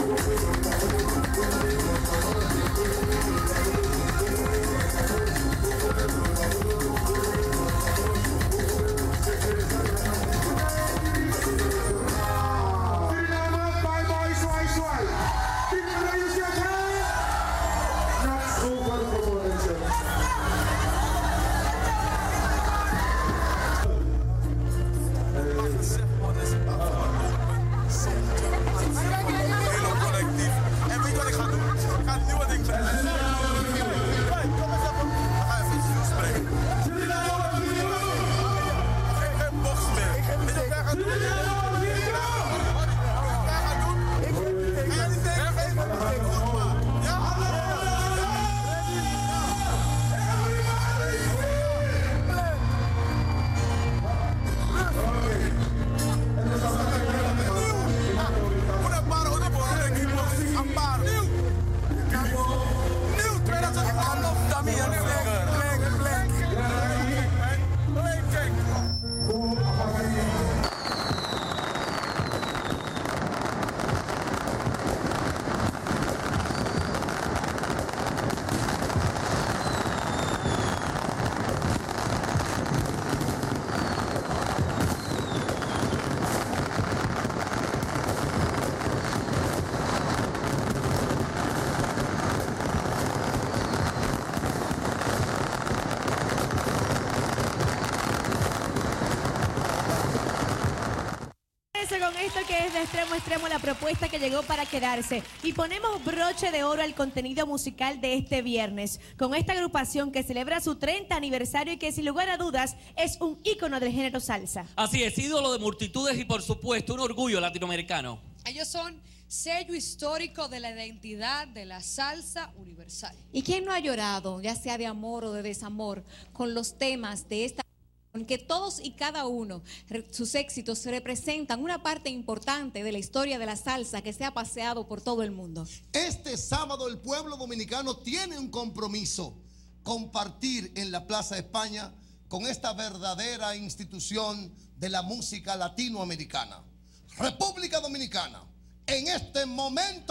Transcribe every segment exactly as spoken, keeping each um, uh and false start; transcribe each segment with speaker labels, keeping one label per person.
Speaker 1: Con esto que es de extremo a extremo la propuesta que llegó para quedarse y ponemos broche de oro al contenido musical de este viernes con esta agrupación que celebra su treinta aniversario y que sin lugar a dudas es un ícono del género salsa.
Speaker 2: Así es, ídolo de multitudes y por supuesto un orgullo latinoamericano.
Speaker 3: Ellos son sello histórico de la identidad de la salsa universal.
Speaker 4: ¿Y quién no ha llorado, ya sea de amor o de desamor, con los temas de esta que todos y cada uno, sus éxitos representan una parte importante de la historia de la salsa que se ha paseado por todo el mundo?
Speaker 5: Este sábado el pueblo dominicano tiene un compromiso: compartir en la Plaza España con esta verdadera institución de la música latinoamericana. República Dominicana, en este momento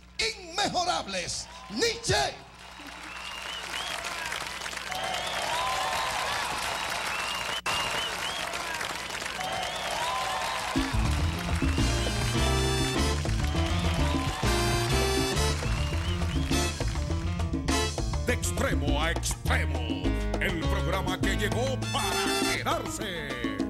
Speaker 5: inmejorables, Nietzsche.
Speaker 6: De extremo a extremo, el programa que llegó para quedarse.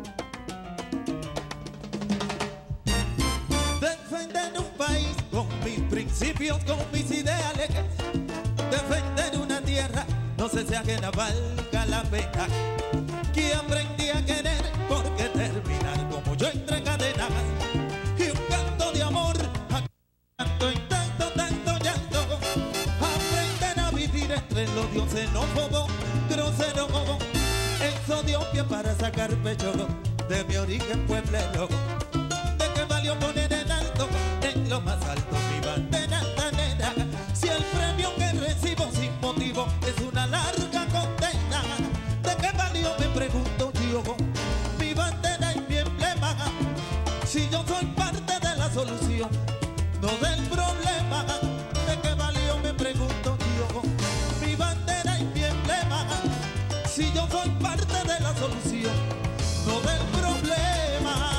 Speaker 7: Defender un país con mis principios, con mis ideales. Defender una tierra, no sé si ajena valga la pena. Que aprendí a querer, porque terminar como yo entre cadenas. Y un canto de amor, canto en tanto, tanto llanto. Aprender a vivir entre los dioses xenófobos, groseros. Eso dio pie para sacar pecho de mi origen pueblero. ¿De qué valió poner en alto, en lo más alto, mi bandera tanera? Si el premio que recibo sin motivo es una larga condena. ¿De qué valió, me pregunto yo, mi bandera y mi emblema? Si yo soy parte de la solución, no del problema. ¿De qué valió, me pregunto yo, mi bandera y mi emblema? Si yo soy parte de la solución, no del problema.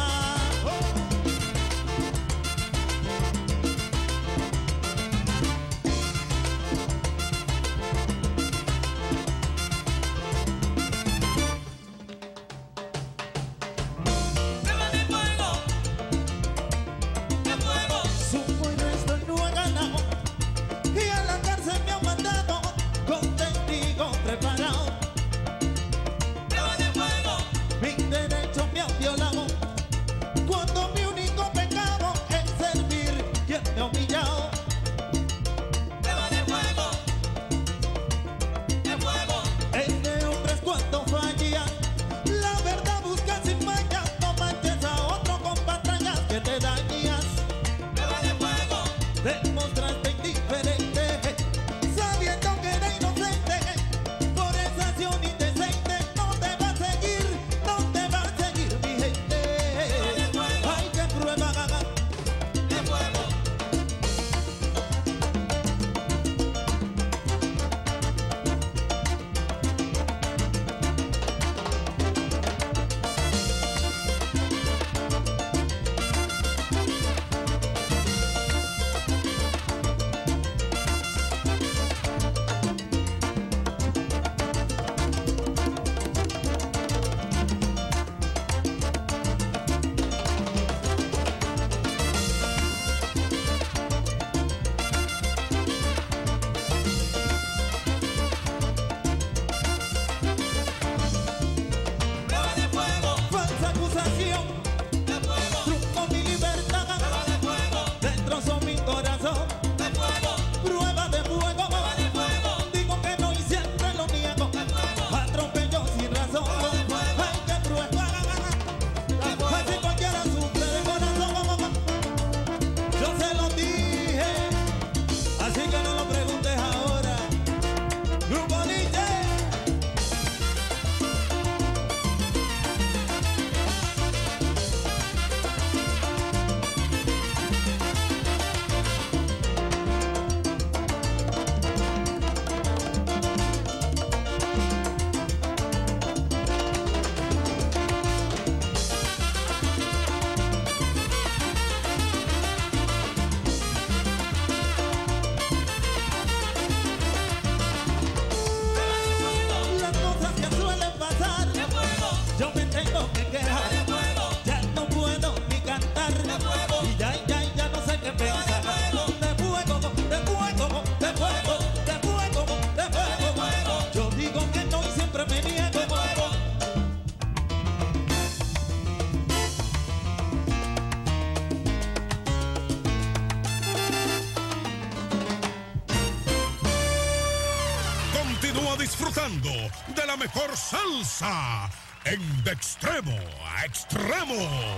Speaker 6: disfrutando de la mejor salsa en De Extremo a Extremo.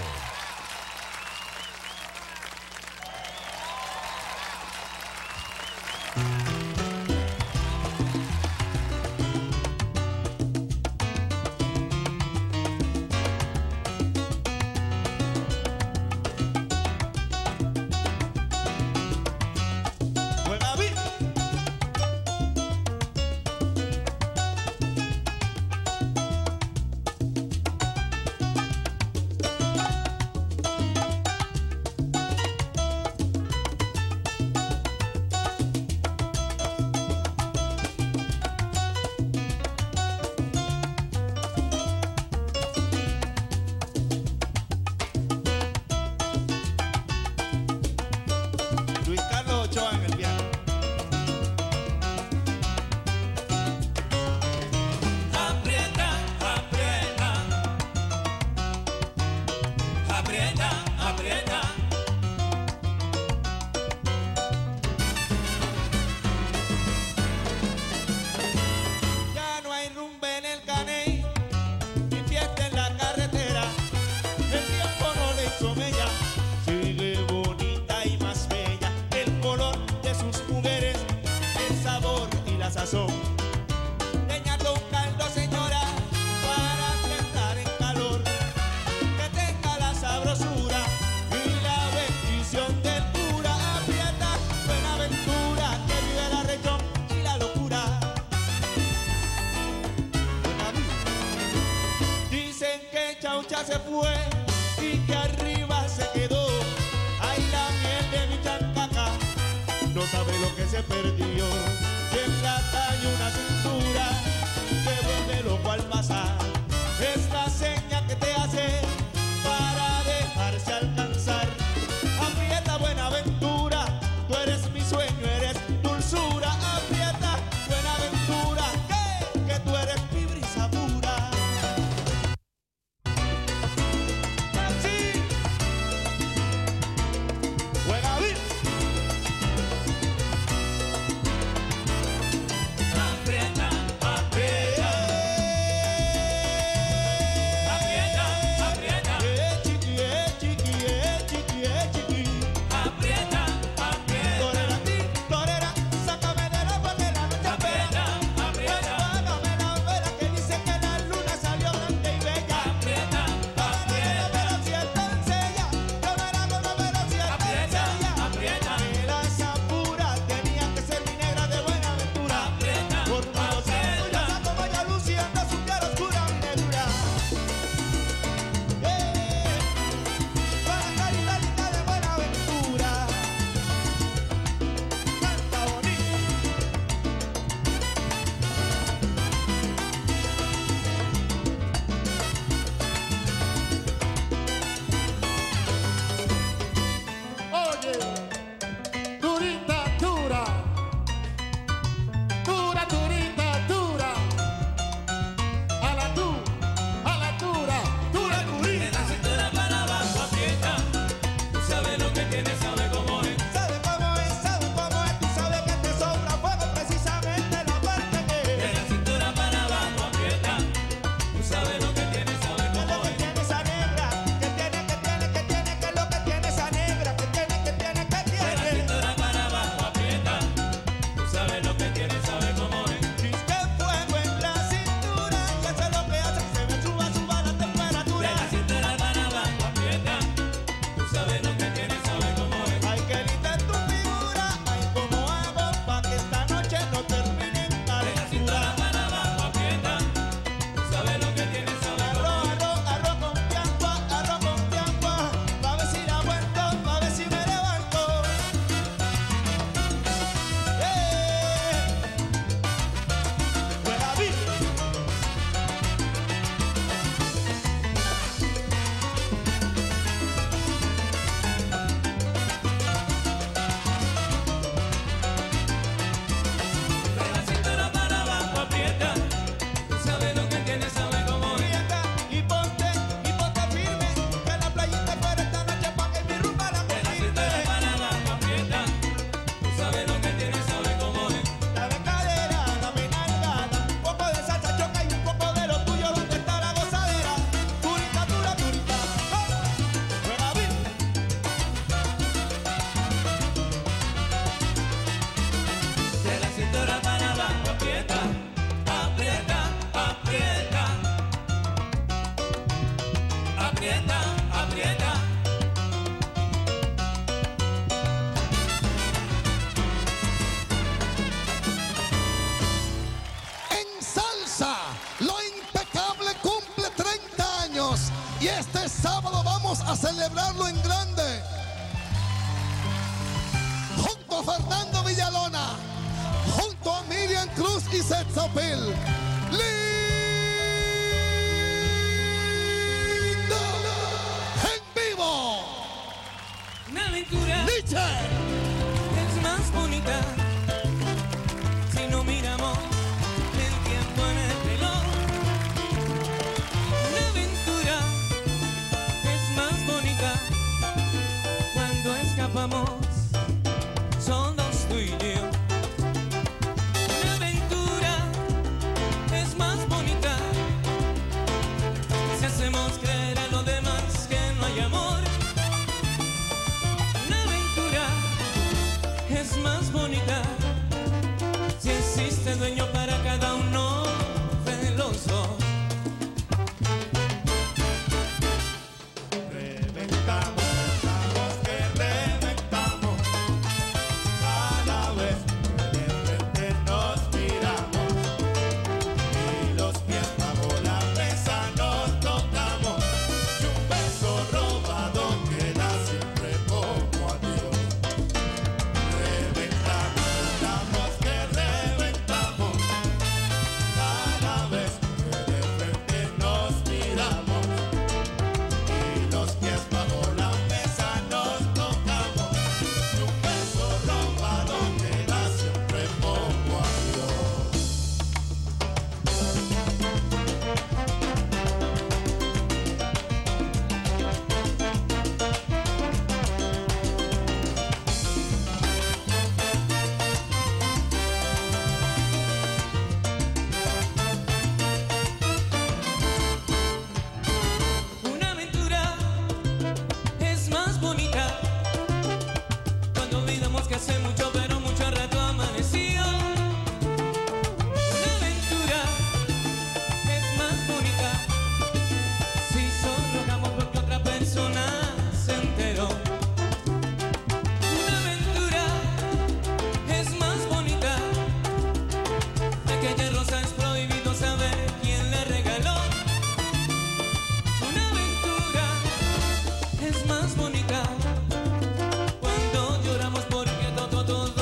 Speaker 7: Se fue y que arriba se quedó. Ay, la miel de mi chancaca no sabe lo que se perdió. Que en la calle una cintura que vuelve loco al pasar. Es la seña que te hace para dejarse alcanzar. Aprieta Buenaventura, tú eres mi sueño, eres dulzura. Aprieta Buenaventura, que, que tú eres mi brisa pura.
Speaker 5: sábado vamos a celebrarlo en grande. Junto a Fernando Villalona, junto a Miriam Cruz y Setzopil. ¡Lindo! ¡En vivo!
Speaker 8: Una aventura
Speaker 5: ¡Nietzsche!
Speaker 8: es más bonita si no miramos el tiempo en el reloj. Una aventura es más bonita cuando escapamos solos tú y yo. Una aventura es más bonita si hacemos creer a los demás que no hay amor. Una aventura es más bonita si existe dueño para cada uno de los dos.
Speaker 7: Reventamos, pensamos que reventamos. A la vez que de frente nos miramos y los pies bajo la mesa nos tocamos. Y un beso robado queda siempre como adiós. Reventamos, pensamos que reventamos. A la vez que de frente nos miramos y los pies bajo la mesa nos tocamos. Y un beso robado queda siempre como adiós.
Speaker 8: Una aventura es más bonita cuando olvidamos que hace mucho, pero mucho rato amaneció. Una aventura es más bonita si sonrojamos porque otra persona se enteró. Una aventura es más bonita, aquella rosa es prohibido saber quién le regaló. Una aventura es más bonita cuando lloramos porque todo, todo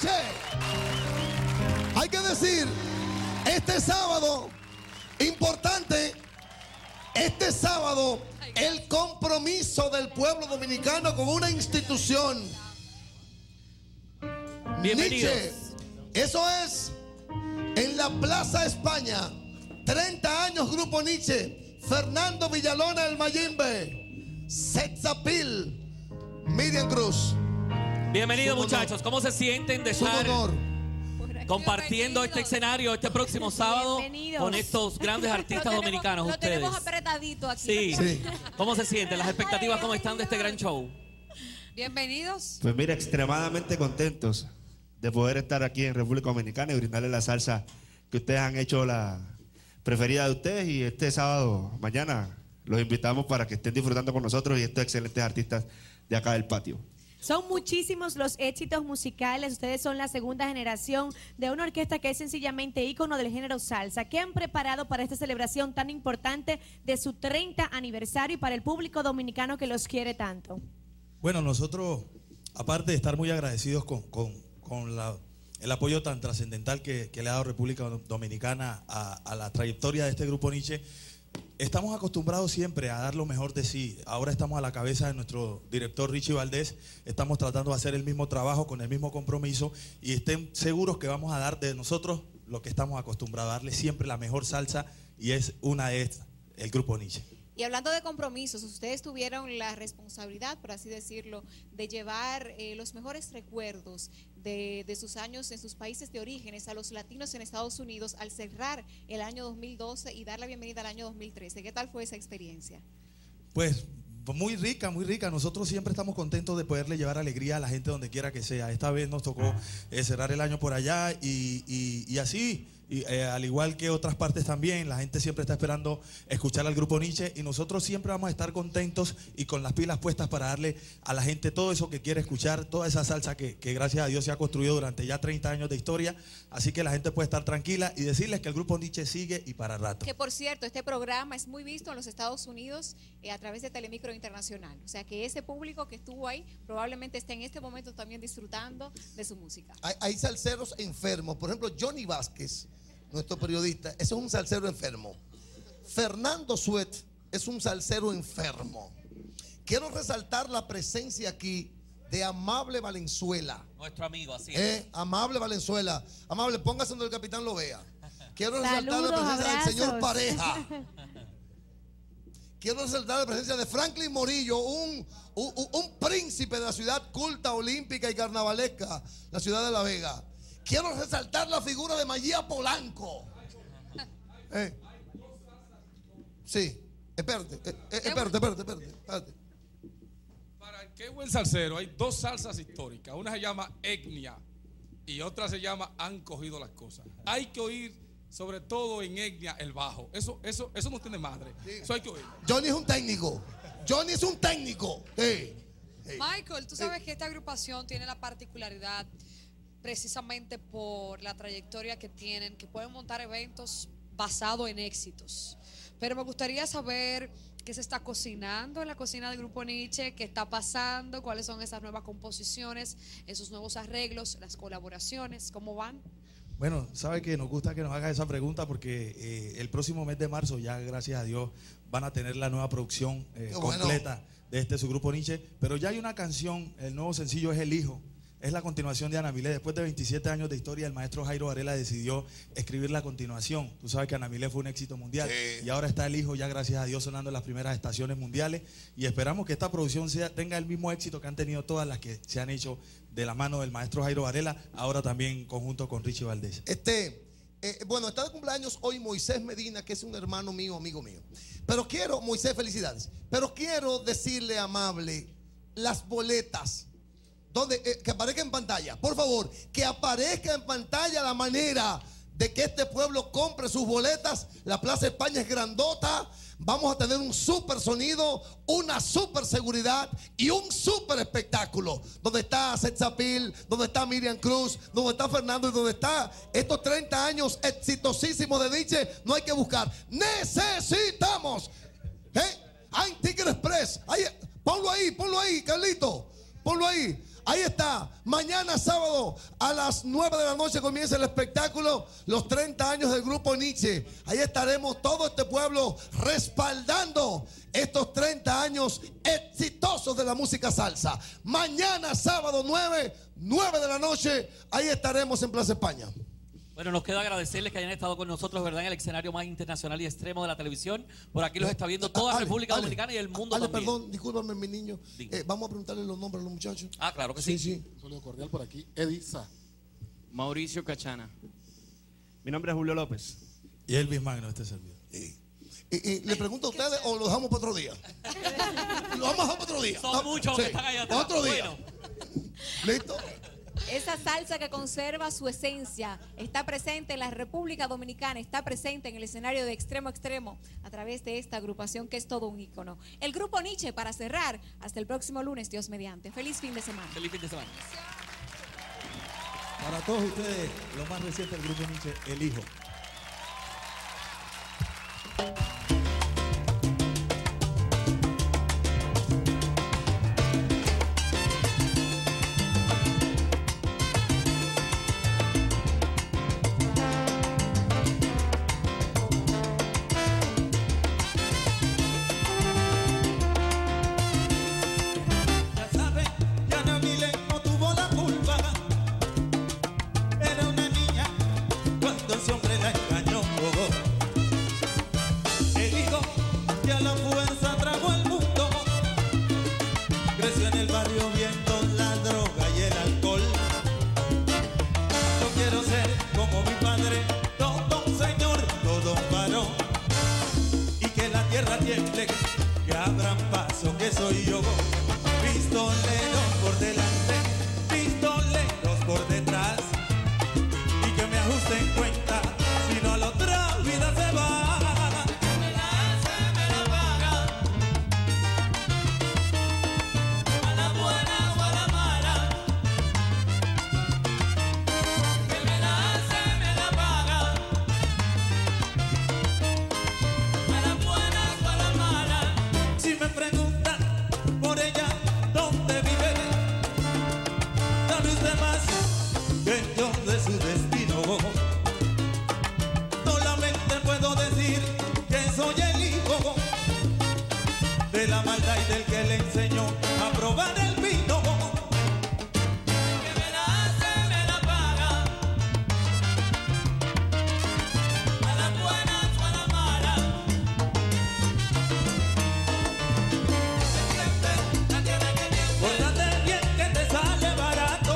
Speaker 5: Nietzsche. Hay que decir, este sábado, importante, este sábado, el compromiso del pueblo dominicano con una institución.
Speaker 2: Bienvenidos.
Speaker 5: Nietzsche. Eso es en la Plaza España. treinta años Grupo Nietzsche. Fernando Villalona el Mayimbe. Setzapil. Miriam Cruz.
Speaker 2: Bienvenidos, muchachos. ¿Cómo se sienten de
Speaker 5: Su
Speaker 2: estar
Speaker 5: honor.
Speaker 2: compartiendo este escenario este próximo sábado
Speaker 1: Bienvenidos.
Speaker 2: con estos grandes artistas
Speaker 4: Lo tenemos-
Speaker 2: dominicanos?
Speaker 4: Lo
Speaker 2: Ustedes.
Speaker 4: tenemos apretadito aquí.
Speaker 2: Sí.
Speaker 5: Sí.
Speaker 2: ¿Cómo se sienten? ¿Las expectativas cómo están de este gran show?
Speaker 3: Bienvenidos.
Speaker 9: Pues mira, extremadamente contentos de poder estar aquí en República Dominicana y brindarles la salsa que ustedes han hecho la preferida de ustedes. Y este sábado, mañana, los invitamos para que estén disfrutando con nosotros y estos excelentes artistas de acá del patio.
Speaker 1: Son muchísimos los éxitos musicales. Ustedes son la segunda generación de una orquesta que es sencillamente ícono del género salsa. ¿Qué han preparado para esta celebración tan importante de su treinta aniversario y para el público dominicano que los quiere tanto?
Speaker 10: Bueno, nosotros, aparte de estar muy agradecidos con, con, con la, el apoyo tan trascendental que, que le ha dado República Dominicana a, a la trayectoria de este Grupo Nietzsche, estamos acostumbrados siempre a dar lo mejor de sí. Ahora estamos a la cabeza de nuestro director Richie Valdés. Estamos tratando de hacer el mismo trabajo con el mismo compromiso y estén seguros que vamos a dar de nosotros lo que estamos acostumbrados a darle siempre la mejor salsa, y es una de estas, el Grupo Nietzsche.
Speaker 4: Y hablando de compromisos, ustedes tuvieron la responsabilidad, por así decirlo, de llevar eh, los mejores recuerdos de, de sus años en sus países de orígenes a los latinos en Estados Unidos al cerrar el año dos mil doce y dar la bienvenida al año dos mil trece. ¿Qué tal fue esa experiencia?
Speaker 10: Pues muy rica, muy rica. Nosotros siempre estamos contentos de poderle llevar alegría a la gente donde quiera que sea. Esta vez nos tocó eh, cerrar el año por allá y, y, y así, y, eh, al igual que otras partes también, la gente siempre está esperando escuchar al Grupo Nietzsche y nosotros siempre vamos a estar contentos y con las pilas puestas para darle a la gente todo eso que quiere escuchar, toda esa salsa que, que gracias a Dios se ha construido durante ya treinta años de historia. Así que la gente puede estar tranquila y decirles que el Grupo Nietzsche sigue y para rato.
Speaker 4: Que por cierto, este programa es muy visto en los Estados Unidos eh, a través de Telemicro Internacional. O sea que ese público que estuvo ahí probablemente esté en este momento también disfrutando de su música.
Speaker 5: Hay, hay salseros enfermos. Por ejemplo, Johnny Vázquez, nuestro periodista, ese es un salsero enfermo. Fernando Suet es un salsero enfermo. Quiero resaltar la presencia aquí de Amable Valenzuela.
Speaker 2: Nuestro amigo, así
Speaker 5: Eh,
Speaker 2: es.
Speaker 5: Amable Valenzuela. Amable, póngase donde el capitán lo vea. Quiero resaltar
Speaker 1: Saludos,
Speaker 5: la presencia del señor
Speaker 1: abrazos.
Speaker 5: Pareja. Quiero resaltar la presencia de Franklin Morillo, un, un, un príncipe de la ciudad culta, olímpica y carnavalesca, la ciudad de La Vega. Quiero resaltar la figura de María Polanco. Eh. Sí, espérate, eh, eh, espérate, espérate, espérate, espérate.
Speaker 11: Para el que es buen salsero, hay dos salsas históricas. Una se llama etnia y otra se llama han cogido las cosas. Hay que oír, sobre todo en etnia, el bajo. Eso, eso, eso no tiene madre. Eso hay que oír.
Speaker 5: Johnny es un técnico. Johnny es un técnico. Eh. Eh.
Speaker 3: Michael, tú sabes que esta agrupación tiene la particularidad, precisamente por la trayectoria que tienen, que pueden montar eventos basados en éxitos. Pero me gustaría saber qué se está cocinando en la cocina del Grupo Nietzsche, qué está pasando, cuáles son esas nuevas composiciones, esos nuevos arreglos, las colaboraciones, ¿cómo van?
Speaker 10: Bueno, sabe que nos gusta que nos haga esa pregunta porque eh, el próximo mes de marzo, ya gracias a Dios, van a tener la nueva producción eh,
Speaker 5: Qué bueno.
Speaker 10: completa de este su Grupo Nietzsche. Pero ya hay una canción, el nuevo sencillo es El Hijo. Es la continuación de Ana Milé. Después de veintisiete años de historia, el maestro Jairo Varela decidió escribir la continuación. Tú sabes que Ana Milé fue un éxito mundial.
Speaker 5: Sí.
Speaker 10: Y ahora está El Hijo, ya gracias a Dios, sonando en las primeras estaciones mundiales. Y esperamos que esta producción sea, tenga el mismo éxito que han tenido todas las que se han hecho de la mano del maestro Jairo Varela, ahora también en conjunto con Richie Valdés.
Speaker 5: Este, eh, bueno, está de cumpleaños hoy Moisés Medina, que es un hermano mío, amigo mío. Pero quiero, Moisés, felicidades. Pero quiero decirle, Amable, las boletas. Donde, eh, que aparezca en pantalla, por favor, que aparezca en pantalla la manera de que este pueblo compre sus boletas. La Plaza España es grandota. Vamos a tener un super sonido, una super seguridad y un super espectáculo. Donde está Setzapil, donde está Miriam Cruz, donde está Fernando y donde está estos treinta años exitosísimos de Nietzsche. No hay que buscar. Necesitamos. ¿Eh? Hay Ticket Express. Hay, ponlo ahí, ponlo ahí, Carlito. Ponlo ahí. Ahí está. Mañana sábado a las nueve de la noche comienza el espectáculo Los treinta años del Grupo Nietzsche. Ahí estaremos todo este pueblo respaldando estos treinta años exitosos de la música salsa. Mañana sábado nueve, nueve de la noche, ahí estaremos en Plaza España.
Speaker 2: Bueno, nos queda agradecerles que hayan estado con nosotros, ¿verdad? En el escenario más internacional y extremo de la televisión. Por aquí los está viendo toda
Speaker 5: Ale,
Speaker 2: República
Speaker 5: Ale,
Speaker 2: Dominicana y el mundo
Speaker 5: Ale,
Speaker 2: también.
Speaker 5: perdón, discúlpame, mi niño. Eh, vamos a preguntarle los nombres a los muchachos.
Speaker 2: Ah, claro que sí.
Speaker 5: Sí, sí.
Speaker 12: Un saludo cordial por aquí. Edisa.
Speaker 13: Mauricio Cachana.
Speaker 9: Mi nombre es Julio López.
Speaker 10: Y Elvis Magno, este servidor.
Speaker 5: Y, y, ¿Le pregunto a ustedes o lo dejamos para otro día? Lo vamos a dejar para otro día.
Speaker 2: Son muchos
Speaker 5: Sí,
Speaker 2: que están allá
Speaker 5: para
Speaker 2: atrás.
Speaker 5: otro día.
Speaker 2: Bueno.
Speaker 5: ¿Listo?
Speaker 4: Esa salsa que conserva su esencia está presente en la República Dominicana, está presente en el escenario de extremo a extremo a través de esta agrupación que es todo un ícono. El Grupo Nietzsche, para cerrar, hasta el próximo lunes, Dios mediante. Feliz fin de semana.
Speaker 2: Feliz fin de semana.
Speaker 10: Para todos ustedes, lo más reciente del Grupo Nietzsche, El Hijo.
Speaker 7: Que abran paso, que soy yo. Pistoleros por delante, pistoleros por detrás. Y que me ajusten cuenta, si no a la otra vida se va. Me la hace, me la paga. A la buena o a la mala. Que me la hace, me la paga. A la buena o a la mala. Si me preguntan por ella dónde vive, sabe usted más que yo de su destino. Solamente puedo decir que soy el hijo de la maldad y del que le enseñó a probar el vino. Que me la hace, me la paga. A la buena o a la mala. Pórtate bien que te sale barato.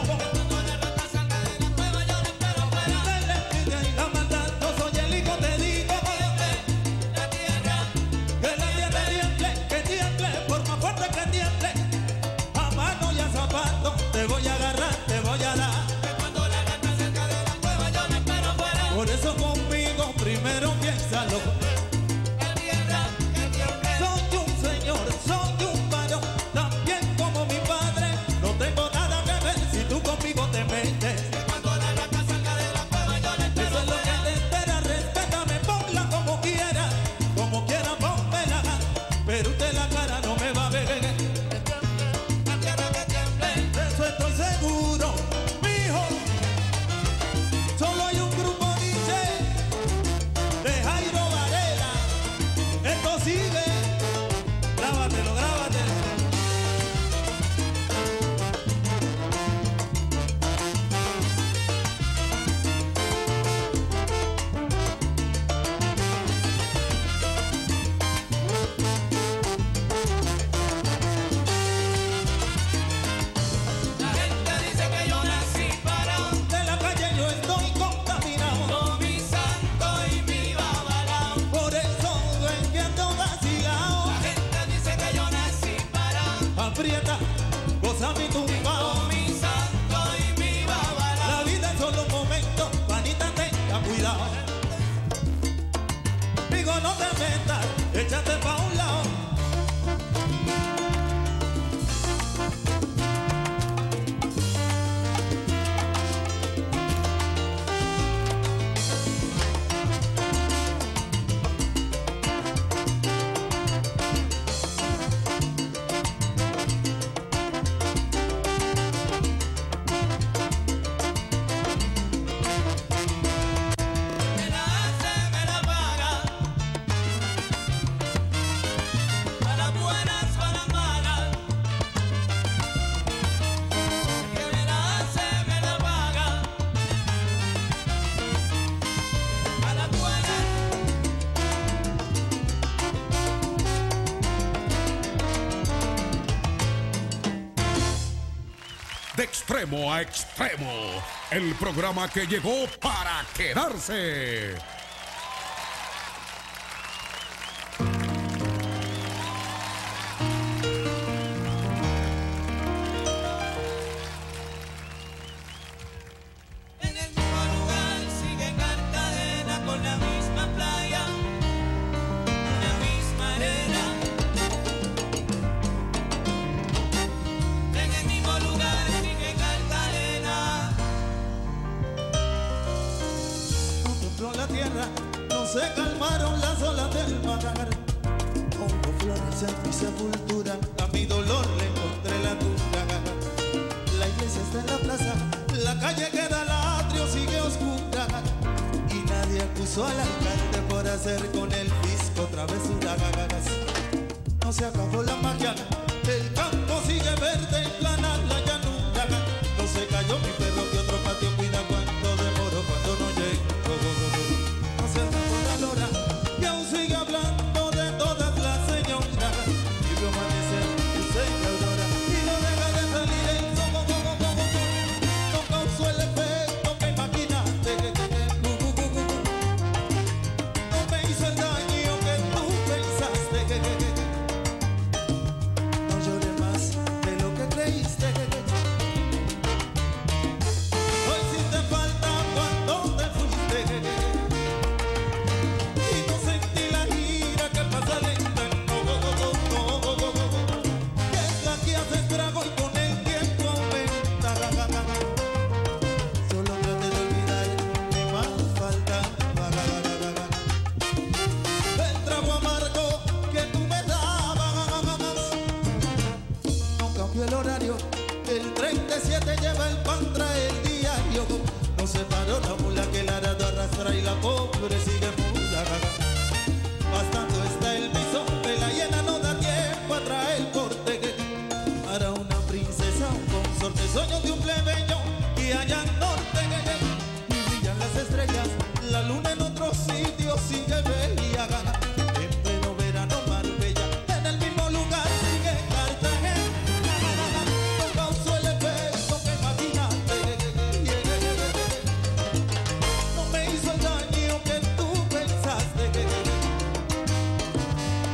Speaker 7: La maldad, no soy el hijo, te digo. La tierra, que la tierra tiemble, que tiemble, por más fuerte que tiemble. A mano y a zapato, te voy a agarrar, te voy a dar. Cuando la gata cerca de la cueva, yo me espero fuera. Por eso conmigo primero piénsalo. La tierra, que tiemble. Soy un señor, soy un varón, también como mi padre. No tengo nada que ver si tú conmigo te metes. Cuando la gata salga de la cueva, yo le espero. Eso es lo que te espera, respétame, ponla como quiera. Como quiera, pónmela. Pero usted la cara no me va a ver. La tierra que tiemble. De eso estoy seguro, mijo. Solo hay un grupo Nietzsche de Jairo Varela. Esto sigue. Grábatelo, grábatelo. La gente dice que yo nací parado. De la calle yo estoy contaminado. Con mi santo y mi babalao. Por eso ven que ando vacilao. La gente dice que yo nací parado. Aprieta, goza mi tumbao. Con mi santo y mi babalao. La vida es solo un momento, panita, tenga cuidado. Digo, no te metas, échate pa' un lado.
Speaker 6: De extremo a extremo, el programa que llegó para quedarse.
Speaker 8: En el mismo lugar sigue Cartagena con la misma playa, la misma arena. En el mismo lugar sigue Cartagena.
Speaker 7: No tembló la tierra, no se calmaron las olas del mar. Pongo flores en mi sepultura, a mi dolor le encontré la tumba. La iglesia está en la plaza, la calle queda al atrio, sigue oscura. Y nadie acusó al alcalde por hacer con el fisco travesuras. No se acabó la magia, el campo sigue verde, plana la llanura. No se cayó mi perro que otro patio cuida cuando demoro, cuando no llego. No se acabó la lora, y aún sigue hablando de todas las señoras. Y vio amanecer, luce y aurora, y no deja de salir el sol. No causó el efecto que imaginaste. No me hizo el daño que tú pensaste. No lloré más de lo que creíste. Hoy sí te falta cuando te fuiste. Y no sentí la gira que pasa lenta. No, no, no, no, no, no. Que es la que hace estrago y con el tiempo aumenta. Solo traté de olvidar mi más falta. El trago amargo que tú me dabas. No cambió el horario, el treinta y siete lleva el pan, trae el diario. No se paró la mula que el arado arrastra y la pobre sigue muda. Bastando está el bisonte, la hiena no da tiempo a traer el corte. Para una princesa, un consorte, sueño de un plebeyo y allá al norte. Y brillan las estrellas, la luna en otro sitio sigue bella. En pleno verano Marbella, en el mismo lugar sigue Cartagena. No causó el efecto que imaginaste. No me hizo el daño que tú pensaste.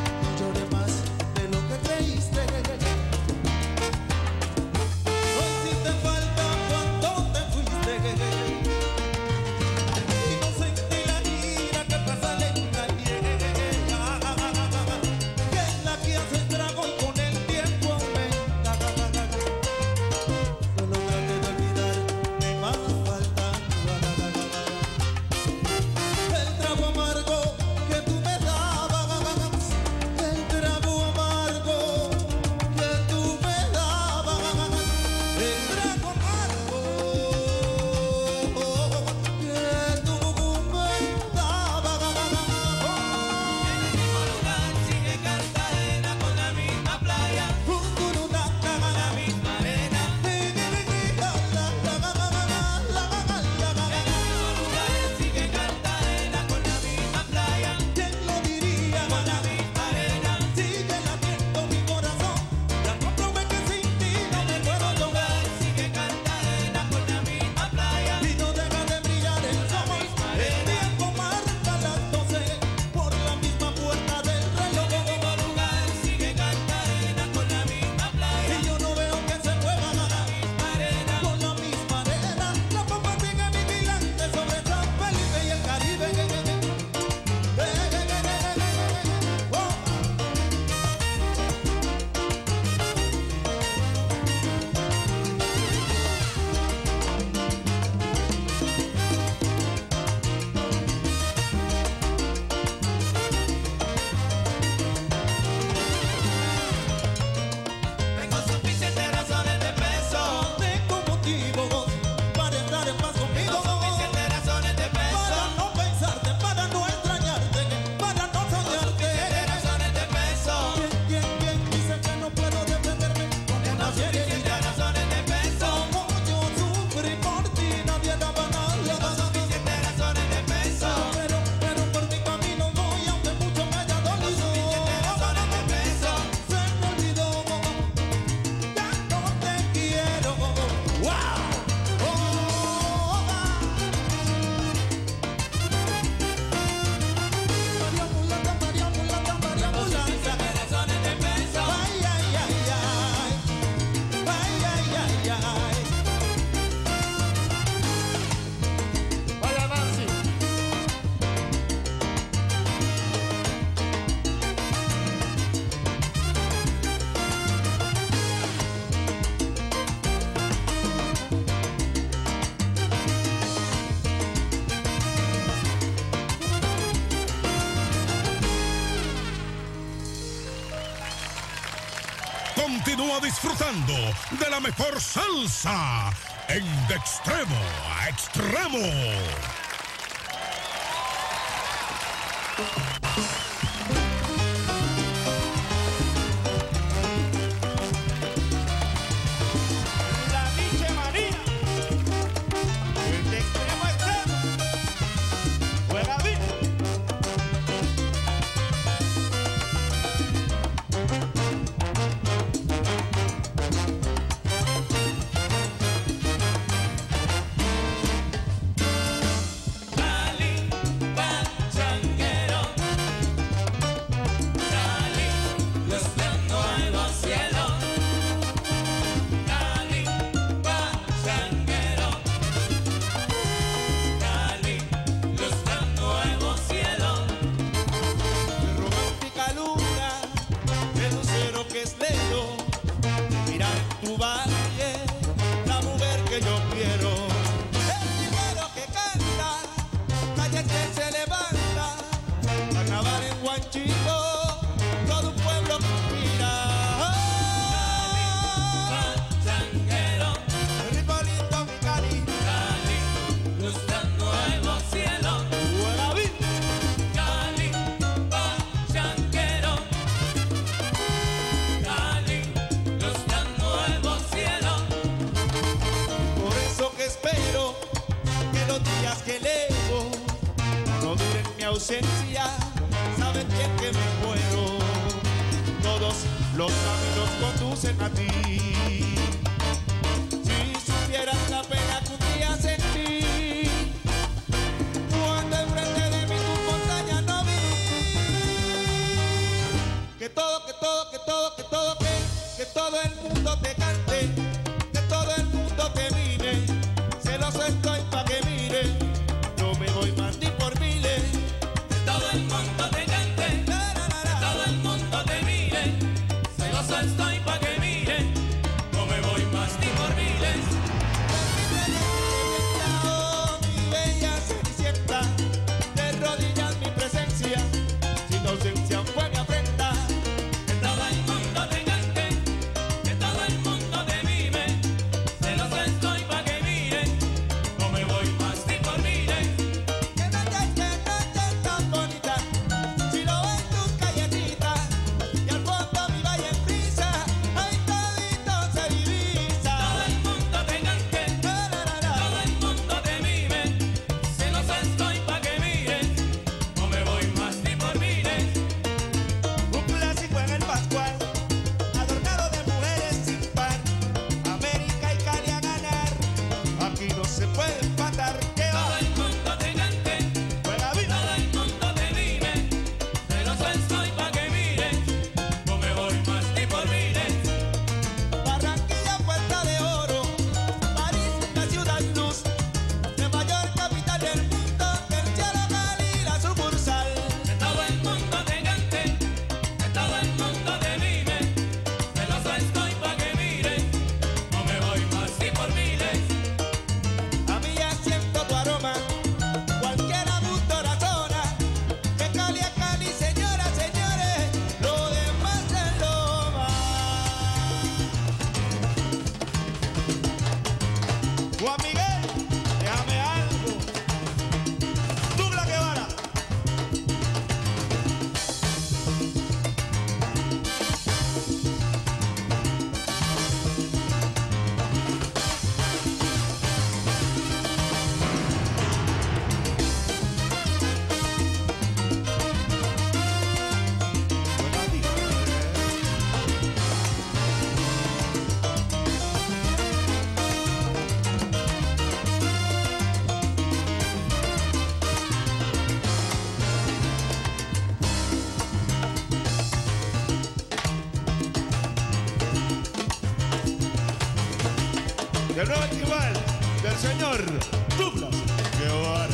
Speaker 6: Continúa disfrutando de la mejor salsa en De Extremo a Extremo.
Speaker 9: La Miche María, de extremo a extremo, juega bien.
Speaker 14: Saben bien que me muero, todos los caminos conducen a ti. Si supieras la pena que un día sentí, cuando enfrente de mí tu montaña no vi. Que todo, que todo, que todo, que todo, que, que todo el mundo te cante, que todo el mundo te mire, celoso estoy pa' que mire, no me voy más ni por miles.
Speaker 8: Todo el mundo te cante, que todo el mundo te mire, celoso estoy pa' que mire, no me voy más ni por miles.
Speaker 14: Oh, mi bella cenicienta, de rodillas mi presencia, sin ausencia fue mi afrenta.
Speaker 8: Que todo el mundo te cante, que todo el mundo te mire, celoso estoy pa' que mire, no me voy más ni por miles.
Speaker 14: Que no te, que no te tan bonita, si lo ven tus callecitas, y al fondo mi valle en brisa, ay todito se divisa.
Speaker 8: Todo el mundo te cante, todo el mundo te mire, celoso estoy pa' que mire, no me voy más ni por miles.
Speaker 14: Un clásico en el Pascual, adornado de mujeres sin par, América y Cali a ganar, aquí no se puede empatar. Que
Speaker 8: Todo
Speaker 14: va,
Speaker 8: el mundo te cante,
Speaker 14: juega viva.
Speaker 8: todo el mundo te mire, celoso estoy pa' que mire, no me voy más ni por miles.
Speaker 14: Barranquilla, Puerta de Oro, París, la ciudad luz, Nueva York, capital del mundo, del cielo Cali, la sucursal.
Speaker 8: Que todo el mundo te cante, que todo el mundo te mire, celoso estoy pa' que mire, no me voy más ni por miles.
Speaker 14: A mí ya siento tu aroma, cualquier abuso razona, que Cali es Cali, señoras, señores, lo demás es loma. Juan Miguel, déjame algo. Douglas Guevara.
Speaker 9: El nuevo igual del señor Douglas Guevara.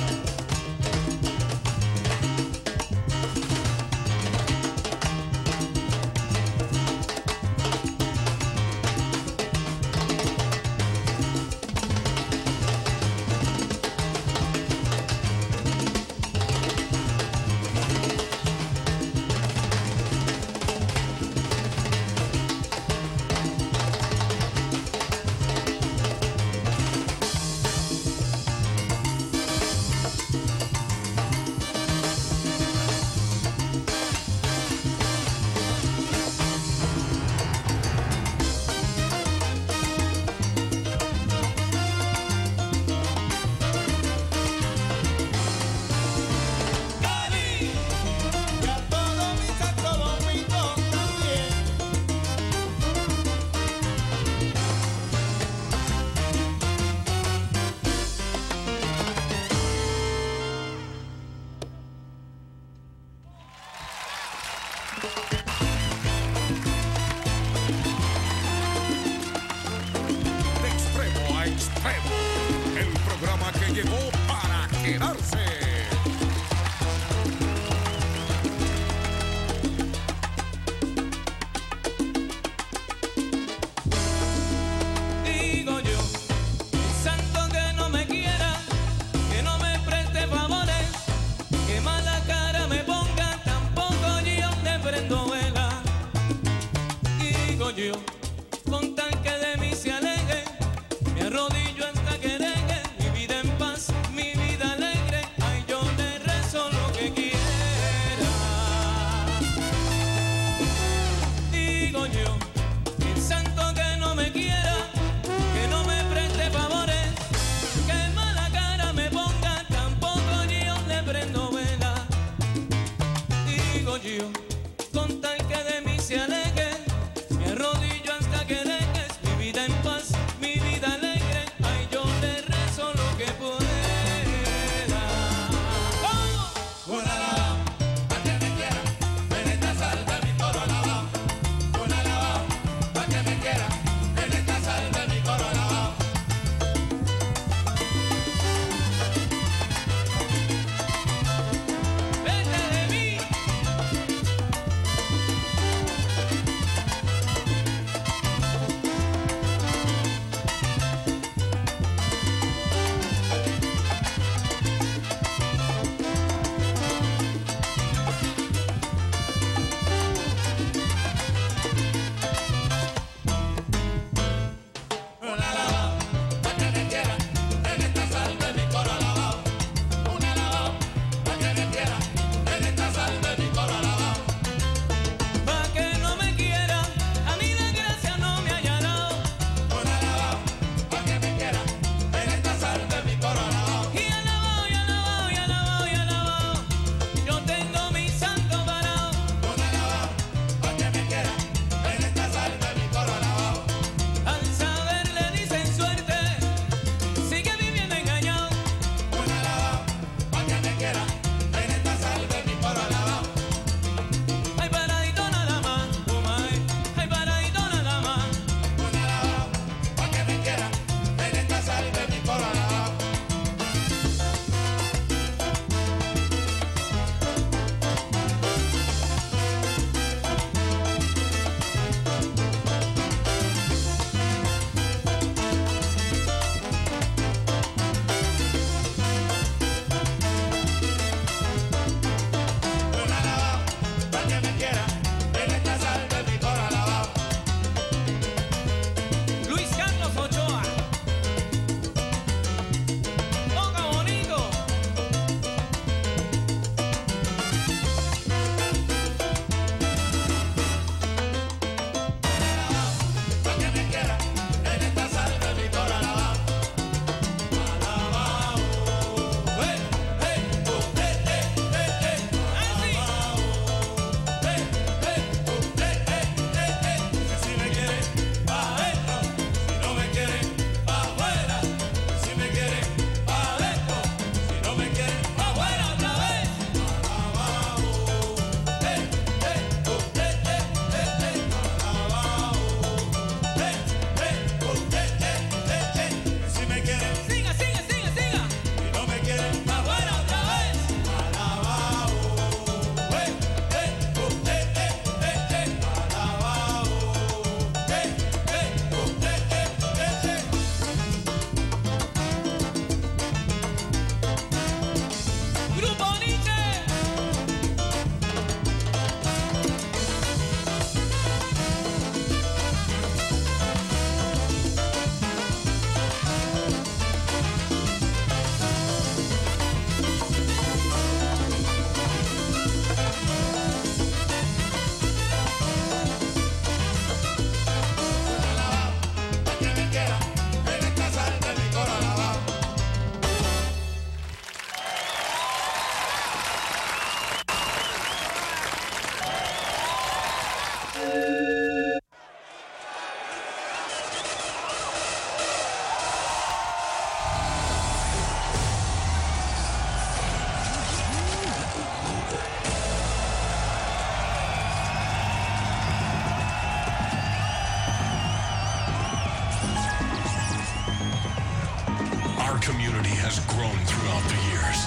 Speaker 15: has grown throughout the years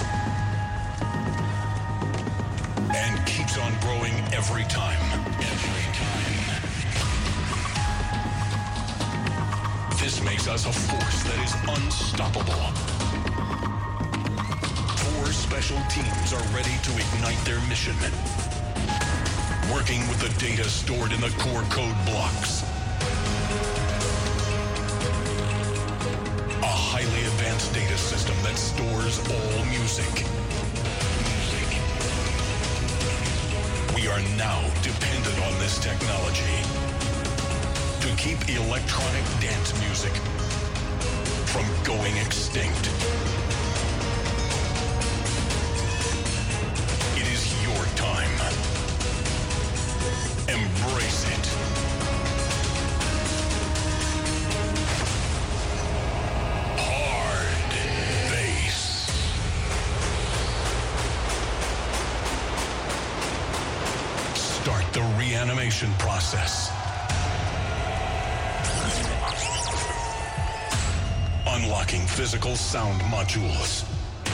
Speaker 15: and keeps on growing every time. Every time. This makes us a force that is unstoppable. Four special teams are ready to ignite their mission, working with the data stored in the core code blocks. A highly advanced data system that stores all music. We are now dependent on this technology to keep electronic dance music from going extinct. It is your time. Embrace it. Hard bass. Start the reanimation process. Unlocking physical sound modules.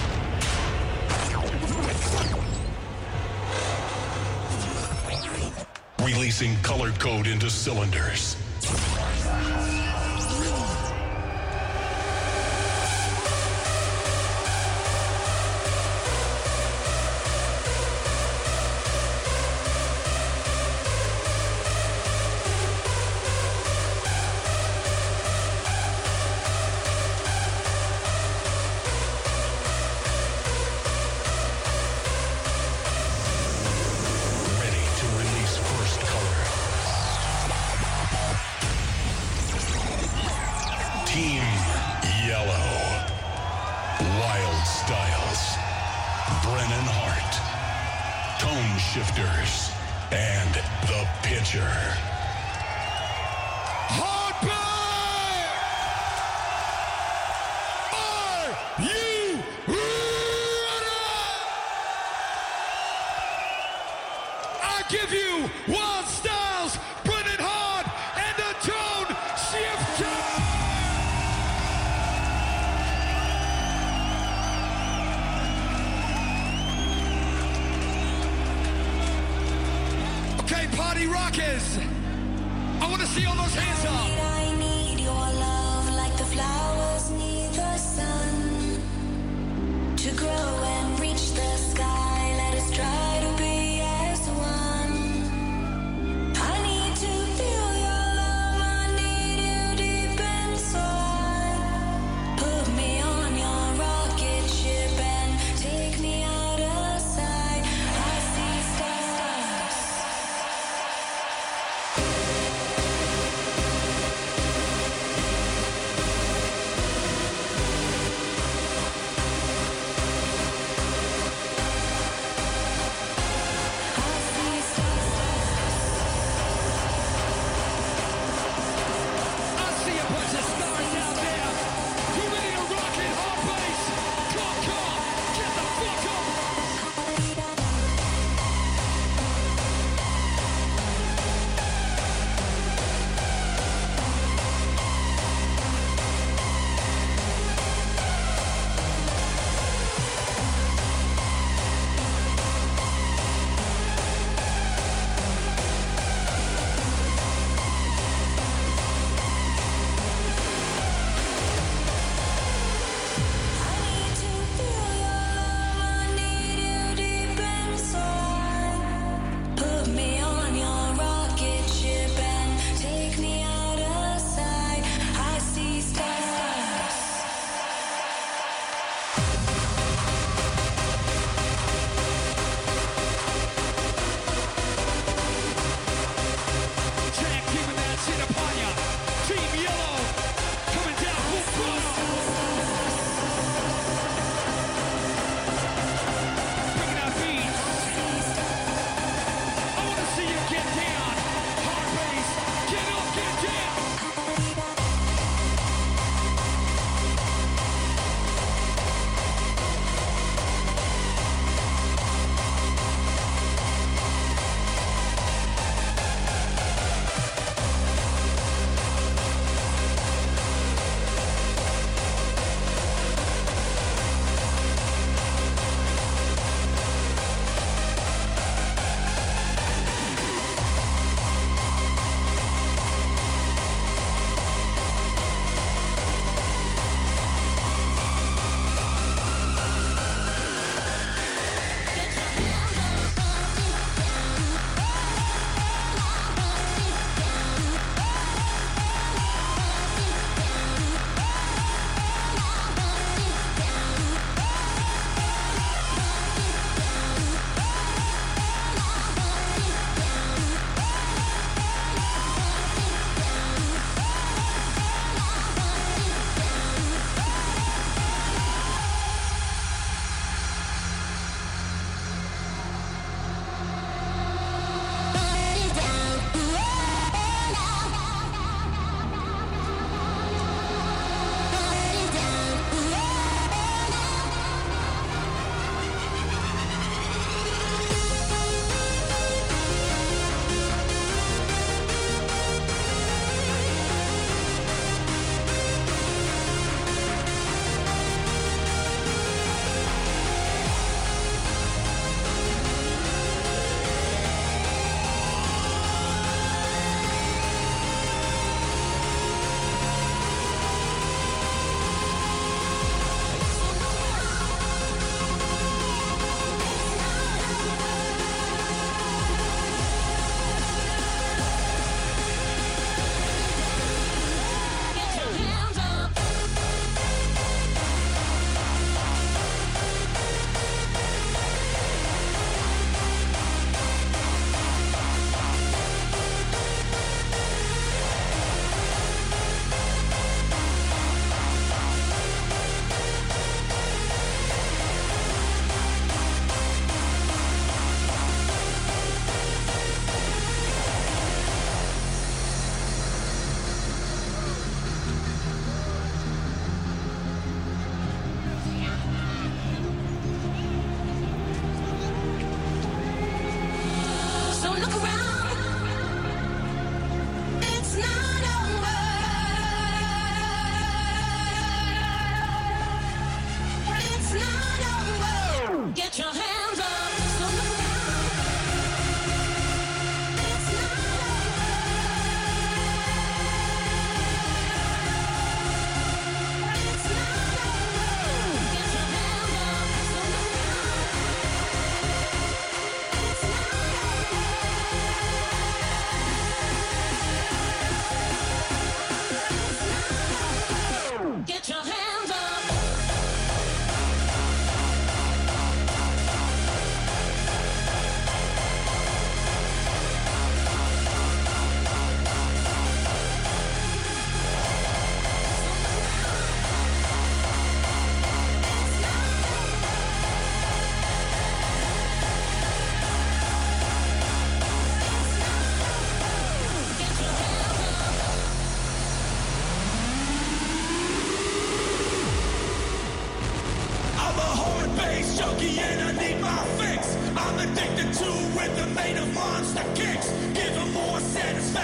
Speaker 15: Releasing color code into cylinders. Team Yellow. Wild Styles. Brennan Hart. Tone Shifters. And the Pitcher.
Speaker 8: Are you ready? I give you Wild Styles, Brennan Hart, and the Tone Shifter. Okay, party rockers. I want to see all those hands up.
Speaker 16: I need your love like the flowers need the sun to grow and reach the sky. Let us try to be as one. I need to feel your love. I need you deep inside. Put me on your rocket ship and take me out of sight. I see stars.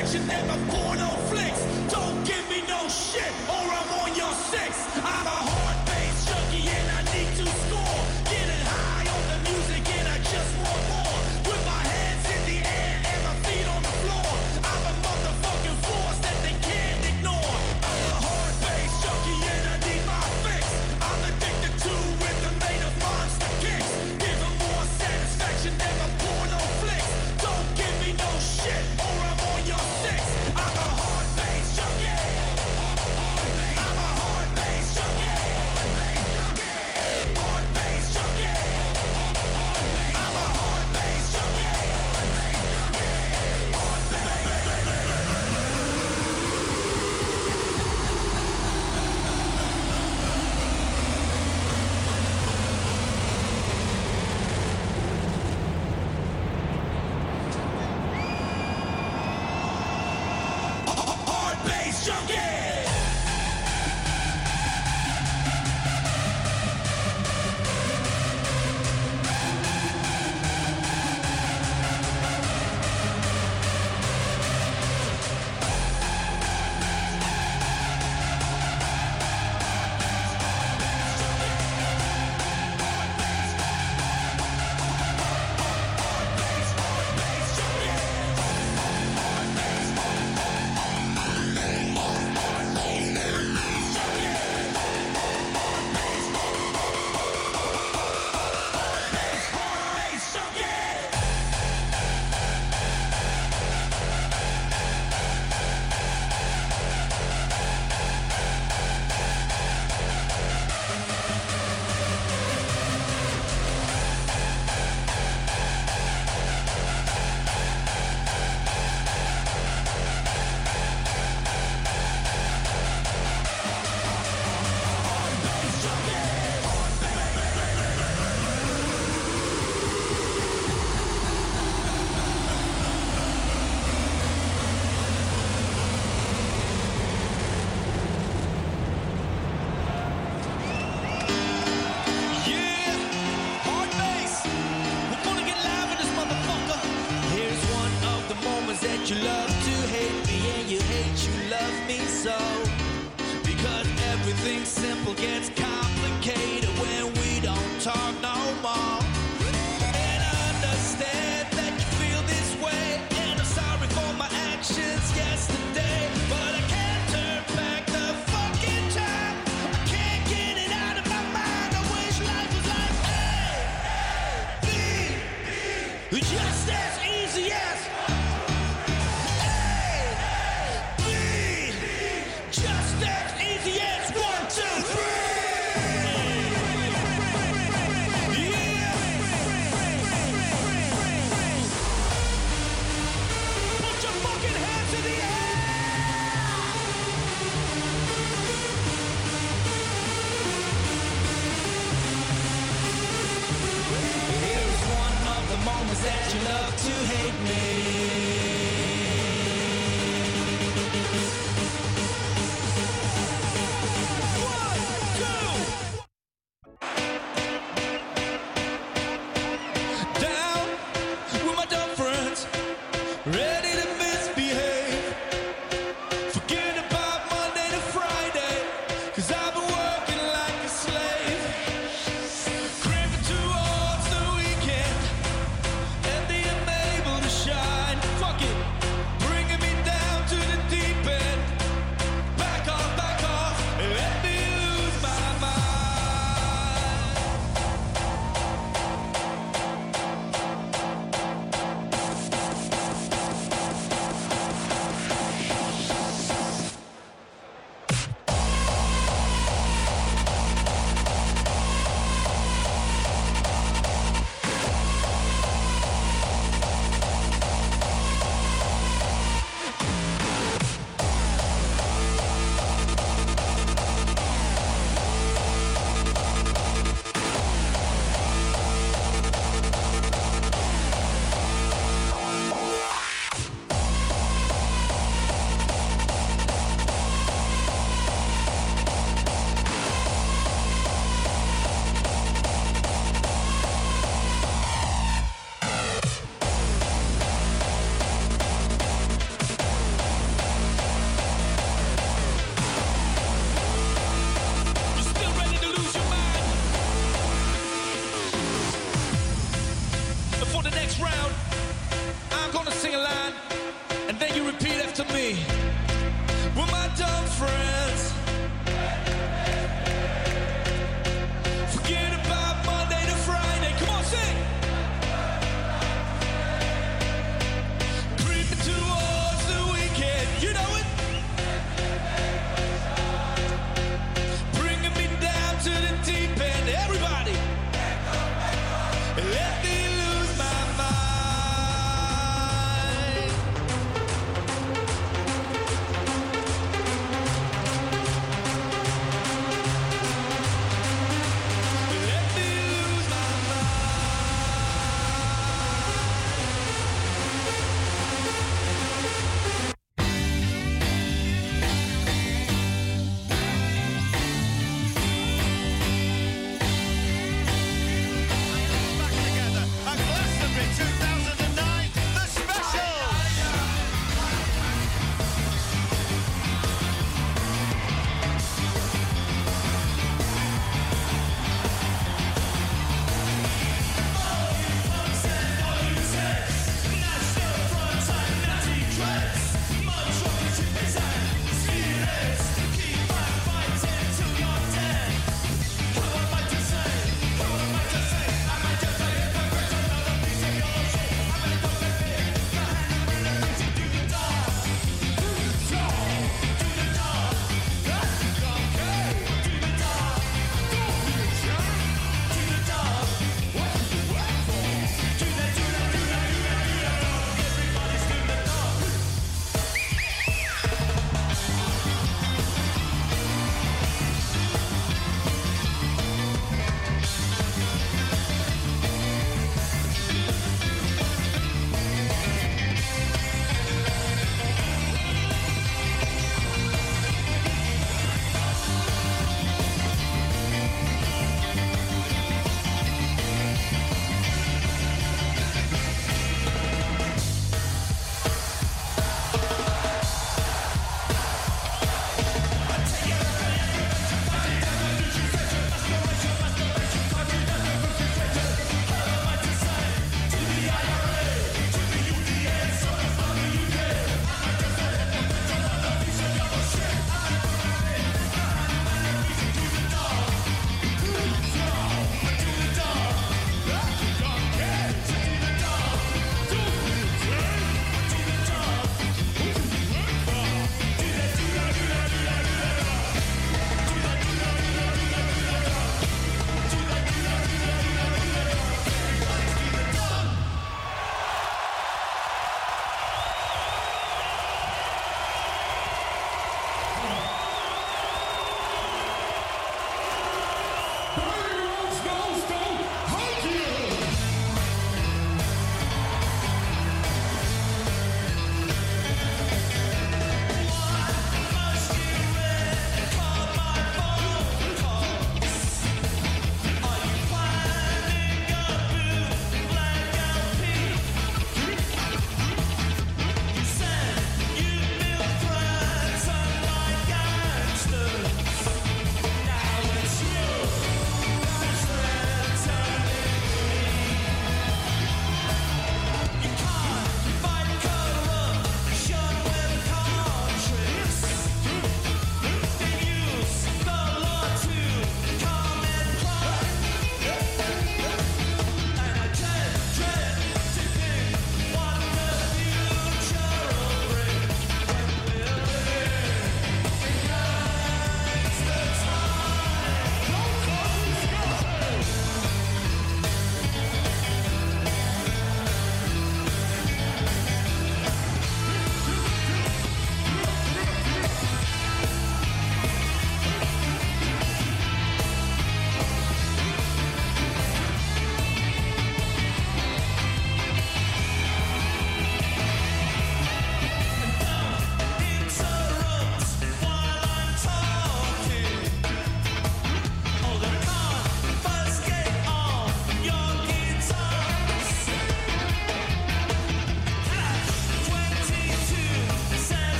Speaker 8: satisfaction than my porno flicks. Don't give me no shit or I'm on your six. I'm a hard bass junkie and I need to score. Getting high on the music and I just want more. With my hands in the air and my feet on the floor. I'm a motherfucking force that they can't ignore. I'm a hard bass junkie and I need my fix. I'm addicted to rhythm made of monster kicks. Give them more satisfaction than my porno flicks. Don't give me no shit or I'm on your six. I'm a hard bass junkie. I'm a hard bass junkie. Hard bass junkie. I'm a hard bass junkie. Hard bass junkie. Yeah, hard bass. We're gonna get live in this motherfucker. Here's one of the moments that you love to hate me and you hate you love me so. Because everything simple gets complicated when we don't talk no more. And I understand that you feel this way, and I'm sorry for my actions yesterday, but I can't turn back the fucking time. I can't get it out of my mind. I wish life was like A, B, just as easy as A, B, Thank you.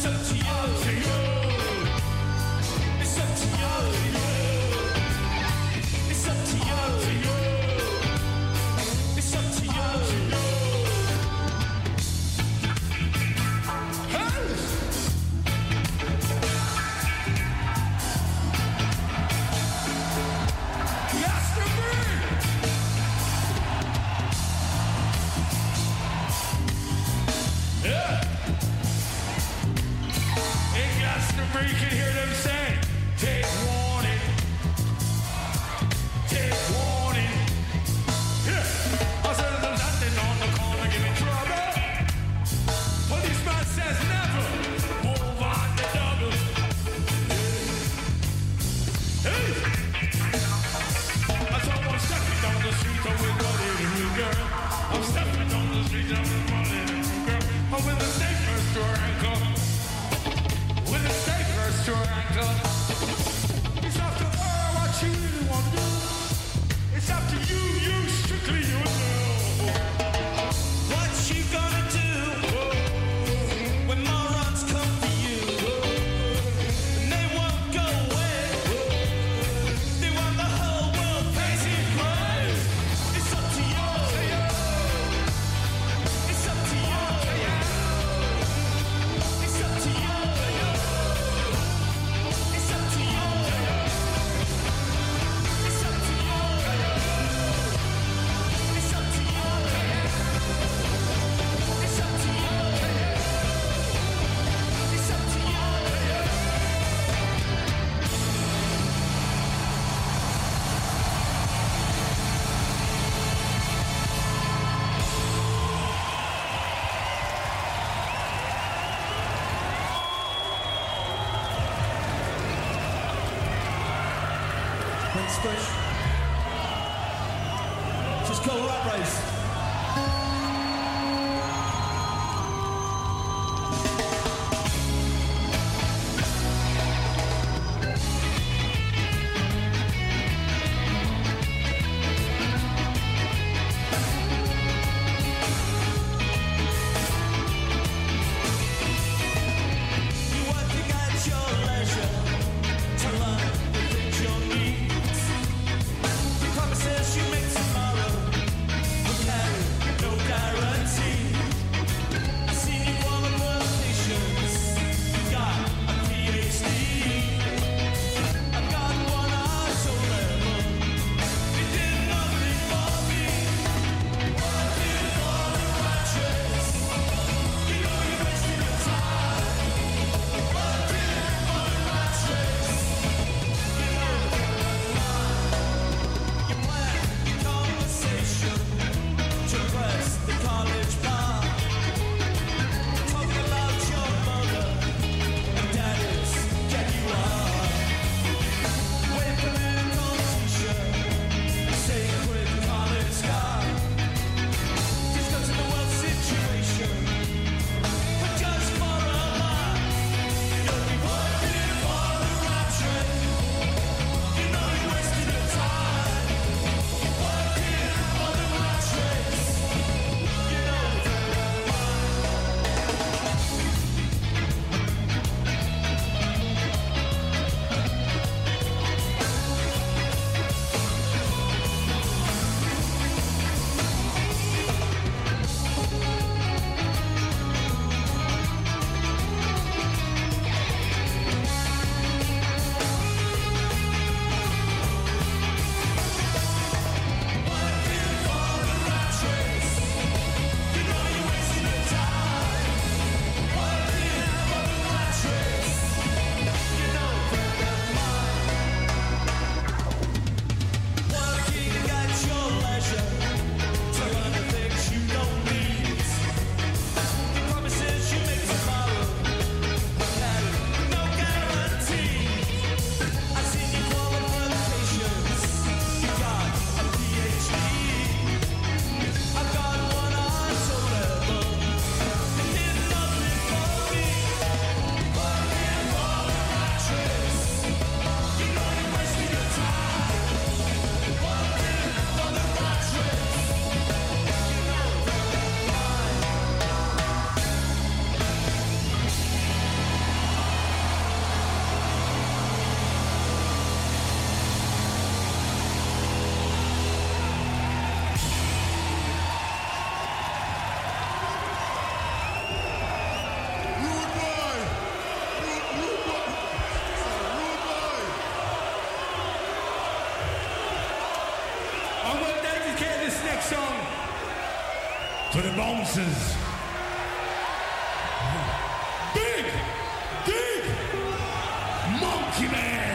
Speaker 8: up to you. It's up to you. It's up to you. It's up to you. Hey! Yes, to me. Yeah. In Glastonbury, you can hear them say, take warning, take warning. Yeah. I said there's nothing on the corner giving trouble. Policeman says never move on the double. Hey. I saw one stepping down the street with a little girl. I'm stepping down the street with a little girl. I'm with a snake first to her ankle. With a snake first to her ankle. It's up to her what you really want to do. It's up to you, you strictly you know. What you gonna do when morons come for you? And they won't go away. They want the whole world facing grave. It's up to you. It's up to you. It's up to you. It's up to you. It's up to you. It's up to you. It's up to you. It's up to you.
Speaker 17: Thanks, Chris. Just call Rat Race.
Speaker 8: You working at your leisure to learn the things you'll need. The promises you make tomorrow will
Speaker 18: bosses. Big, big Monkey Man.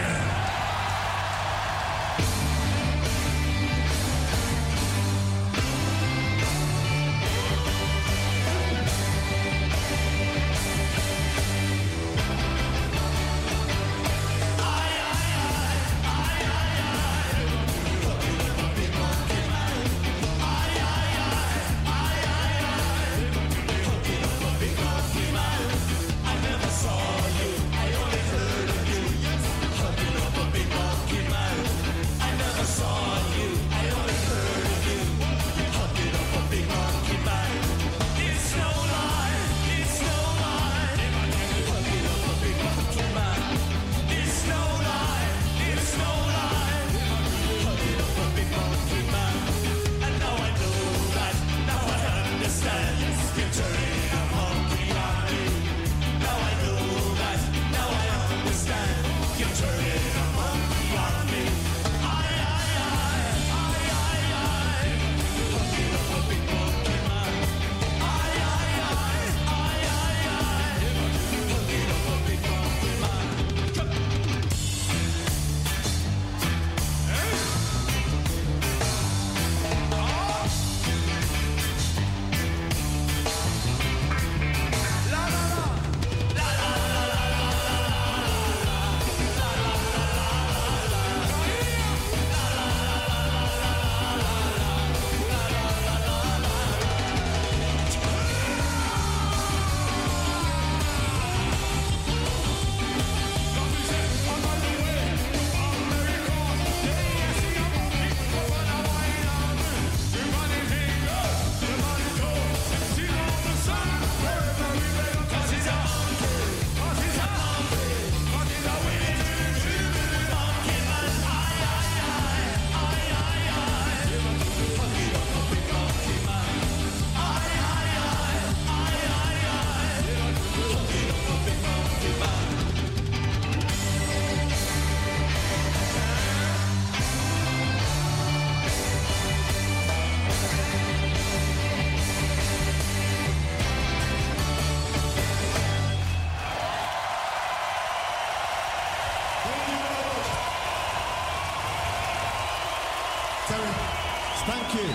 Speaker 19: Terry, thank you.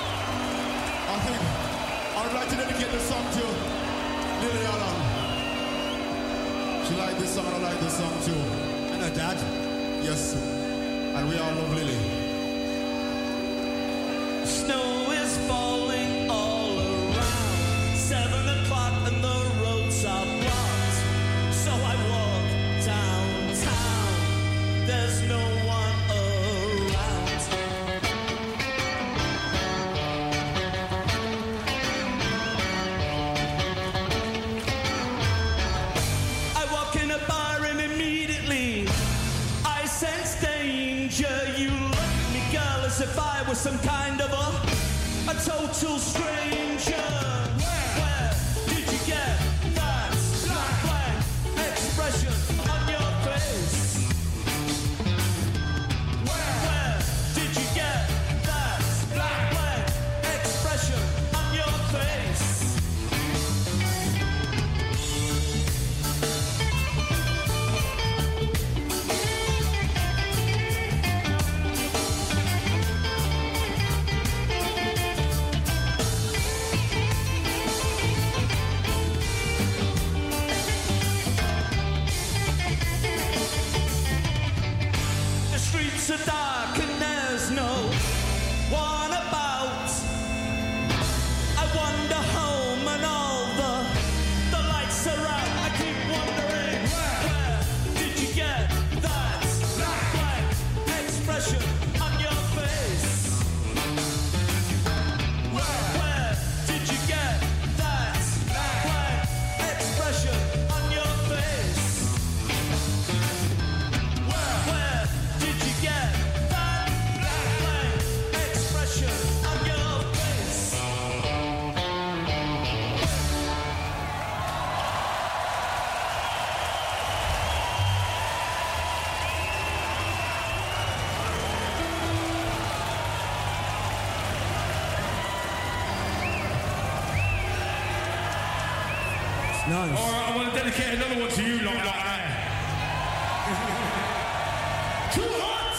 Speaker 19: I think I would like to dedicate this song to Lily Allen. She liked this song and I like this song too. And her dad? Yes. And we all love Lily.
Speaker 8: Snow is falling all around. Seven o'clock and the roads are blocked. So I walk downtown. There's no one around. I walk in a bar and immediately I sense danger. You look at me, girl, as if I was some kind of a a total stranger. Where, where did you get that black blank expression on your face? Where, where did you get that black blank expression on your face? The streets are dark and there's no one about. I wander home and all the the lights are out. I keep wondering, where, where did you get that black blank expression on your face? Where, where did you get that black blank expression on your face? Where, where did you get that
Speaker 17: Nice.
Speaker 18: All right, I want to dedicate another one to you, lot, lot there. Too hot!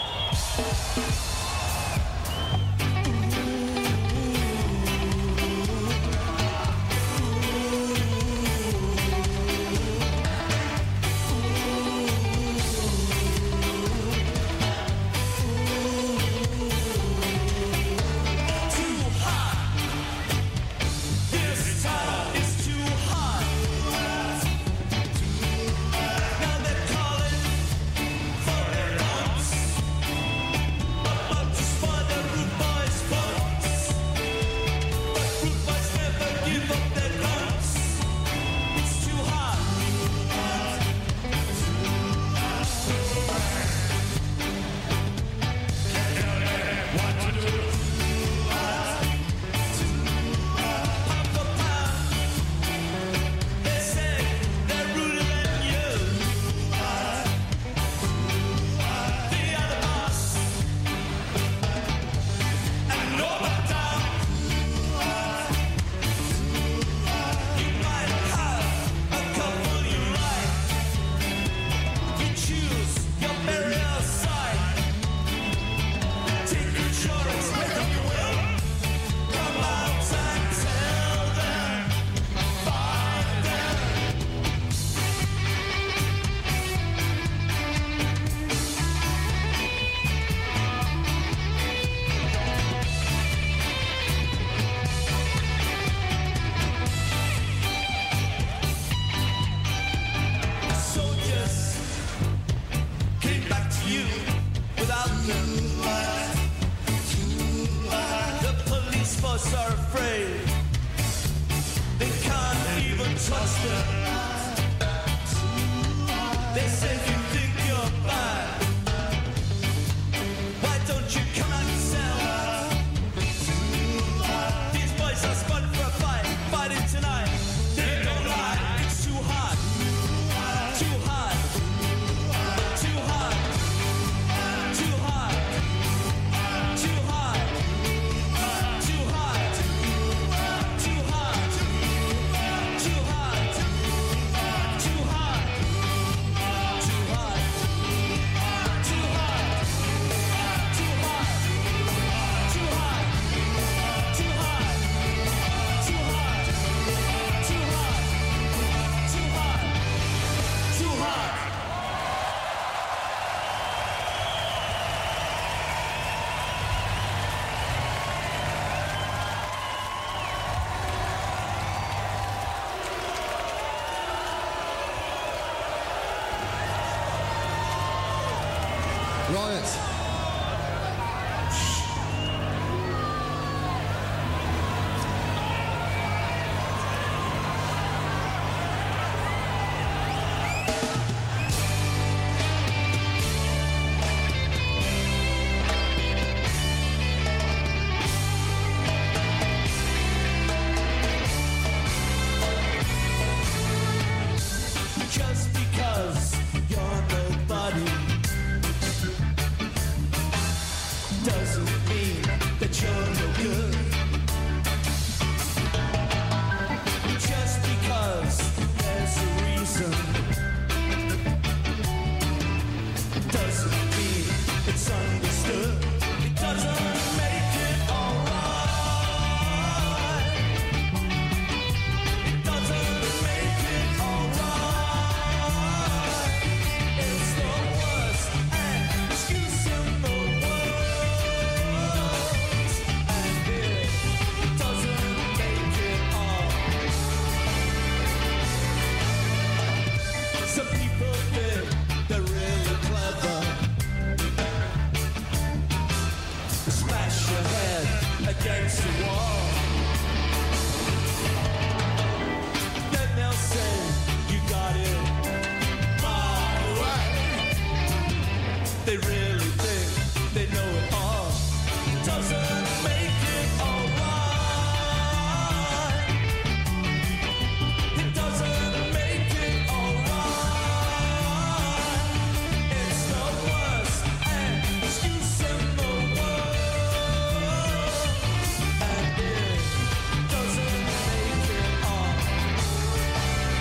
Speaker 8: Are afraid they can't even trust them. They say you think you're bad. Why don't you come out yourself? These boys are spun for a fight, fighting tonight. They don't lie, it's too hard, too hard, too hard, too hard, too hard. Too hard, too hard, too hard, too hard, too hard, too hard, too hard, too hard, too hard, too hard, too hard, too hard, too hard.
Speaker 19: Right.
Speaker 8: Just because you're nobody doesn't mean that you're no good. Just because there's a reason doesn't mean it's understood. It doesn't make it alright. It doesn't make it alright. It's the worst excuse in the world, and it doesn't make it all. Some people think they're really clever. Smash your head against the wall. Then they'll say you got it my way. They really think they know it all. Doesn't make it alright. It doesn't make it alright. It's the worst excuse in the world, and it doesn't make it all.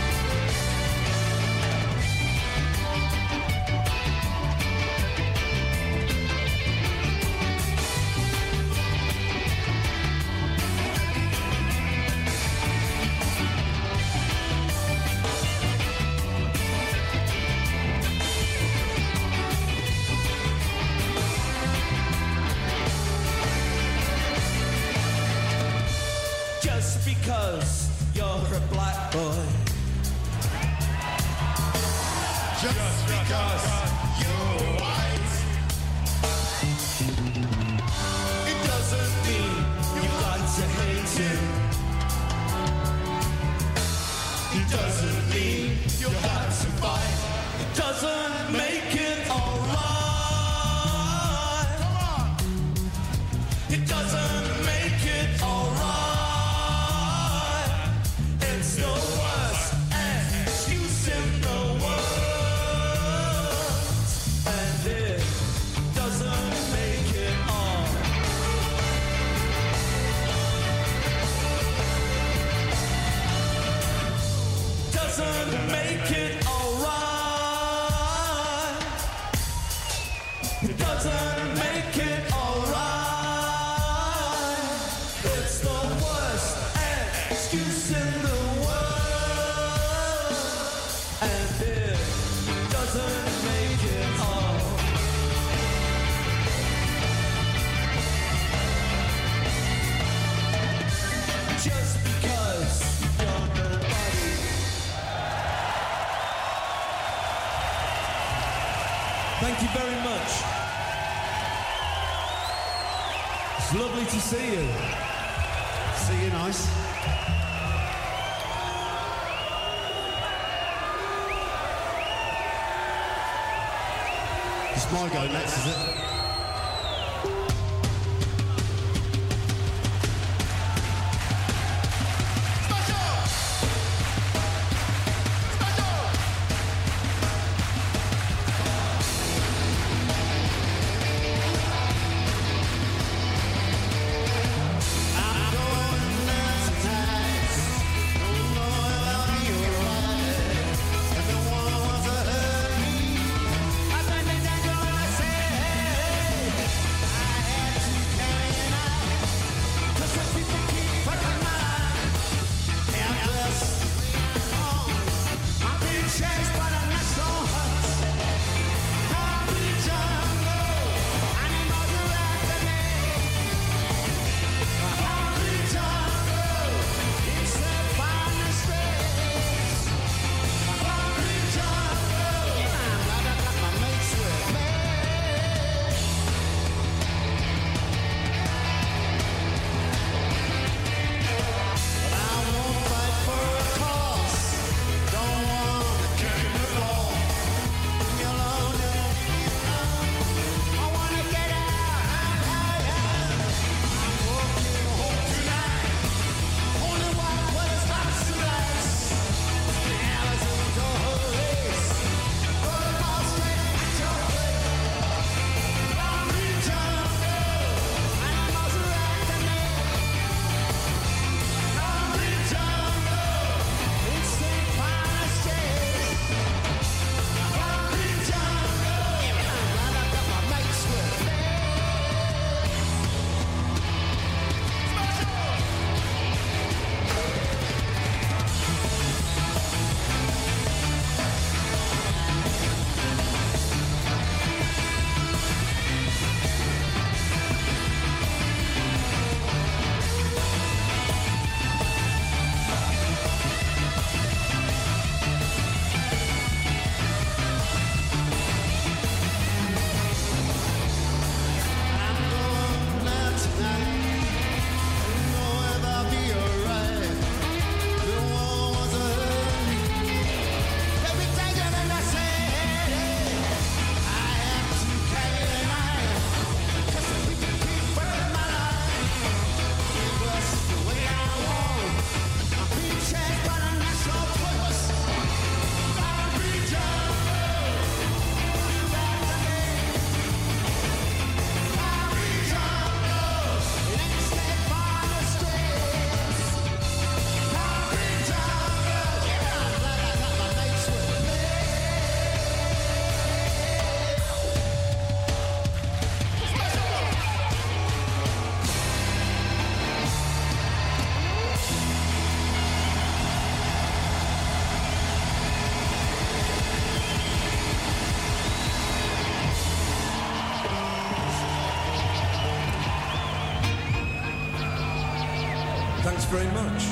Speaker 8: just because you're white. It doesn't mean you got to hate him. It doesn't mean you got to fight. It doesn't make it alright. Come on. It doesn't make it alright. It's the worst excuse in the world, and it doesn't make it all. Doesn't make it alright. It doesn't make it alright. It's the worst excuse in the world, and it doesn't make it all. Just because you're nobody. Thank you very much. It's lovely to see you. See you nice.
Speaker 19: It's my go next, is it?
Speaker 17: Thanks very much.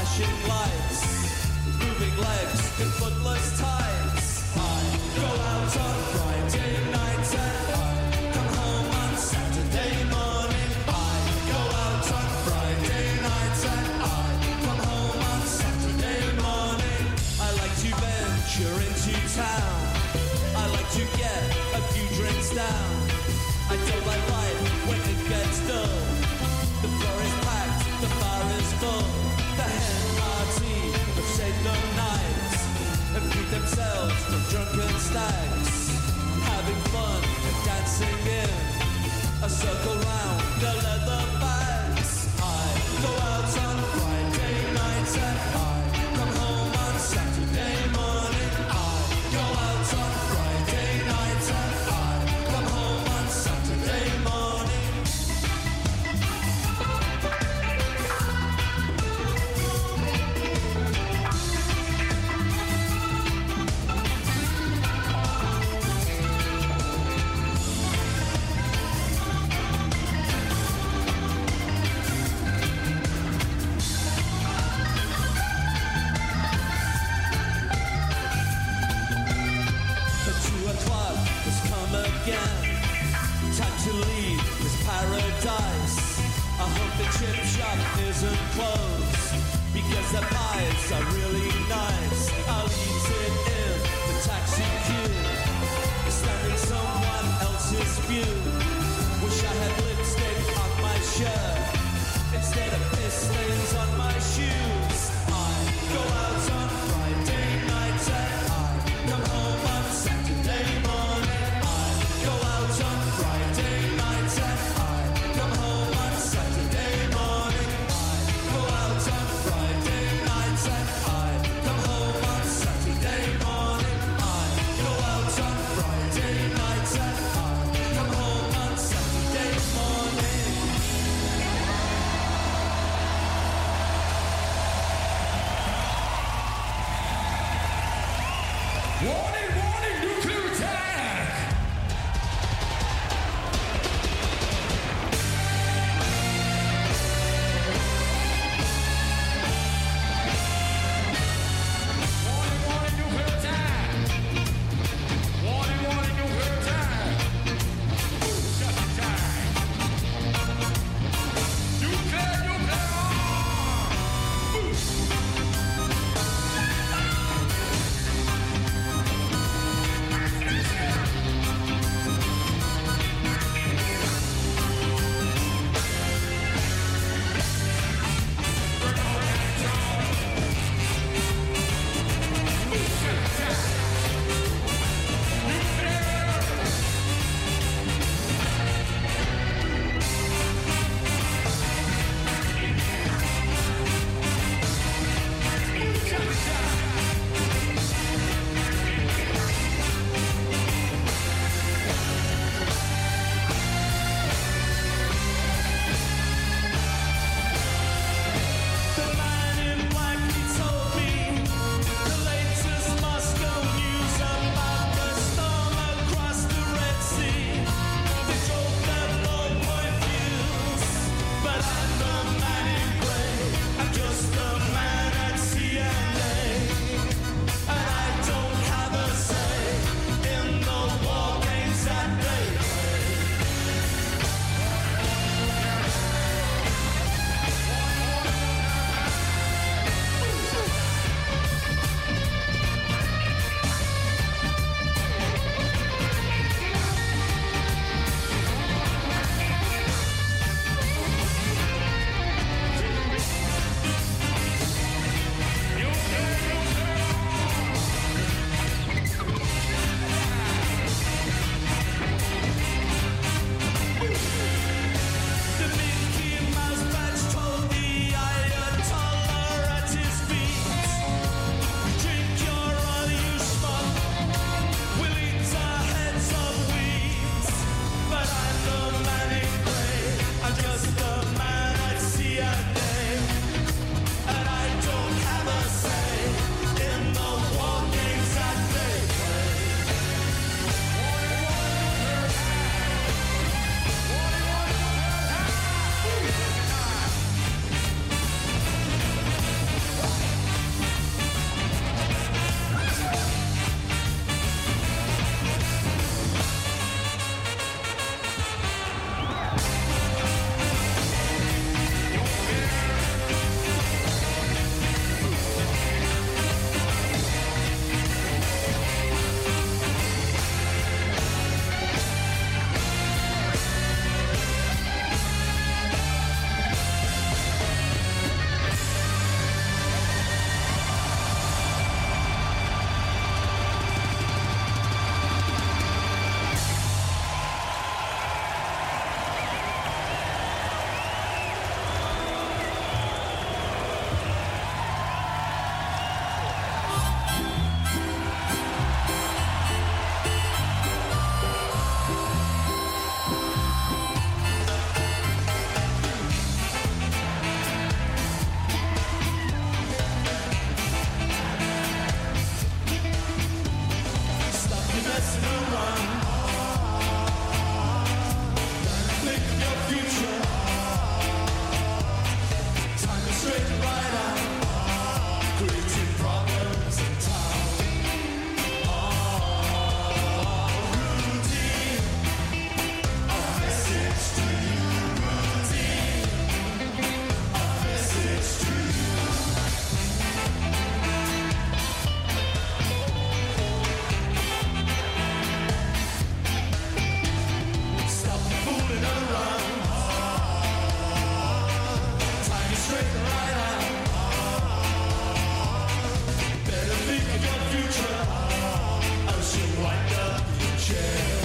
Speaker 7: flashing lights, moving legs in footless tights. I go out on Friday nights and I come home on Saturday morning. I go out on Friday nights and I come home on Saturday morning. I like to venture into town. I like to get a few drinks down. I don't like life when it gets dull. The floor is packed, the bar is full. The hen party have saved the night and feed themselves from drunken stags, having fun and dancing in a circle round the leather bags. I go out on Friday nights and I come home on Saturday morning. I go out on Friday nights and I come home on Saturday morning. The two o'clock has come again. Time to leave this paradise. I hope the chip shop isn't closed because the pies are really nice. I'll eat it in the taxi queue, standing someone else's view. Wish I had lipstick on my shirt instead of piss stains on my shoes. I go out on Friday nights and I come home on Saturday morning. I go out on Friday nights and I come home on Saturday morning. I go out on Friday nights and I
Speaker 8: messing around. Think of your future. Time to straighten right out. Creating problems in town. Oh, routine. A message to you. Routine. A message to you. Stop fooling around. Time to straighten right out. Better think of your future, else you'll wind up in jail.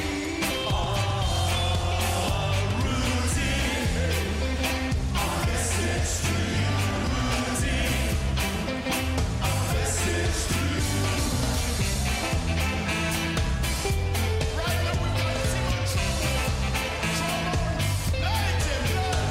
Speaker 8: Oh, routine. A message to you. Routine. A message to you. Right now we've got too much trouble. Trouble. Light it up.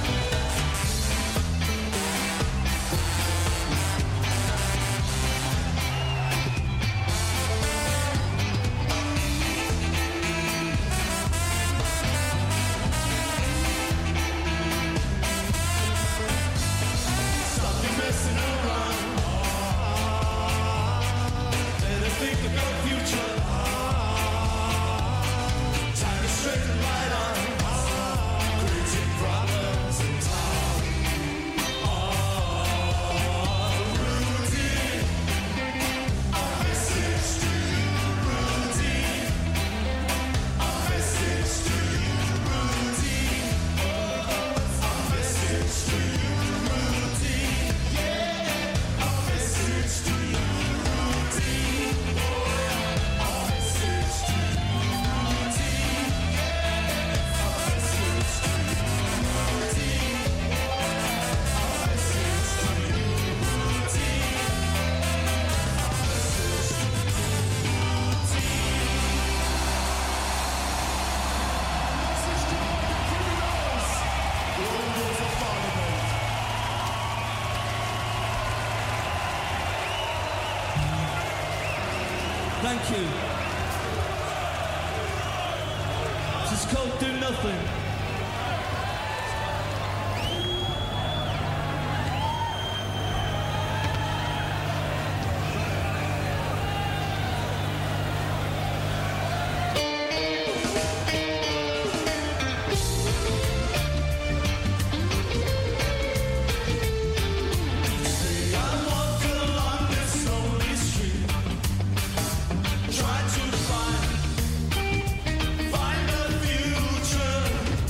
Speaker 8: Stop your messing around. Better think of your future. Time to straighten right out. Creating problems in town. Oh, routine. A message to you. Routine. A message to you. Routine. Oh, a message to you. Routine. Yeah. A message to you. Routine. Oh, yeah. A message to you. Routine. Yeah. A message to you. Routine. A message to you. Routine.
Speaker 17: Thank you. This is called Do Nothing.
Speaker 8: I walk along this lonely street, try to find, find a future.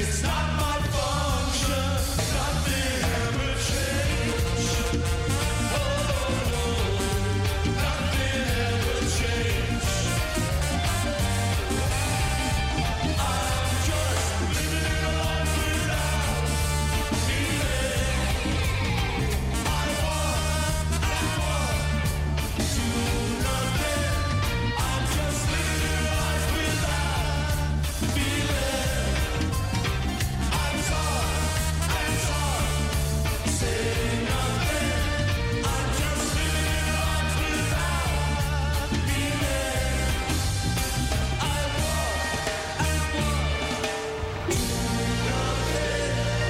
Speaker 8: it's not my function. Nothing ever changed. Oh no, nothing ever changed. I'm just living a life without feeling. I want, I want to nothing. I'm just living a life without feeling. I'm sorry, I'm sorry, say nothing. I'm just living a life without feeling. I want, I want to nothing.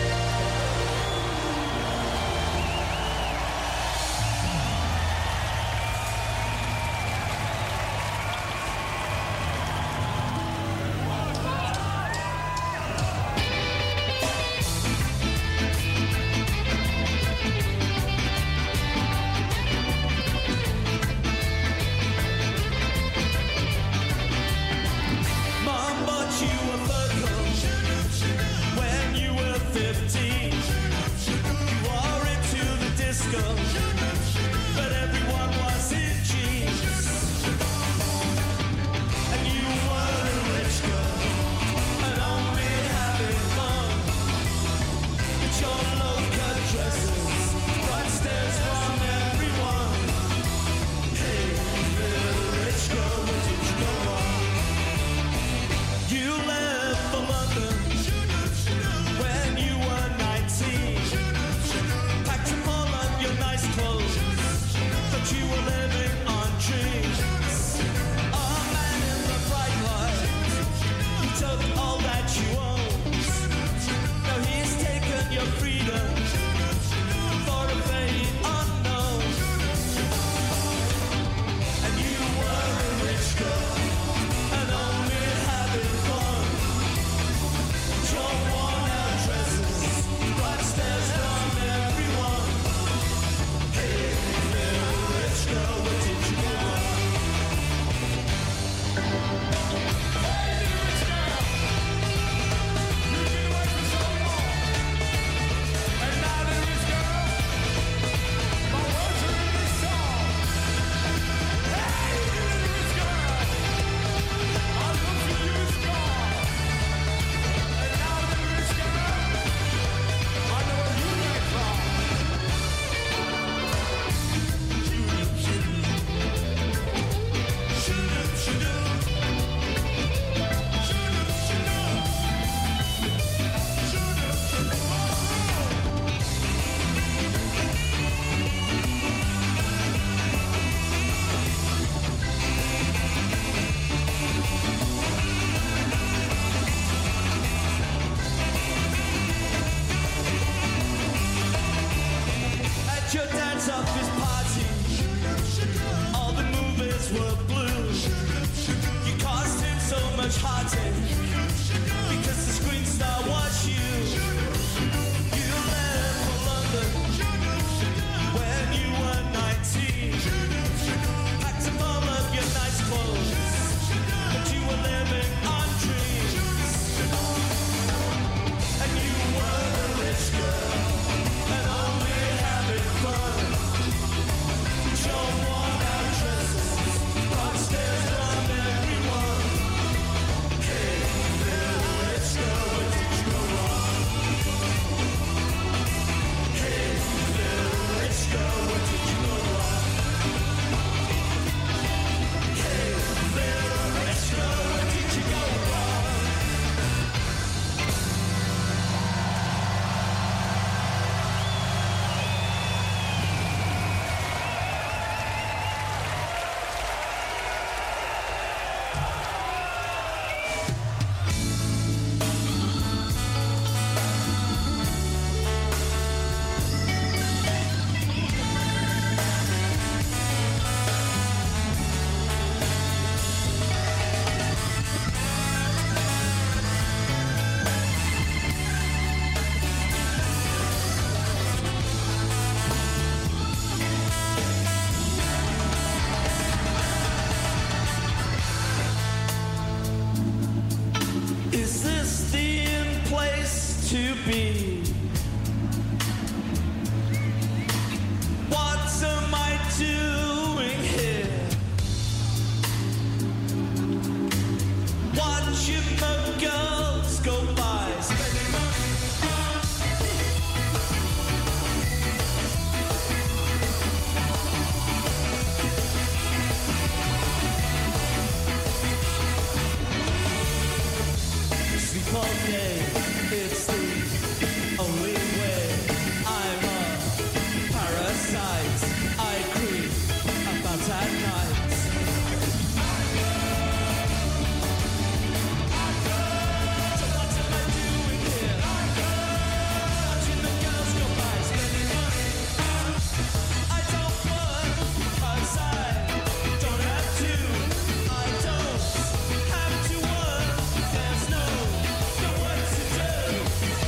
Speaker 8: Mom bought you a fur coat when you were fifteen. You wore it to the disco, but everyone was in jeans. And you were a rich girl and only having fun. But your low-cut dresses brought stares from everyone. Hey, little rich girl, where did you go wrong? You left for London when you were nineteen. Packed up all of your nice clothes, but you were living on dreams. A man in the bright light, he took all that you owned. Now he's taken your freedom for a fate unknown. And you were a rich girl and only having fun. Your worn-out dresses brought stares from everyone. Hey, little rich girl, where did you go wrong? And now the rich girl, my words are in this song. Hey, little rich girl, I love you, you strong. And now the rich girl, I know where you came from. Shoot-up, shoot-up. Shoot-up, shoot-up. Shoot-up, shoot-up. Shoot-up, shoot-up. At your dad's office party, all the movies were blue. You caused him so much heartache because the screen star was you. You left for London when you were nineteen. Packed up all of your nice clothes, but you were living on dreams. And you were a rich girl and only having fun.
Speaker 17: to be. What am I doing here? Watching the girls go by, spending sleep all day, it's the only way. I'm a parasite, I creep about at night. So what am I doing here? Watching the girls go by, spending money. I don't work, 'cause I don't have to. I don't have to work, there's no no work to do.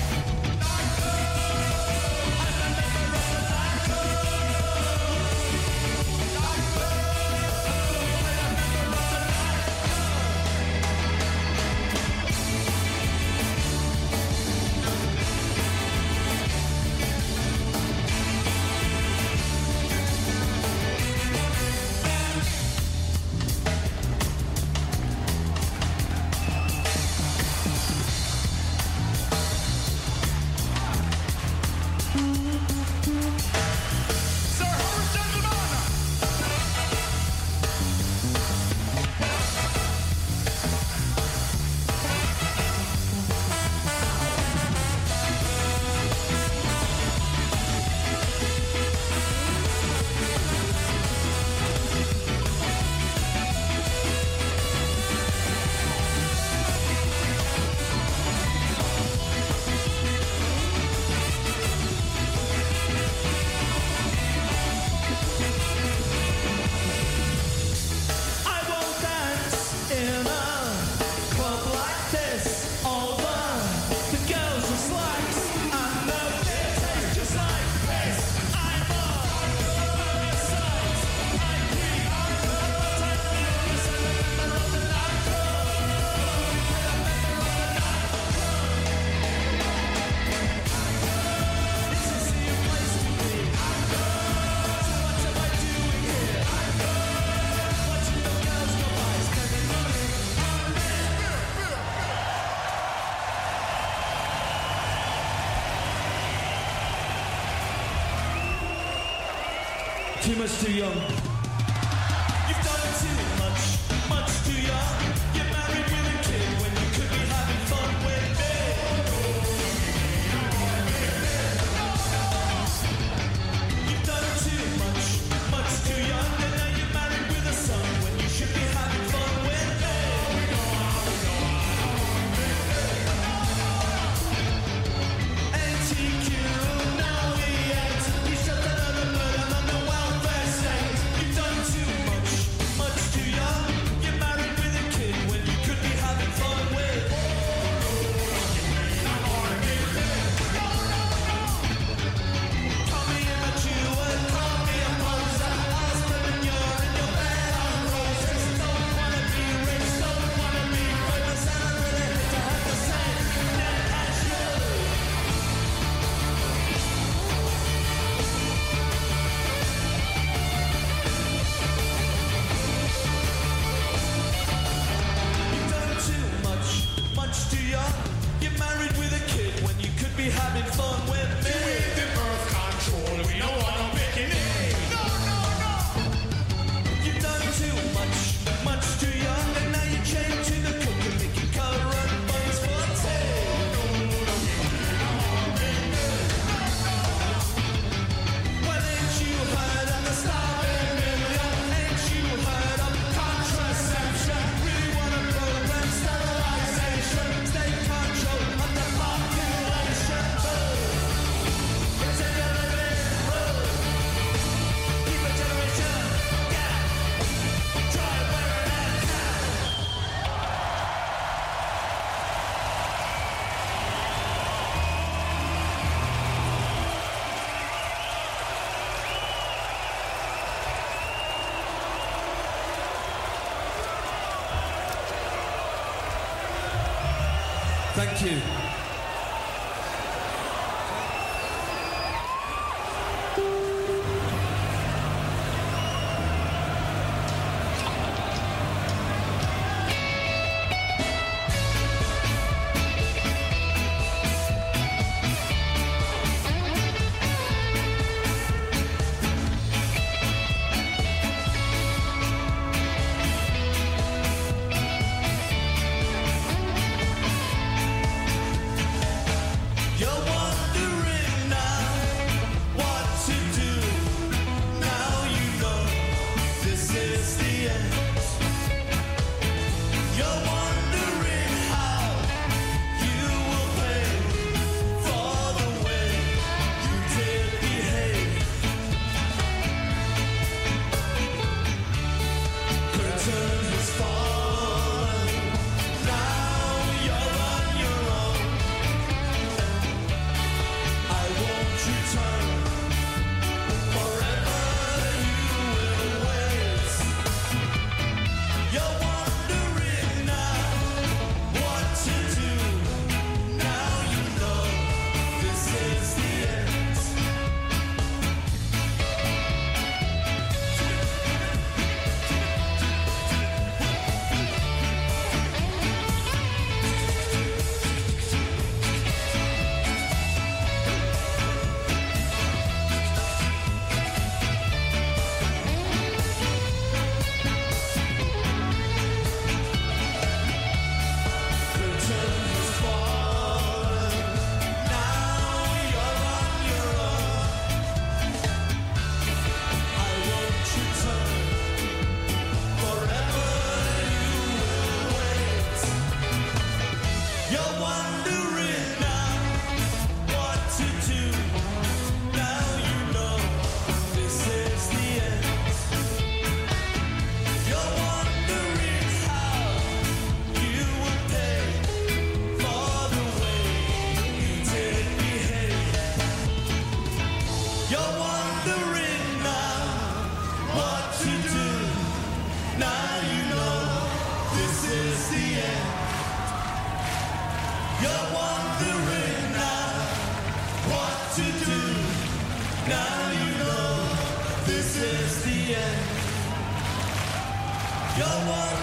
Speaker 17: I won't dance in a club like this. All the girls are slacks and the beer tastes just like this. I'm a parasite. I creep about at night. I'm a member of the nightclub. I'm a member of the nightclub. This is the place to be. So what am I doing here? Watching the girls go by, spending money. Too much too young. You've done too much, much too young. You're married with a kid when you could be having fun with me. You've done too much, much too young. And now you're married with a son when you should be having fun with me. A T Q, now we act. You shut that other murder on the welfare state. You've done too much, much too young. You're married with a kid when you could be having fun with. Call me immature, call me a poser. Husband and you're in your bed on roses. Don't wanna be rich, don't wanna be famous. And I really hate to have to say that as you. You've done too much, much too young. You're married with a kid when you could be having fun with me. With the birth control, we don't want no bikini. No, no, no. You've done too much, much too young. And now you change to the cook and make your current buns for tea. Well, ain't you heard of the starving million? Ain't you heard of contraception? Really wanna program sterilization, state control of the population. It's a generation, keep a generation, yeah. Try wearing that hat. Thank you.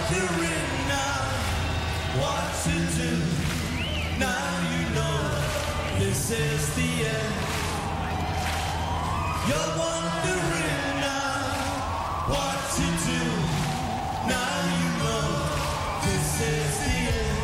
Speaker 17: wondering now what to do. Now you know this is the end. You're wondering now what to do. Now you know this is the end.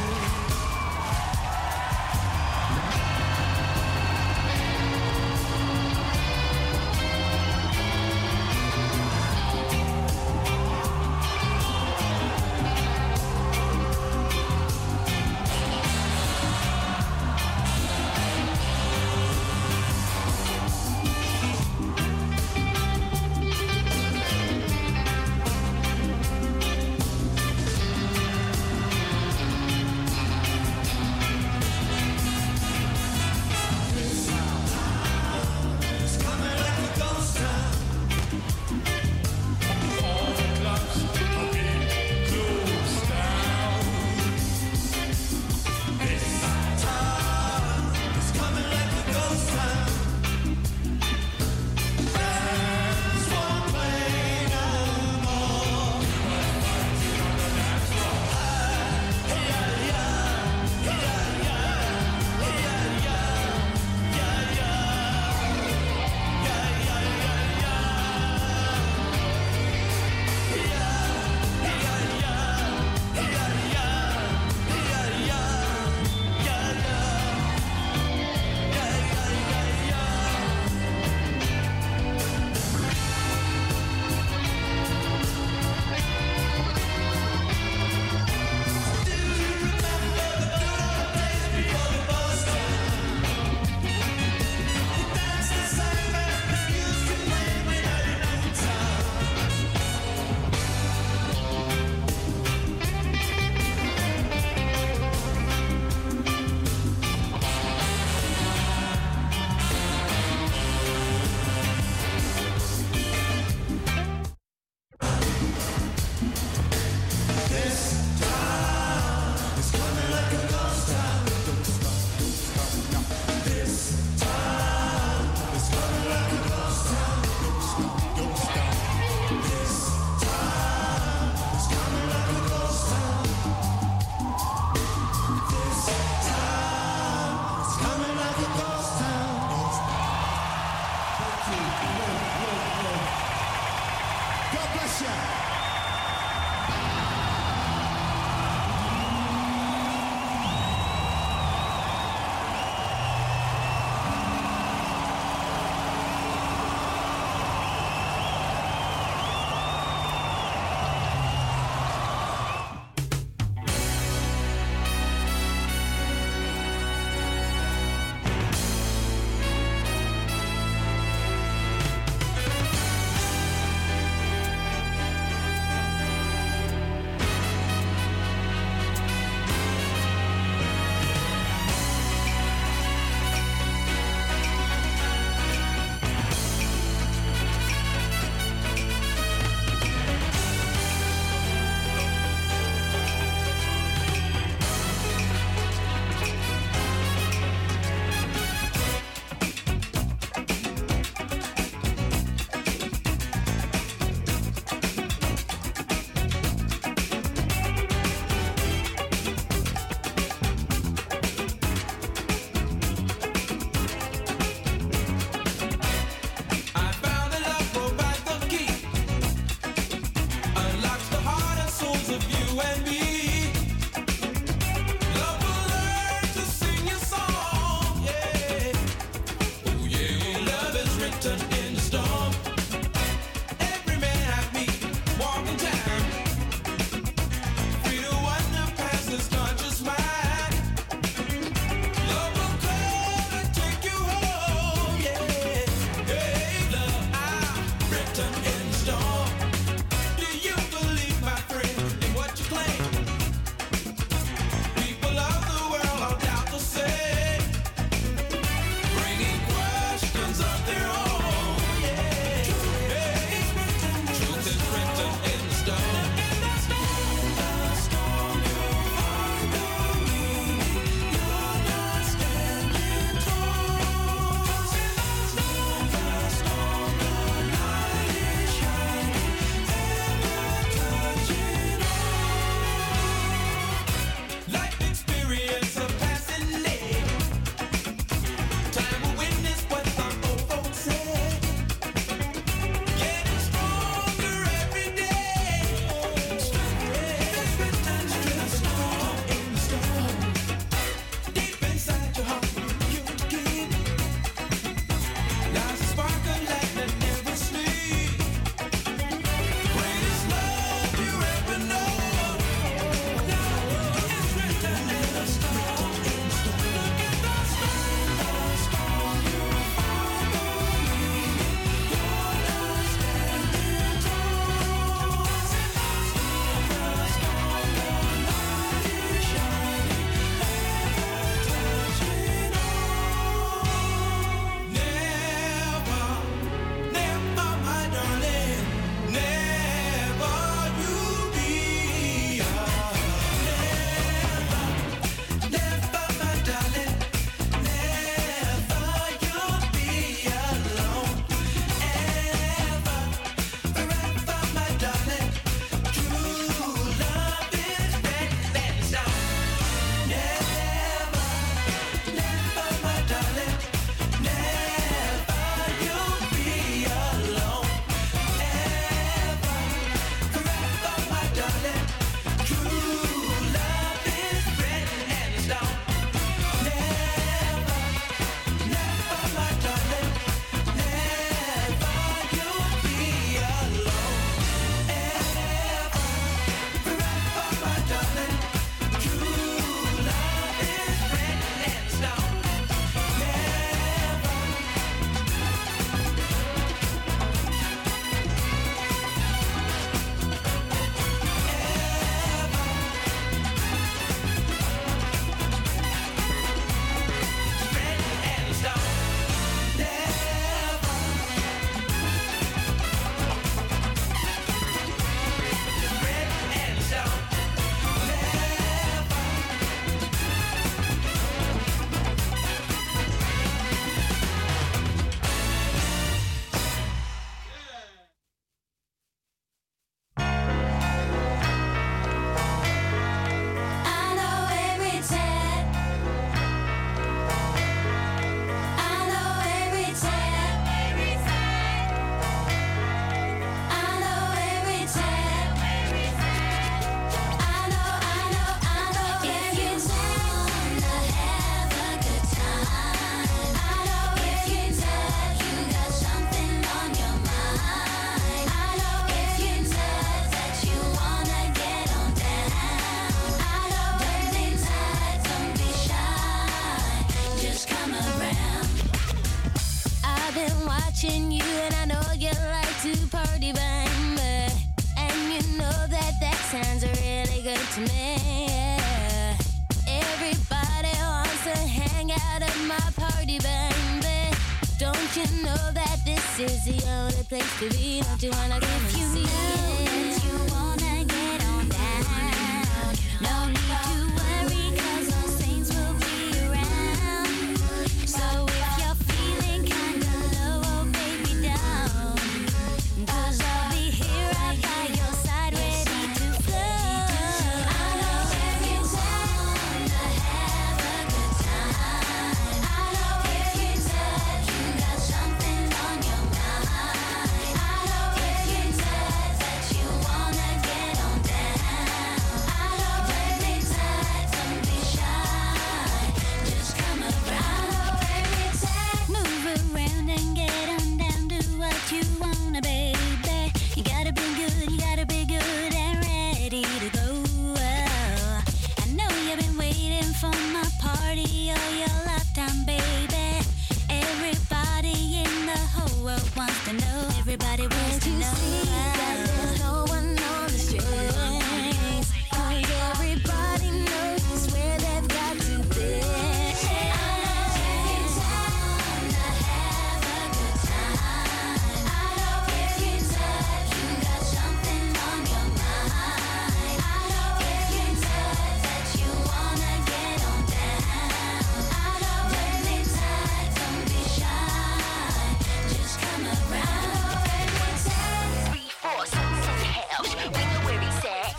Speaker 20: watching you, and I know you like to party, baby. And you know that that sounds really good to me. Yeah. Everybody wants to hang out at my party, baby. Don't you know that this is the only place to be? Don't you wanna come and see it? You wanna get on down. No need to worry, 'cause those saints will be around. So if you're feeling kinda low, oh baby, down. 'Cause I'll be here right by your side, ready to flow. I know if you wanna have a good time. I know if you said you got something on your mind. I know if you said that you wanna get on down. I know every time, don't be shy. Just come around. Every time, move around and get on down. Do what you wanna, baby. You gotta be good, you gotta be good and ready to go. I know you've been waiting for my party all your lifetime, baby. Everybody in the whole world wants to know. Everybody wants to know. That there's no one on the strings. 'Cause everybody knows where they've got to be. I know if you wanna have a good time. I know if you said you got something on your mind. I know if you said that you wanna get on down. I know every time, don't be shy. Just come around. Every time. Three, four, six, seven, house. We know where he's at.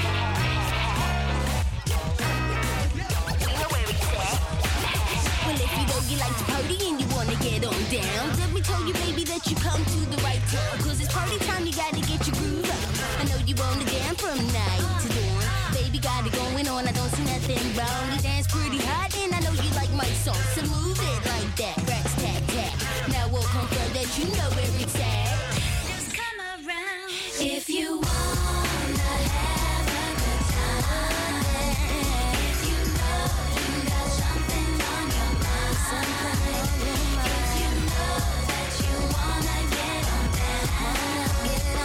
Speaker 20: We know where he's at. Well, if you know you like to party and you wanna get on down, let me tell you, baby, that you come to the right town. 'Cause it's party time, you gotta get your groove up. I know you wanna dance from night to dawn. Baby, got it going on, I don't see nothing wrong. You dance pretty hot, and I know you like my song. So move it like that, racks, tap, tap. Now we'll confirm that you know where it's at. Just come around. If you wanna have a good time, if you know you got something on your mind, if you know that you wanna get on down,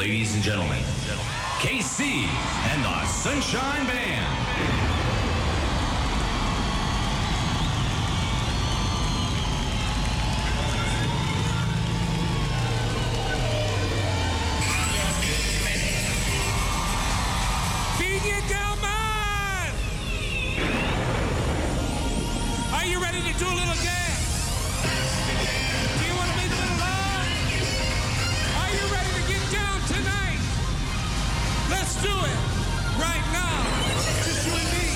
Speaker 21: Ladies and gentlemen, K C and the Sunshine Band.
Speaker 22: Viña del Mar! Are you ready to do a little dance? Do you want to make a little love? Are you ready to get down tonight? Let's do it right now. Just you and me.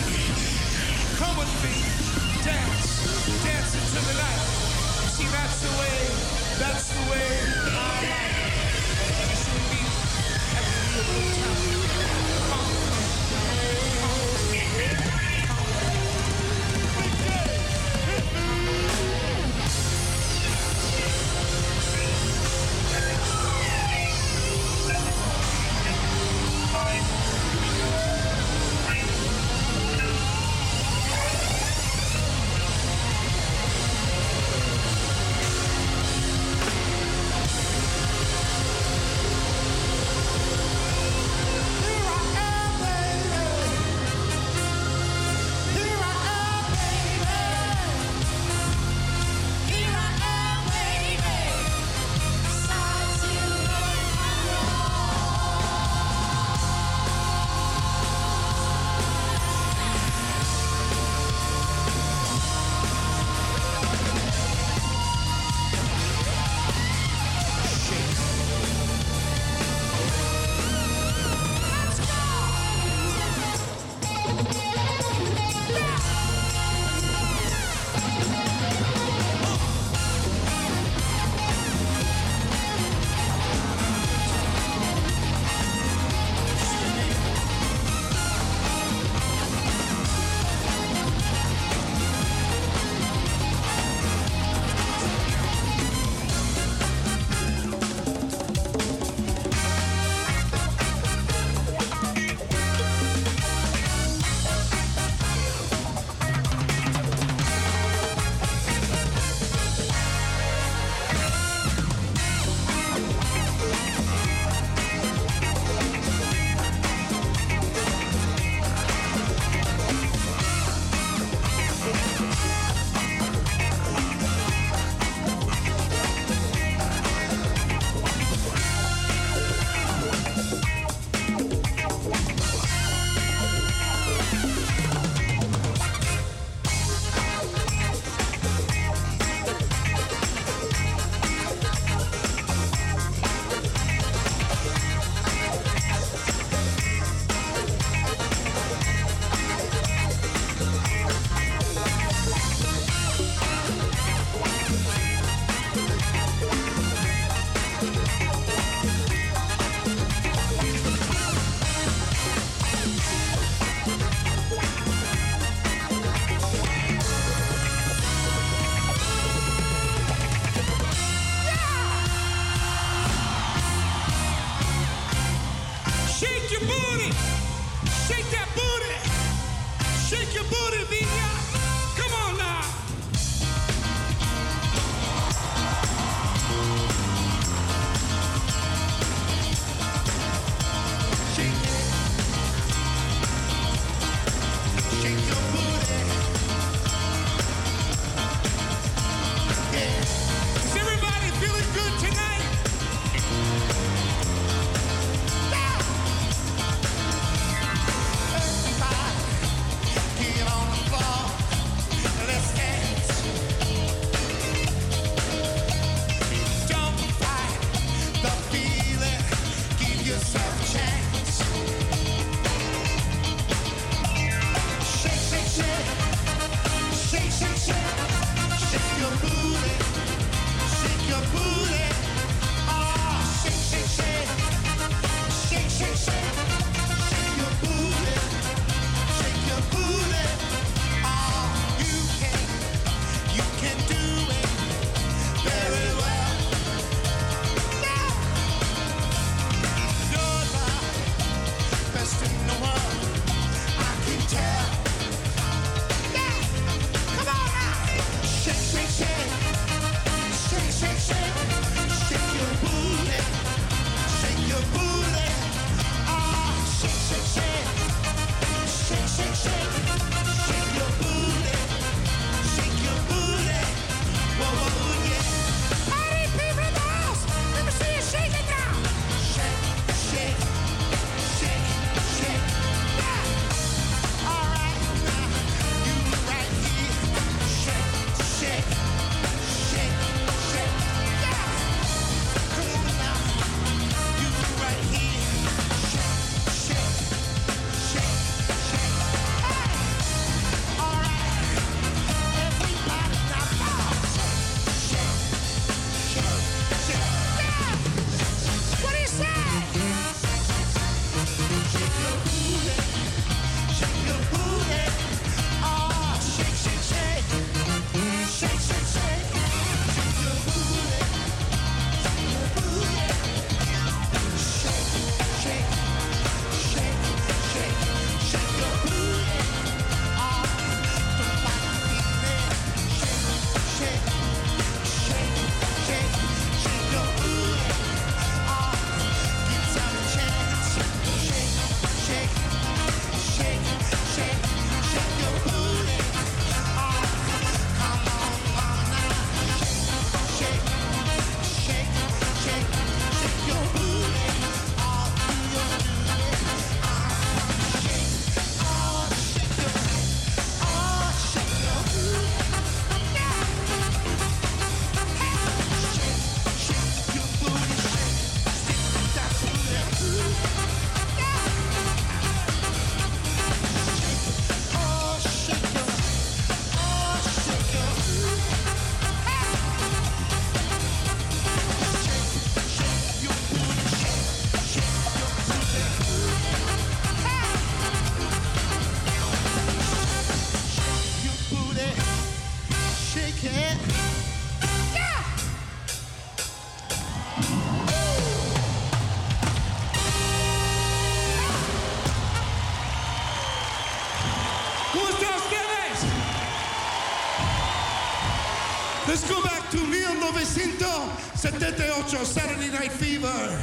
Speaker 19: setenta y ocho, Saturday Night Fever.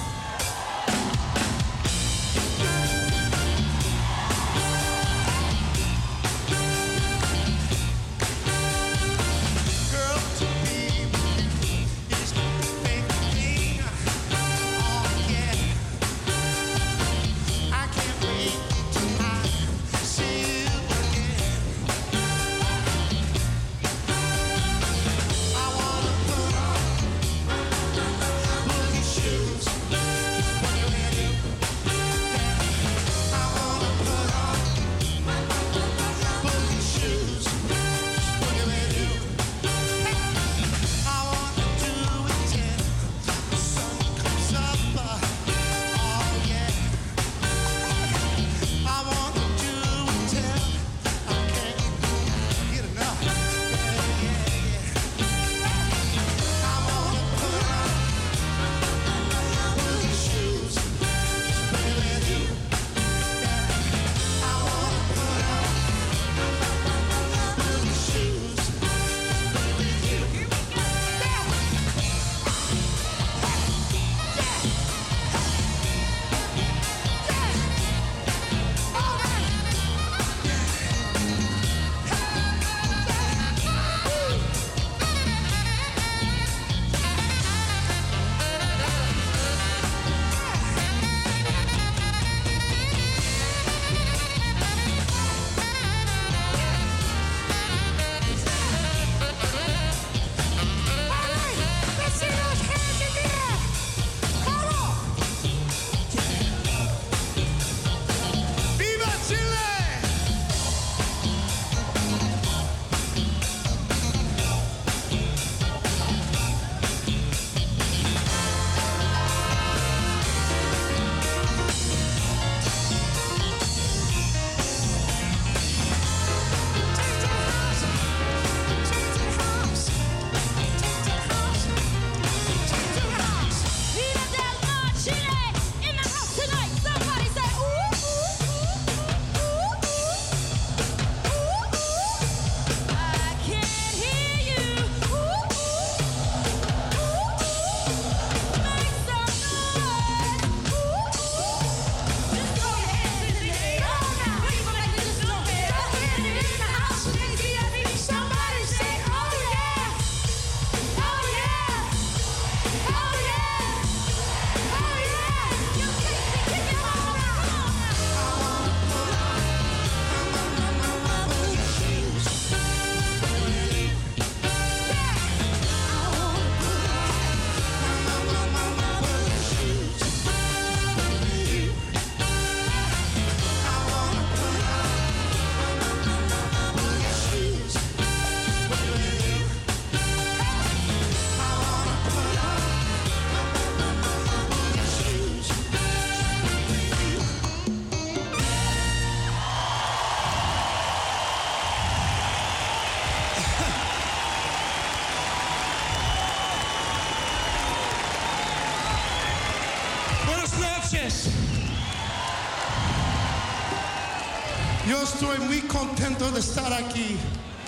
Speaker 1: Yo estoy muy contento de estar aquí.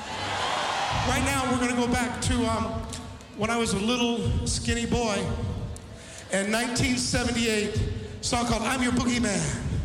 Speaker 1: Right now, we're going to go back to um, when I was a little skinny boy in nineteen seventy-eight, a song called I'm Your Boogeyman.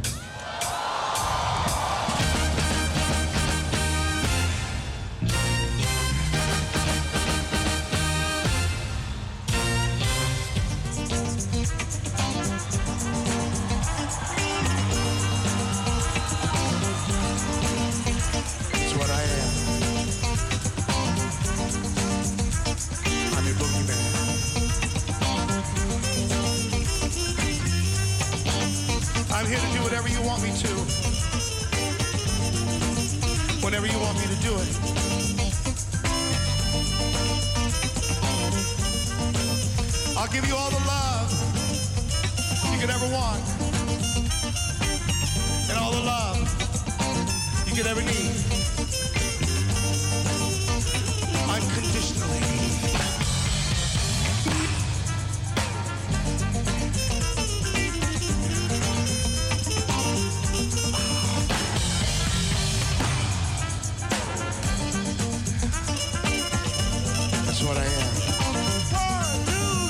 Speaker 1: I'm here to do whatever you want me to. Whenever you want me to do it. I'll give you all the love you could ever want. And all the love you could ever need. Unconditionally. That's what I am. One, two,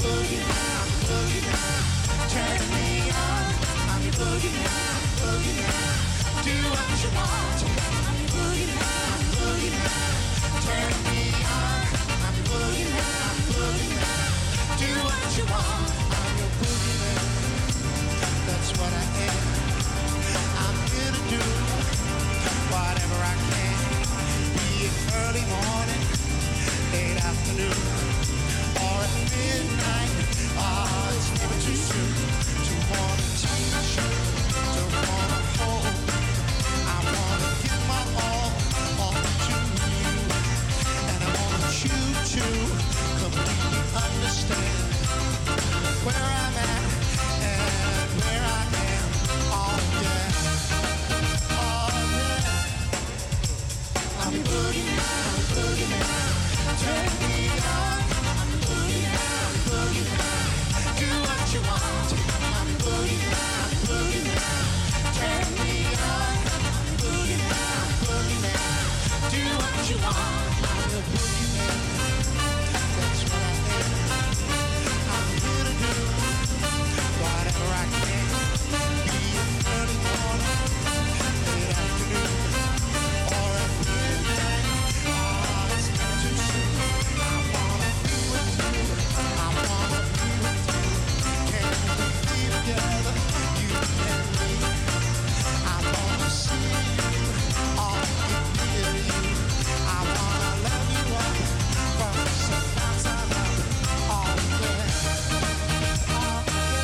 Speaker 8: boogie man, I'm boogie man. Turn me on, I'm your boogie man, boogie man. Do what you want, I'm your boogie man, boogie man. Turn me on, I'm your boogie man, boogie man. Do what you want, I'm your boogie man. That's what I am. I'm here to do whatever I can. Be it early morning, late afternoon, or at midnight. Ah, it's never too soon to wanna touch you, to wanna hold. I wanna give my all, all to you, and I want you to completely understand where I'm at and where I am. Oh yeah, oh yeah. I'm a boogie man, I'm a boogie man. Turn me on, I'm a boogie man, I'm a boogie man. Do what you want, I'm a boogie man, I'm a boogie man. Turn me on, I'm a boogie man, I'm a boogie man. Do what you want, I'm a boogie man. That's what I am. I'm here to do whatever I can. Be it early morning, late afternoon, or at midnight. Oh, it's not too soon. I wanna be with you. I wanna be with you. Can we be together, you and me? I wanna see you, all near you. I wanna love you up from sunrise on up. Oh yeah, oh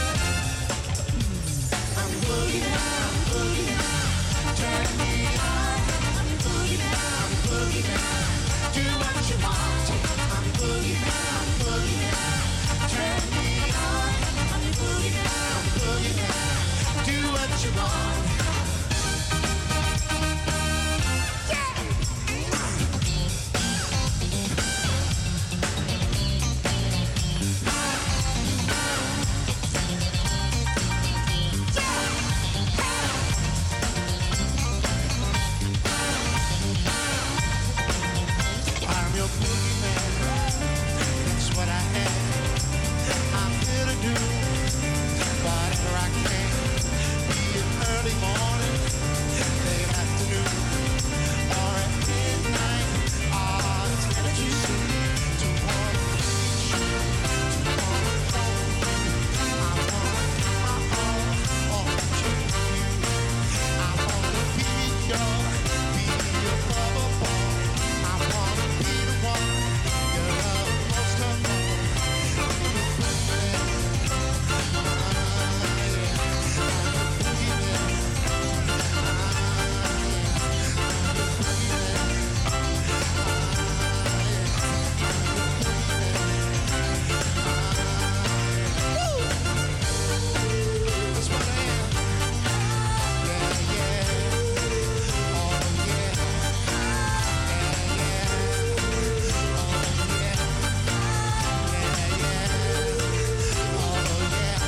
Speaker 8: yeah. I'm boogie man, I'm boogie man. Turn me on, I'm boogie man, I'm boogie man. Do what you want, I'm boogie man, I'm boogie man. Turn me on, I'm boogie man, I'm boogie man. Do what you want. I'm your boogie man, that's what I am. I'm here to do whatever I can. Be it early morning, late afternoon, or at midnight. Ah, it's never too soon to wanna reach you, to wanna hold you. I wanna give my all, all to you. I wanna be your, be your lover boy. I wanna be the one you love most of all. I'm a boogie man. That's what I am. Yeah, yeah. Oh yeah. Yeah, yeah. Oh yeah. Yeah, yeah. Oh yeah.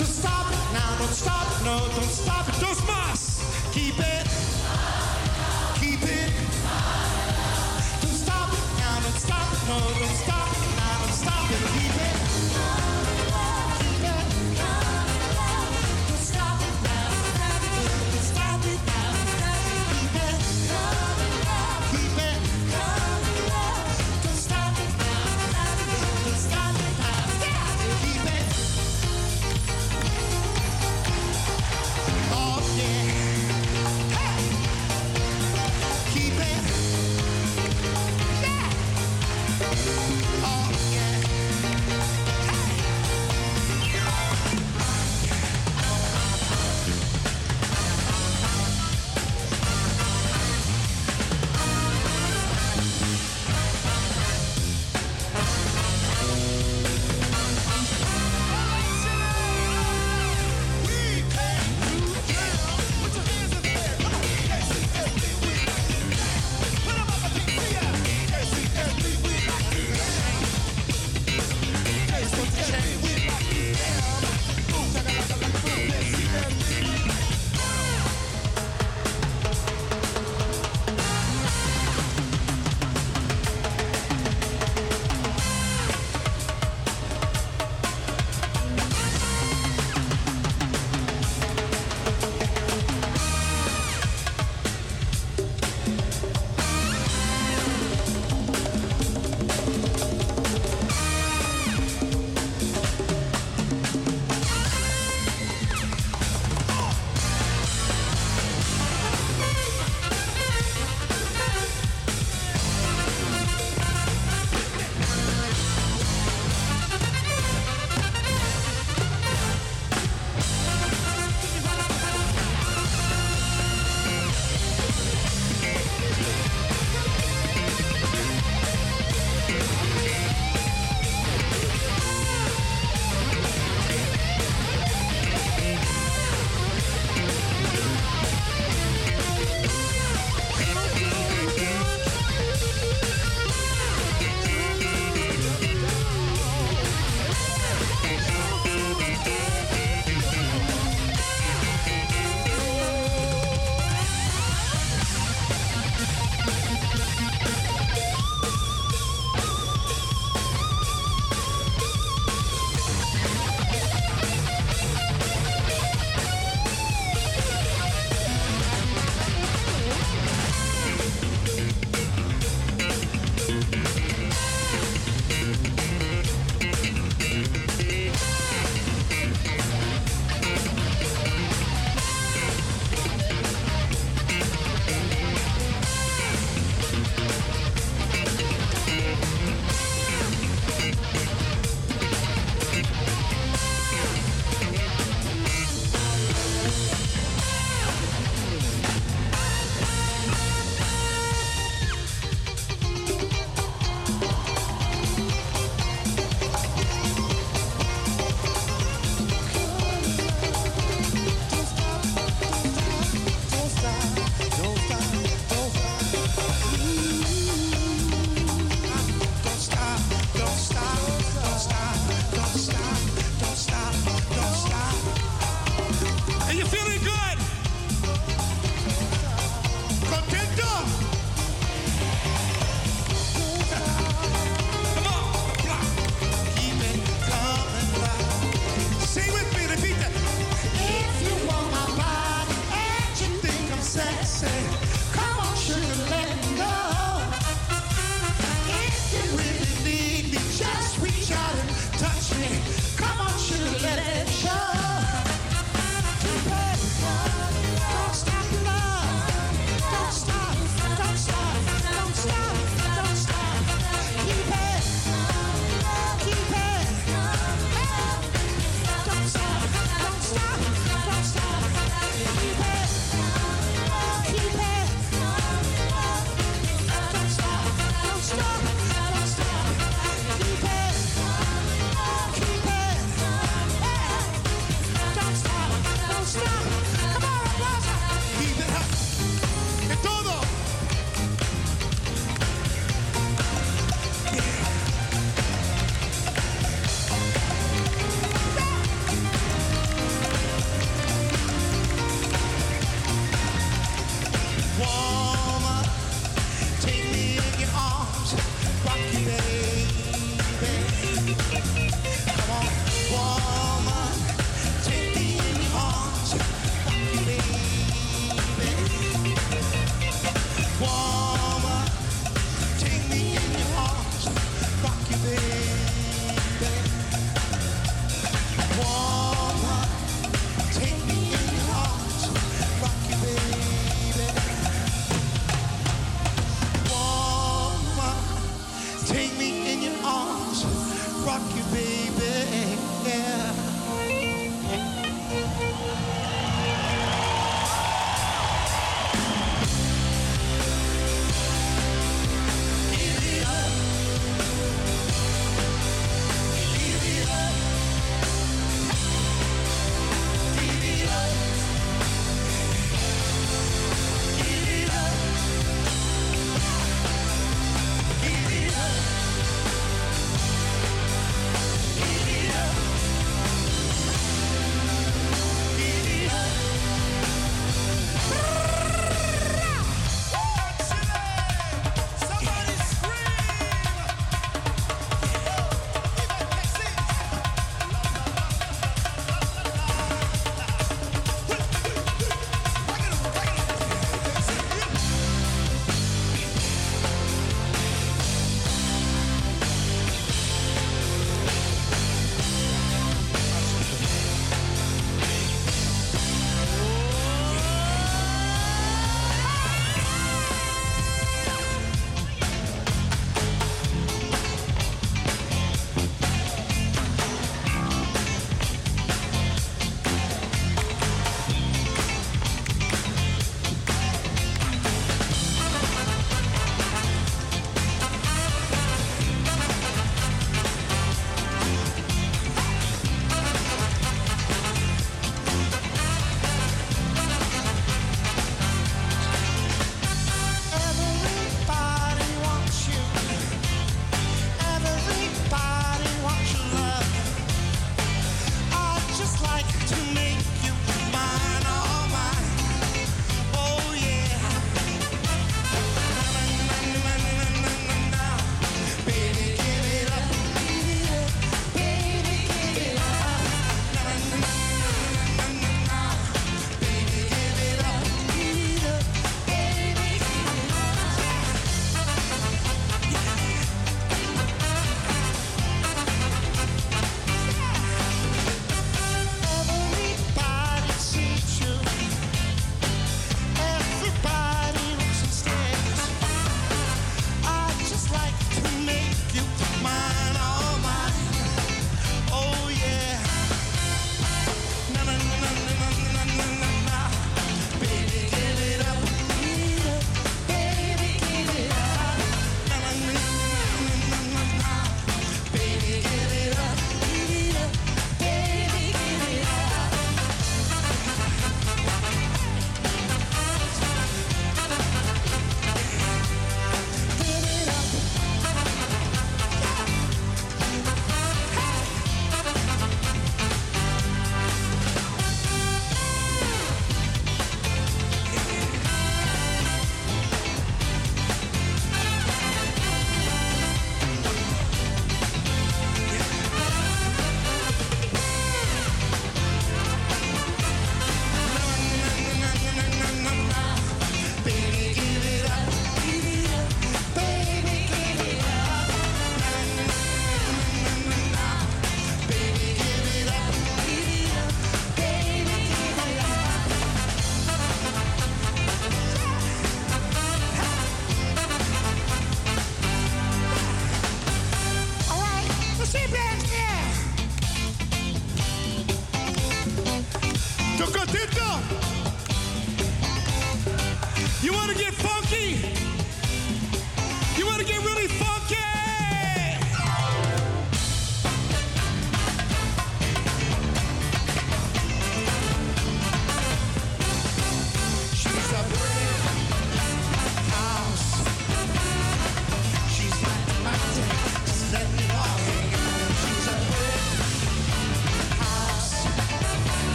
Speaker 1: Don't stop it now, don't stop it, no, don't stop it. Dos más. Keep it. Keep it. Don't stop it now, don't stop it, no, don't stop it now, don't stop it. Keep it. Keep it. Don't stop it now, don't stop it now. Keep it. Keep it. Don't stop it now, don't stop it now. Keep it. Oh yeah. Hey. Keep it. Yeah. Oh yeah. Hey.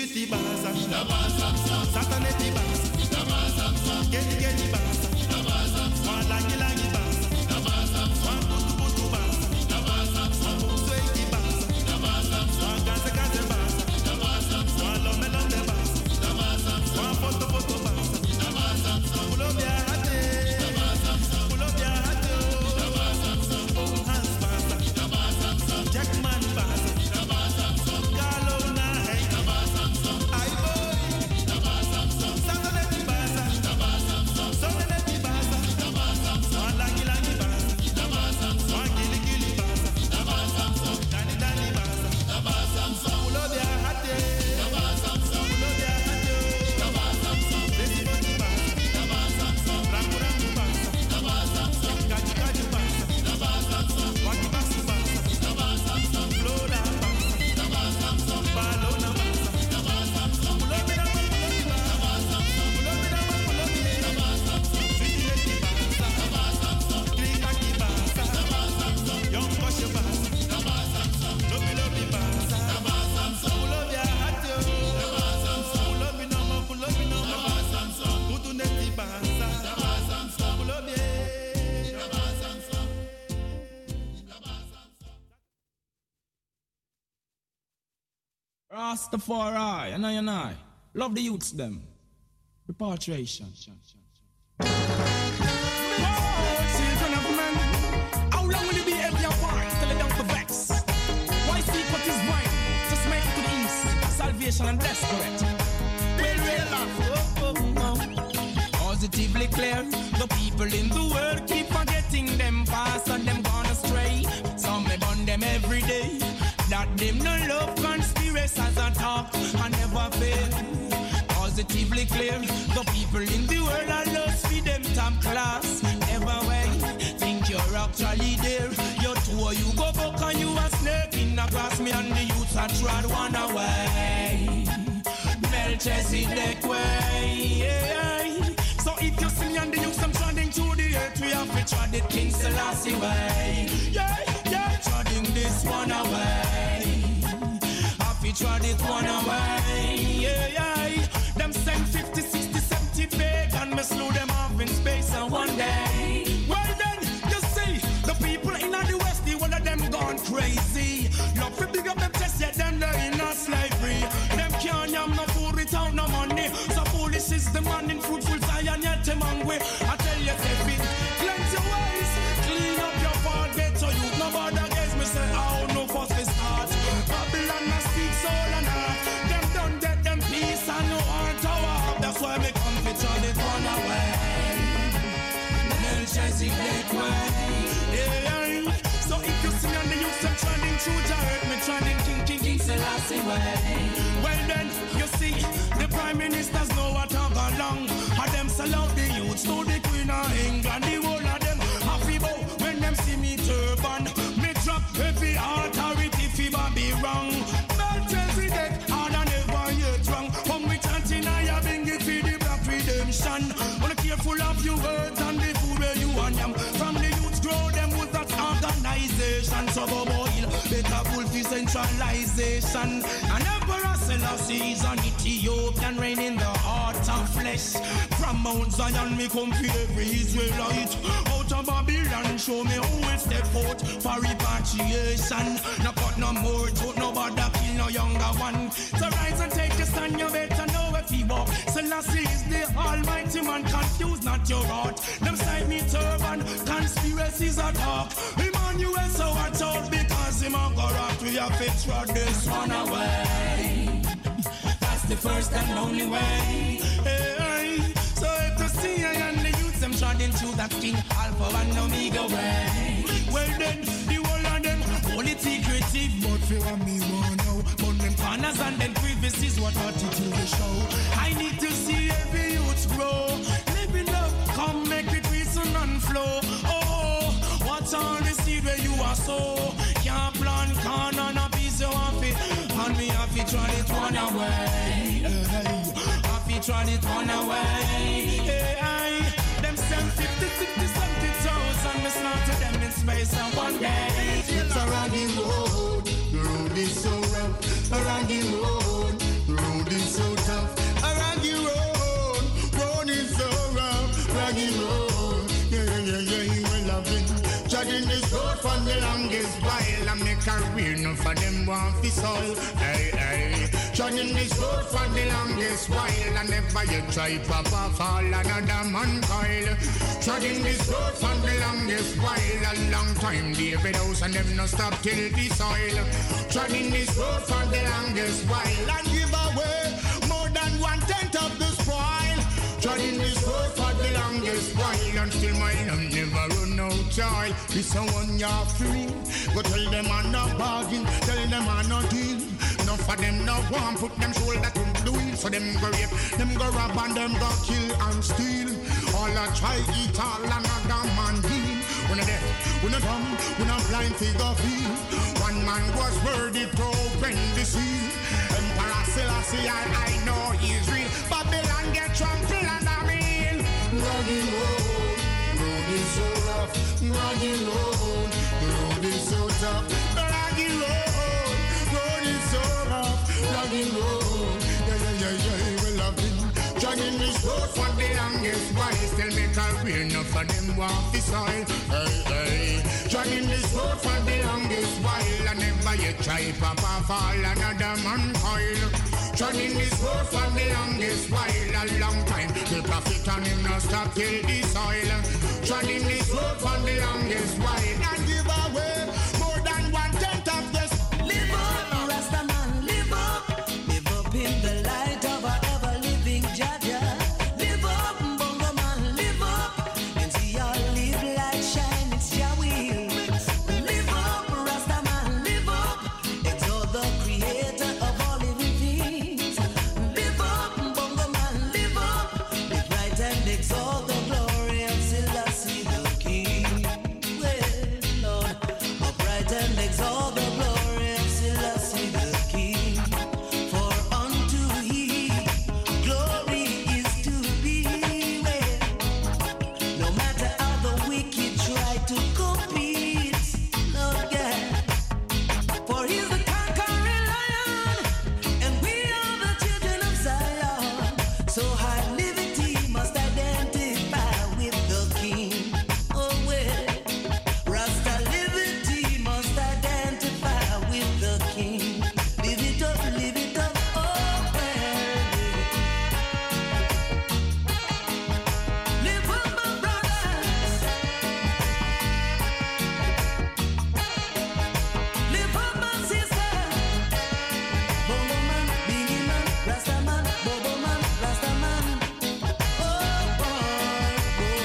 Speaker 10: giti basa, sataneti basa, geti geti basa, wanagi lagi basa, wangutu butu basa, wangutu basa, wangaze gaze basa, wanlome lome basa, wanfoto foto basa, kulobia hate, kulobia hate, oh Hans basa, Jackman basa.
Speaker 3: Rastafari, and I and I. Love the youths them. Repatriation. Oh, children of men, how long will you be every apart till they don't vex? Why seek what is mine? Just make it to the east. Salvation and desperate. Well, well, oh, oh, oh. Positively clear. The people in the world keep forgetting them past and them gone astray. Some may burn them every day. That them no love conspiracies as a talk and never fail. Positively clear, the people in the world are lost for them top class. Never way, think you're actually there. You two you go back and you a snake in the grass. Me and the youths are trod one away. Melchizedek way. Yeah. So if you see me and the youths I'm treading through the earth, we have to tread it King Selassie way. Yeah, yeah, treading this one away. Have to tread it one away. Yeah, yeah. Them send fifty, sixty, seventy big and me slew them off in space and one day. Well then, you see, the people in the west, the one of them gone crazy. Love to big up them chest, yet them they're in a slavery. Them can't yam no food without no money. So foolish is the man in fruitful science, yet them hungry. I tell you, say it, cleanse your ways, clean up your fault, better you. Nobody against me say, oh, no fuss is hard. Babylon must speak soul and heart. Them don't get them peace and no heart tower. That's why me come to turn it one away. Melchizedek way. Yeah. So if you see me on the youth, I'm trending through the earth, me trending King King King Selassie way. Well then, you see, the prime ministers know what I've gone long. And them sell out the youths to the Queen of England. The whole of them happy bow when them see me turban. Me drop heavy authority fever be wrong. Melchizedek, hard and never yet wrong. When we chanting, I have been give you the black redemption. Wanna careful of your words and the food where you want them. From the youths grow them with that organization. So go boil, better fulfill centralization. And Emperor Selassie is an Ethiopian reign in the heart of flesh. From Mount Zion me come for every Israelite. Out of Babylon show me who will step out for repatriation. No cut no more, don't nobody kill no younger one. So rise and take a stand, you better know if you walk. Selassie is the almighty man, confuse not your heart. Them side me turban, conspiracies are dark. Emmanuel so watch out because him a go rock. We have to throw this one away. That's the first and only way. Hey, so if you see I and the youths them treading through that King Alpha and Omega way. Well then, the whole of them only secretive, but fear me one now. But them corners and them crevices what attitude they show. I need to see every youth grow. Live in love, come make it reason and flow. Oh, what's all the seed where you are so? Can't plant corn on a piece of it. And me have to try it one away. Hey, have to try it one away. Hey, them send fifty, sixty, seventy thousand. Me slaughter them in space and one day.
Speaker 19: It's around the road, the road is so rough. Around the road, the road is
Speaker 11: career, no for them want fi soil. Hey, hey. Joining this road for the longest while, and never you try pop off all another man coil. Joining this road for the longest while, a long time David House and them no stop till the soil. Joining this road for the longest while, and give away more than one tenth of the spoil. Joining this road for the longest while, and still my love never run out joy. This someone you're free, go tell them I'm not bargain, tell them I'm not deal. None for them no one put them shoulder to the wheel. So them go rape, them go rob and them go kill and steal. All I try eat all another man deal. When I dead, when I dumb, when I'm blind figure feel. One man was worthy to open the seal. Emperor Selassie, I, I know he's real. Babylon get trampled under me. Rugged road, road is so rough. Rugged road, road is so tough. Rugged road, road is so rough. Rugged road, yeah, yeah, yeah, yeah, well I've been jogging this road for the longest while. Still make a career, enough for them walk the soil. Hey, hey, jogging this road for the longest while. And never you try pop off all another man coil. Jogging this road for the longest while, a long time. The prophet and him no stop till the soil. Jogging this road for the longest while, and give away more than one tenth of this.
Speaker 12: Live up, Rasta man, live up. Live up in the light of our ever-living Jaja. Live up, Bongo man, live up. And see our live light shine, it's your will. Live up, Rasta man, live up. Exalt the creator of all living things. Live up, Bongo man, live up. Live right and exalt the glory of Selassie the King. Well, Lord, upright and exalt the glory of Selassie the King. For unto he glory is to be. Well, no matter how the wicked try to compete, Lord God, for he's the conquering lion, and we are the children of Zion. So high liberty must identify with the King. Oh well, Rasta liberty must identify with the King. Live it up, live it up, oh well. Live up, my brothers. Live up, my sisters. Bongo man, Biggie man, Rasta man, Bobo man, Rasta man. Oh boy,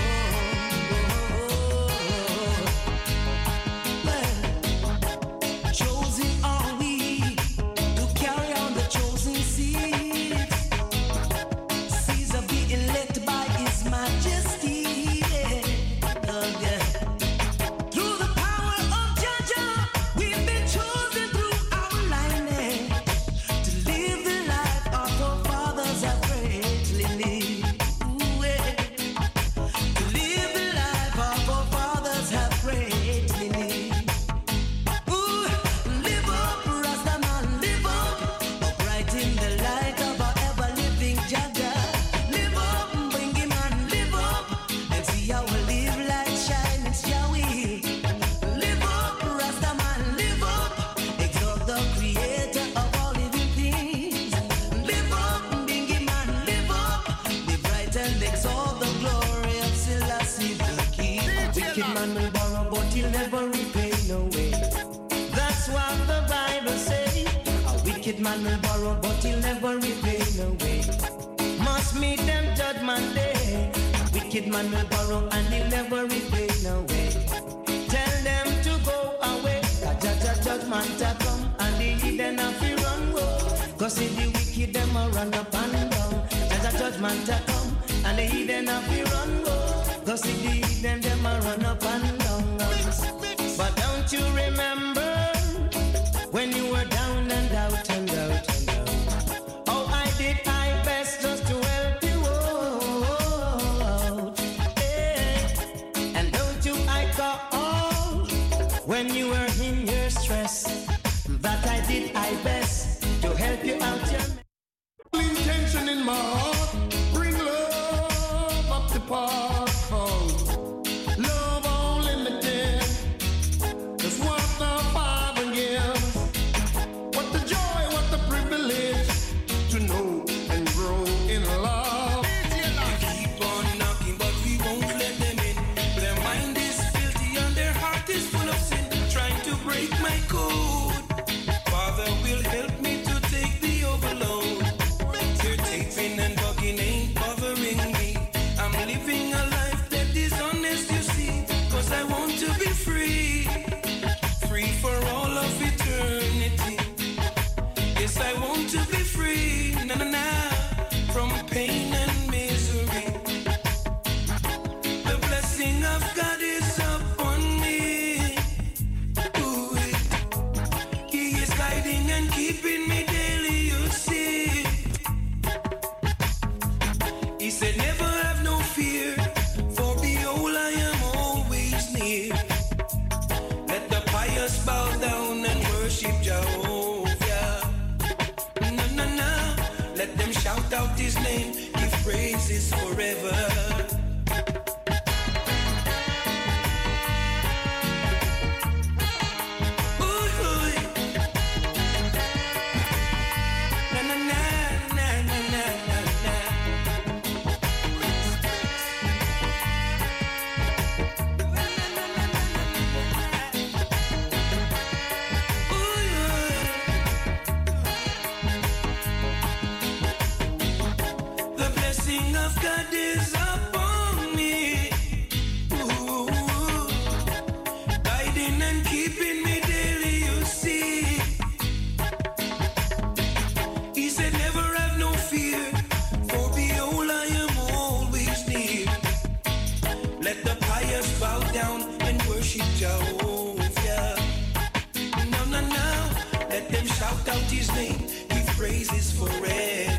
Speaker 12: well, chosen are we to carry on the chosen seeds. Seeds of the elect by His Majesty. Oh, yeah. Through the power of Jaja, we've been chosen through our lineage to live the life our forefathers have greatly lived. Ooh, yeah. To live the life our forefathers have greatly lived. Ooh, live up, Rasta man, live up, upright in the light of our ever-living Jaja. Live up, Bingy man, live up, and see how we live light shine, it's Yahweh. Live up, Rasta man, live up, exalt the creator of all living things. Live up, Bingy man, live up, live right and exalt the glory of Selassie the King. Wicked man will borrow, but he'll never repay no way. That's what the Bible says. A wicked man will borrow, but he'll never repay no way. Must meet them judgment day. A wicked man will borrow and he'll never repay no way. Tell them to go away. Jaja judgment a come and the hidden have to run go. Cause if the wicked them a run up and down. Jaja judgment a come and the hidden have to run go. Cause if the hidden them a run up and down. But don't you remember when you were down and out and out and out? Oh, I did my best just to help you out. Yeah. And don't you I call when you were in your stress that I did my best to help you out. Your
Speaker 11: Intention in my heart, bring love up the park. Love unlimited, that's what the Father gives.
Speaker 12: He said, never have no fear, for behold, I am always near. Let the pious bow down and worship Jehovah. No, no, no. Let them shout out his name, give praises forever. God is upon me, ooh, guiding and keeping me daily, you see. He said, never have no fear, for behold, I am always near. Let the pious bow down and worship Jehovah. No, no, no, let them shout out his name, give praises forever.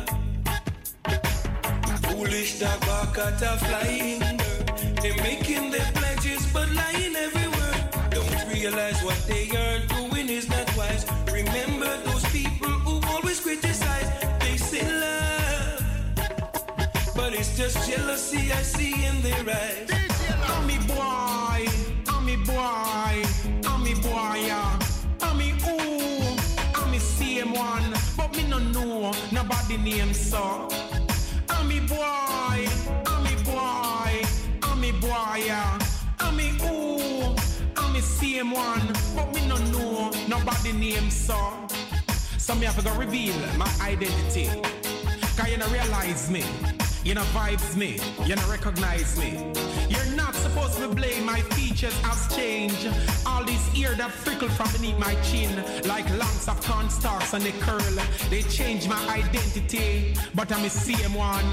Speaker 12: Foolish dog bark at a flying bird. They're making their pledges but lying everywhere. Don't realize what they are doing is not wise. Remember those people who always criticize. They say love, but it's just jealousy I see in their eyes.
Speaker 5: I'm me boy, I'm me boy, I'm me boy, yeah. I'm me ooh, I'm me same one, but me no know nobody name so. I'm me boy, I'm me boy, I'm me boy, yeah. I'm me ooh, I'm me same one, but me no know nobody name so. So me have to go reveal my identity. Cause you don't realize me, you don't vibes me, you don't recognize me. You're not supposed to blame my features has changed. All these ears that frickle from beneath my chin, like lumps of cornstalks and they curl. They change my identity, but I'm the same one.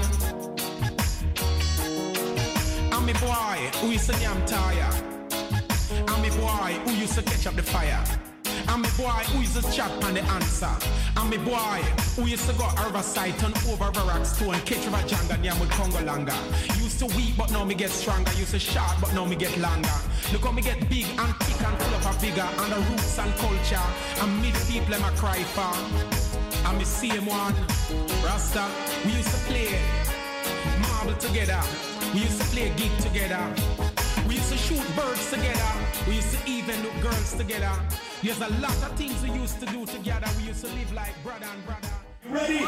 Speaker 5: I'm a boy who used to damn tired. I'm a boy who used to catch up the fire. I'm a boy who used to chat on the answer. I'm a boy who used to go Riverside, turn over a rock stone, catch River Janga, yam with Congo Langa. Used to weak, but now me get stronger. Used to short, but now me get longer. Look how me get big and thick and full of a vigor. And the roots and culture, and me the people them a cry for. I'm the same one, Rasta. We used to play marble together. We used to play gig together. We used to shoot birds together. We used to even look girls together. There's a lot of things we used to do together. We used to live like brother and brother.
Speaker 3: You ready?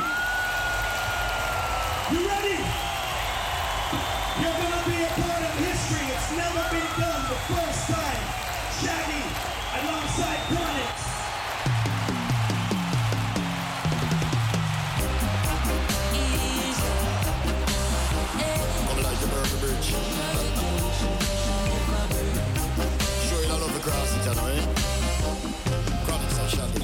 Speaker 3: You ready? You're gonna be a part of history. It's never been done the first time. Shaggy alongside Chronixx.
Speaker 19: Come like the Burger Bridge. Show you all over the grass, you know, eh? Chronixx and Shaggy.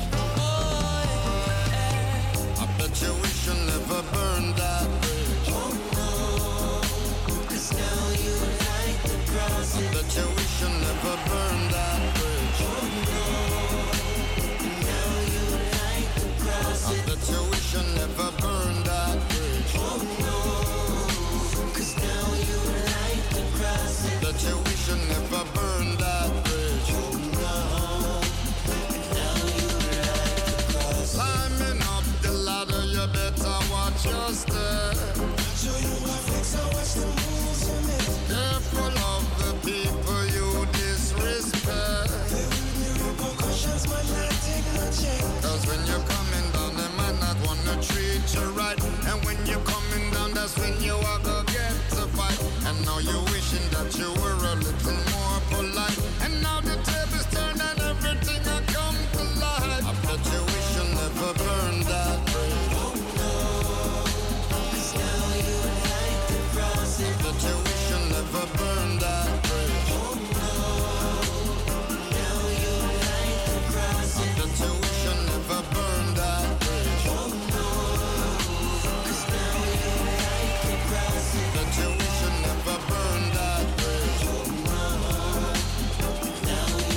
Speaker 19: I bet you we should never burn that bridge. Oh no, cause now you light the cross. I bet you we should never burn that bridge. Oh no, now you light the cross. I bet you we should never burn that bridge. Oh no, cause now you light the cross. I bet you we should never burn that bridge. Oh no, now you light the cross. Climbing up the ladder, you better watch your step. Show you my fix, I watch the moves you make. Careful of the people you disrespect. There will be repercussions, man, I take no check. Cause when you're coming down, they might not wanna treat you right. And when you're coming down, that's when you are gonna get to fight. And now you're wishing that you were a little more polite. And now the tables turn and everything will come to light. I bet you wish you'll never burn that bridge. Oh no, cause now you light the cross. I bet you wish you'll never burn that bridge. Oh no, now you light the cross. I bet you wish you'll never burn that bridge. Oh no, cause now you light the cross. I bet you wish you'll never burn that bridge. Oh no, now you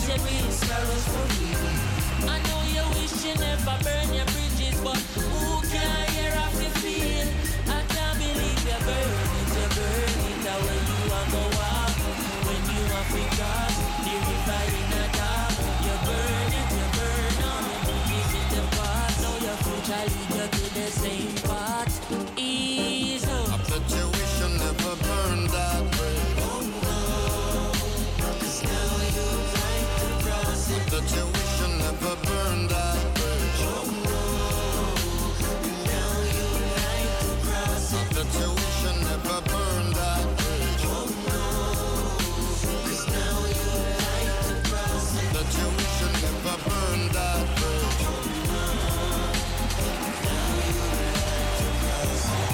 Speaker 4: cherry sparrows for you. I know you wish you never burn your bridges, but who can hear how you feel? I can't believe you burn it, you burn it away. You are go walk when you are free cross the river in a dark. You burn it, you burn all the bridges in the past. Now your future lead you to the same path. Ease up.
Speaker 13: I bet you wish you never burned that bridge.
Speaker 4: Oh no, 'cause now you like to cross it.
Speaker 13: I bet you wish you never burned that bridge.
Speaker 4: Oh no, now you like to cross it.
Speaker 13: I bet you wish you never burned that bridge.
Speaker 4: Oh no, 'cause now you like to cross it.
Speaker 13: I bet you wish you never burned that bridge.
Speaker 4: Oh no, now you like to cross it.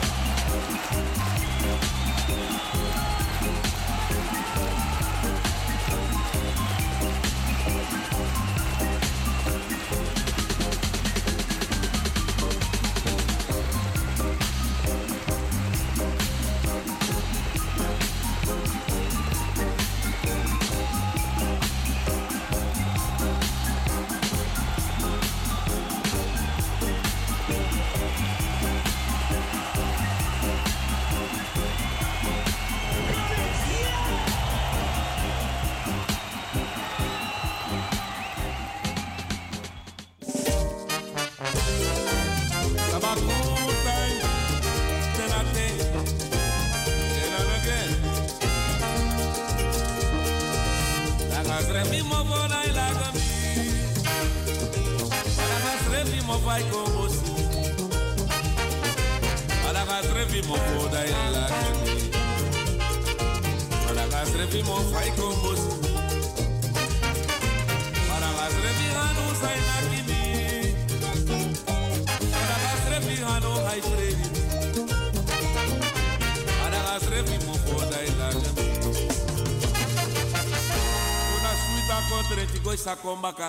Speaker 23: Sakombaka.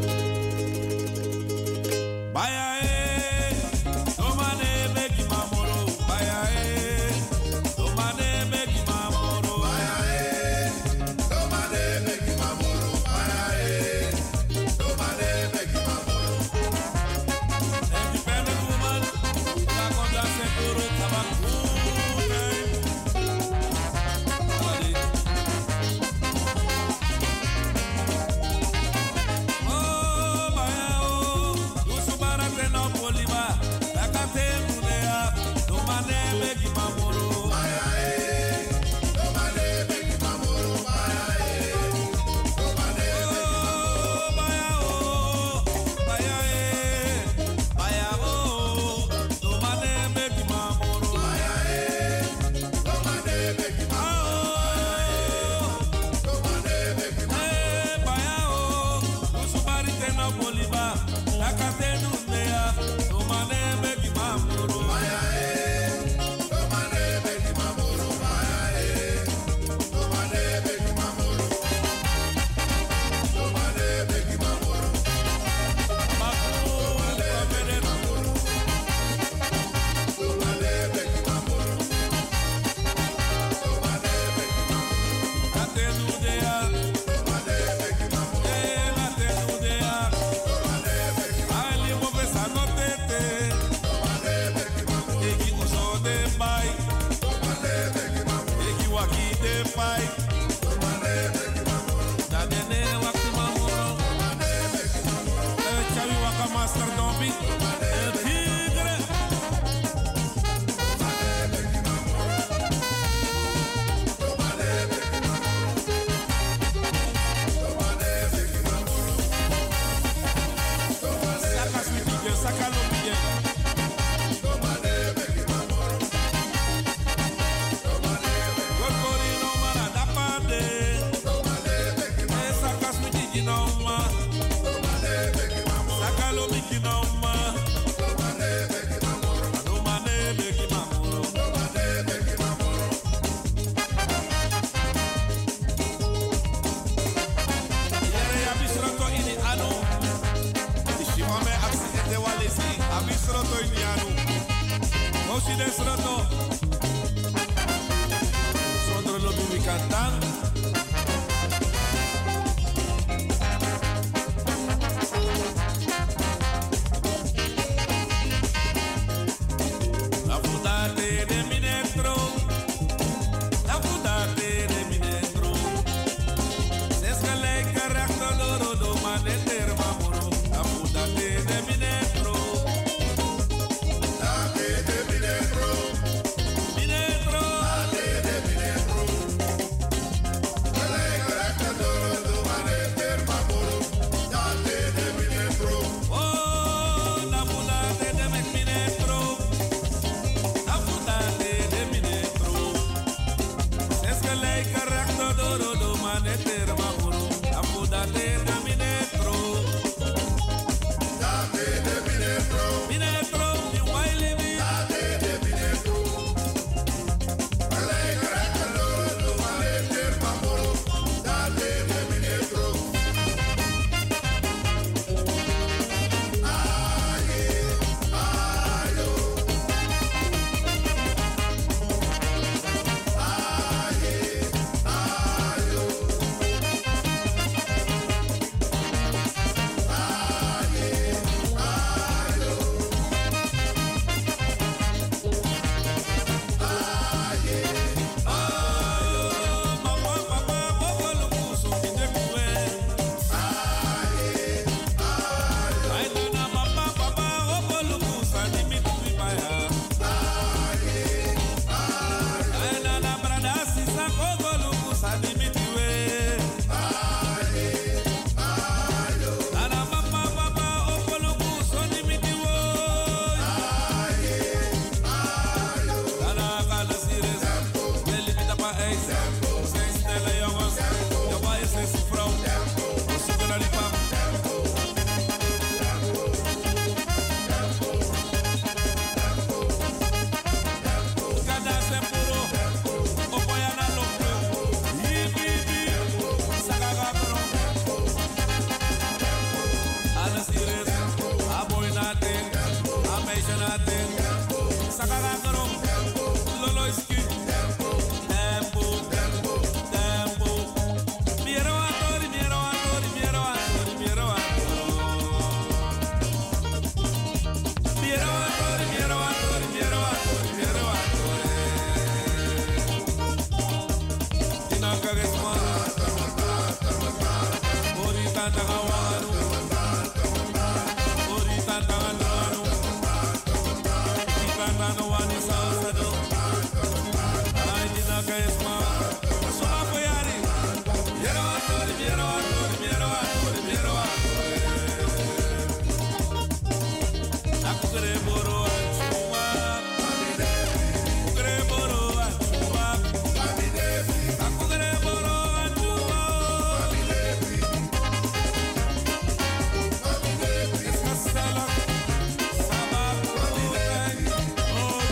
Speaker 23: Baya eh, tomane beki mamoro. Baya eh, tomane beki mamoro. Baya eh, tomane beki mamoro. Baya eh, tomane beki mamoro. Independent woman, la conda seguro tabacu. Latin. Sakala karo. Lolo iski. Tempo. Tempo. Tempo. Miero atori, miero atori, miero atori, miero atori. Miero atori, miero atori, miero atori, miero atori. Tinaka gesma. Borita tagawanu. Borita tagawanu. Tikana no wani sausado. Ay tinaka gesma. Soma poyari. Miero atori, miero atori, miero atori, miero atori. Akukere boro achuma. Akukere boro achuma. Akukere boro achuma. Escasela. Sabak. Oh.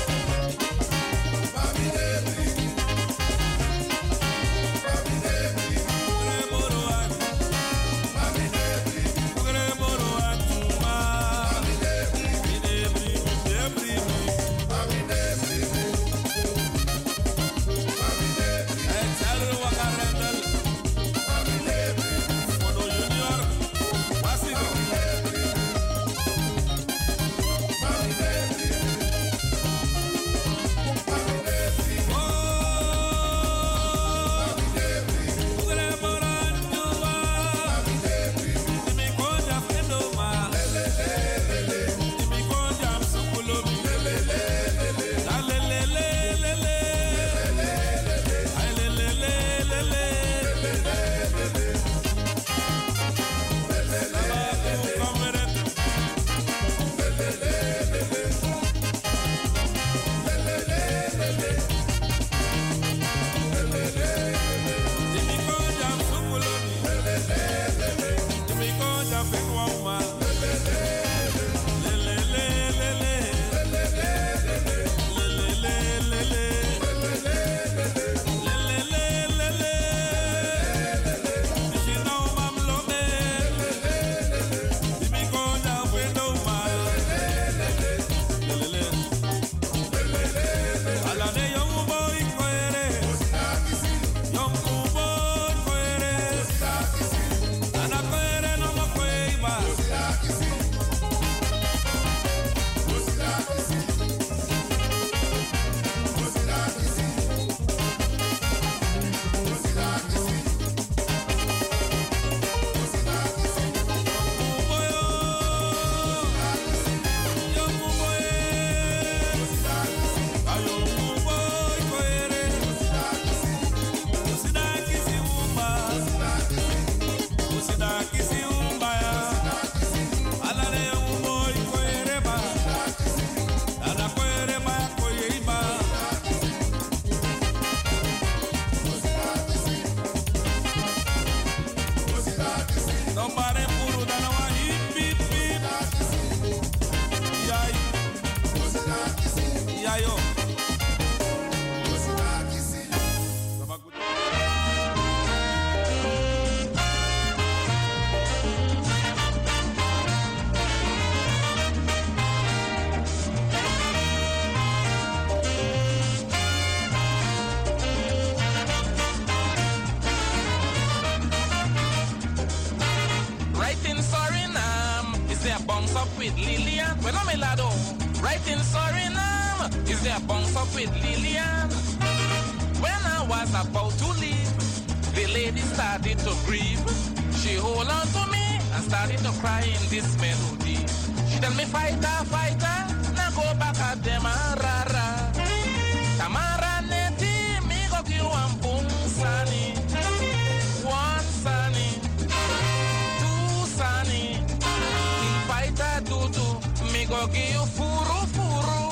Speaker 2: with Lillian. When I'm a lado, right in Suriname, is there a bounce up with Lillian? When I was about to leave, the lady started to grieve. She hold on to me and started to cry in this melody. She tell me, fighter, fighter, now go back at them, rara. Tamara neti, me go kill one boom sani. One sani, two sani. King fighter do do, me go give you furu furu.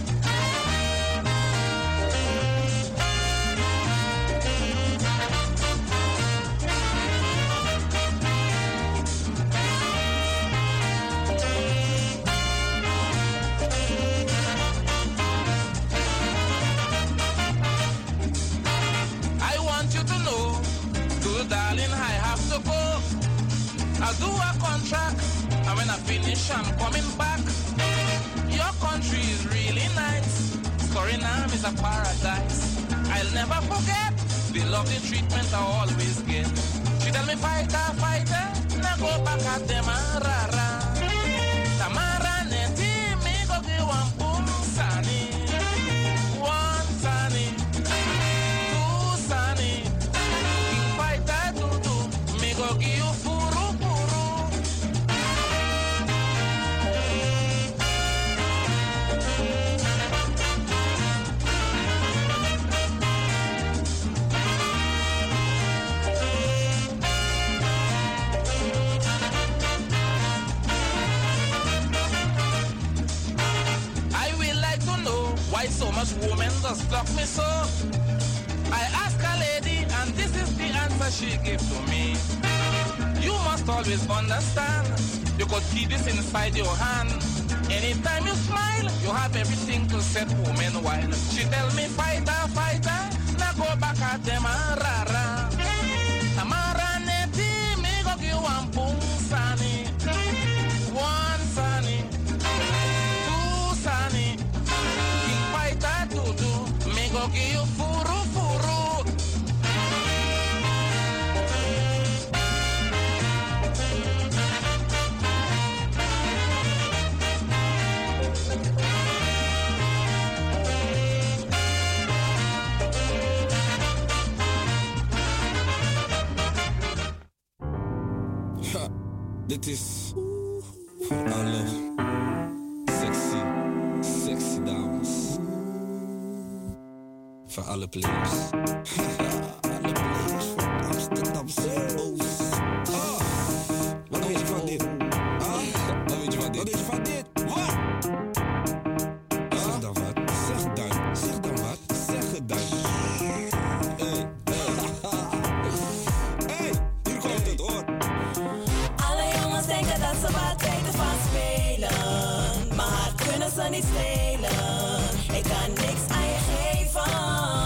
Speaker 2: Darling, I have to go. I'll do a contract, and when I finish, I'm coming back. Your country is a paradise. I'll never forget the lovely treatment I always get. She tell me fighter, fighter, now go back at them rara. Tamara neti me go give one boom sani, one sani, two sani. King fighter two two, me go give you furu furu. Why so much women just block me so? I ask a lady and this is the answer she gave to me. You must always understand, you could keep this inside your hand. Anytime you smile, you have everything to set women wild. She tell me fighter, fighter, now go back at them and rara. Tamara neti, me go give one boom sani. One sani, two sani. Me go give you furu furu.
Speaker 23: Ha, dit is voor alle sexy, sexy dames. Voor alle players. Alle players van Amsterdamse Oost. Oh, wat weet je van dit? Ah, wat weet je van dit? Wat weet je van dit? Wat? Zeg dan wat. Zeg dan. Zeg dan wat. Zeg het dan. Hey, hey. Hey, hier komt het hoor.
Speaker 12: Alle jongens denken dat ze wat weten van spelen. Maar hart kunnen ze niet stelen. Ik kan niks aan je geven.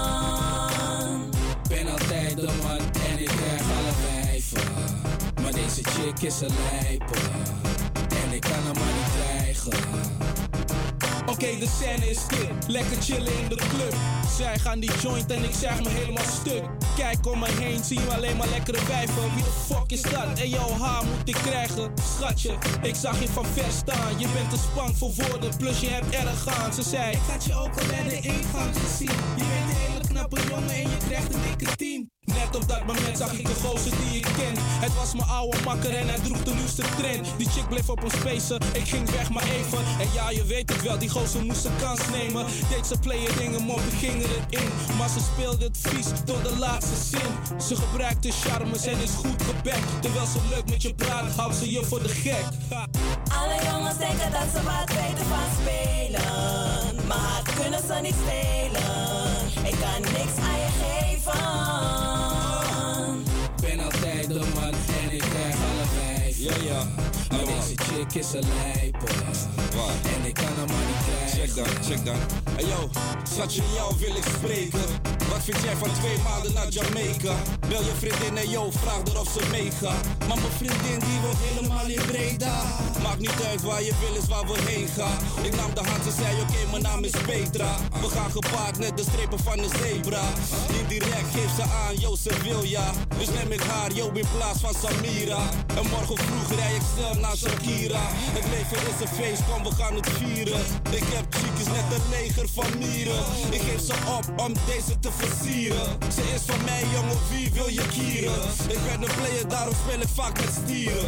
Speaker 6: Ben altijd de man en ik krijg alle wijven. Maar deze chick is een lijper. En ik kan hem maar niet krijgen.
Speaker 9: Oké, okay, de scène is dit. Lekker chillen in de club. Zij gaan die joint en ik zeg me helemaal stuk. Kijk om me heen, zie je alleen maar lekkere wijven. Wie de fuck is dat? En jouw haar moet ik krijgen. Schatje, ik zag je van ver staan. Je bent te spang voor woorden, plus je hebt erg aan. Ze zei, ik had je ook al bij de ingang gezien. Je bent een hele knappe jongen en je krijgt een dikke tien. Net op dat moment zag ik een gozer die ik ken. Het was mijn oude makker en hij droeg de nieuwste trend. Die chick bleef op ons spacen, ik ging weg maar even. En ja, je weet het wel, die gozer moest een kans nemen. Deed ze player dingen, mop, ik ging er in. Maar ze speelde het vies tot de laatste zin. Ze gebruikte charmes en is goed gebekt. Terwijl ze leuk met je praat, houdt ze je voor de gek. Ha.
Speaker 12: Alle jongens denken dat ze wat weten van spelen. Maar hart kunnen ze niet stelen. Ik kan niks aan je geven.
Speaker 6: Ben altijd de man en ik krijg alle wijven.
Speaker 23: Ja, ja.
Speaker 6: Maar deze chick is een lijper.
Speaker 23: Waar?
Speaker 6: En ik kan hem maar niet krijgen.
Speaker 23: Check dan, check dan. Hey yo, schatje, jou wil ik spreken. Wat vind jij van twee maanden naar Jamaica? Bel je vriendin en yo, vraag haar of ze meegaat. Maar mijn vriendin die woont helemaal in Breda. Maakt niet uit waar je wil is waar we heen gaan. Ik nam de hand en zei oké, okay, mijn naam is Petra. We gaan gepaard net de strepen van een zebra. Indirect geeft ze aan, yo ze wil ja. Dus neem ik haar, yo in plaats van Samira. En morgen vroeg rij ik snel naar Shakira. Het leven is een feest, kom we gaan het vieren. Ik heb chickies net een leger van mieren. Ik geef ze op om deze te versieren. Ze is van mij jongen, wie wil je kieren? Ik ben een player, daarom speel ik vaak met stieren.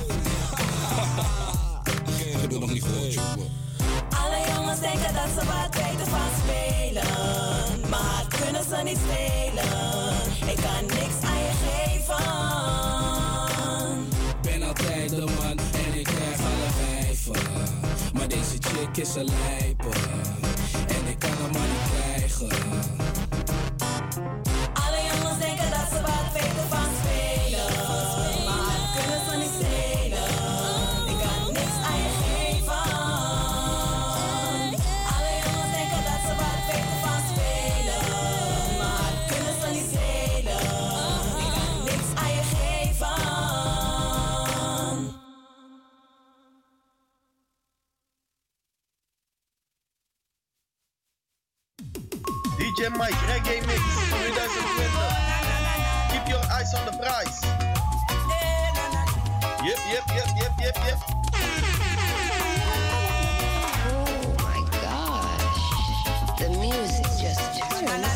Speaker 23: Ik heb het nog niet gehoord, jongen.
Speaker 12: Alle jongens denken dat ze wat weten van spelen. Maar hart kunnen ze niet stelen. Ik kan niks aan je geven.
Speaker 6: Ben altijd de man en ik krijg alle wijven. Maar deze chick is een lijper. En ik kan hem maar niet krijgen.
Speaker 12: Alle jongens denken dat ze wat weten van spelen. Maar hart kunnen ze niet stelen. Ik kan niks aan je geven. Alle jongens denken dat ze wat weten van spelen. Maar hart kunnen ze niet stelen. Ik kan niks aan je geven.
Speaker 14: D J J Mike, Reggae Mix twenty twenty. Keep your eyes on the prize. Yep, yep, yep, yep, yep, yep.
Speaker 15: Oh my gosh. The music just turns on.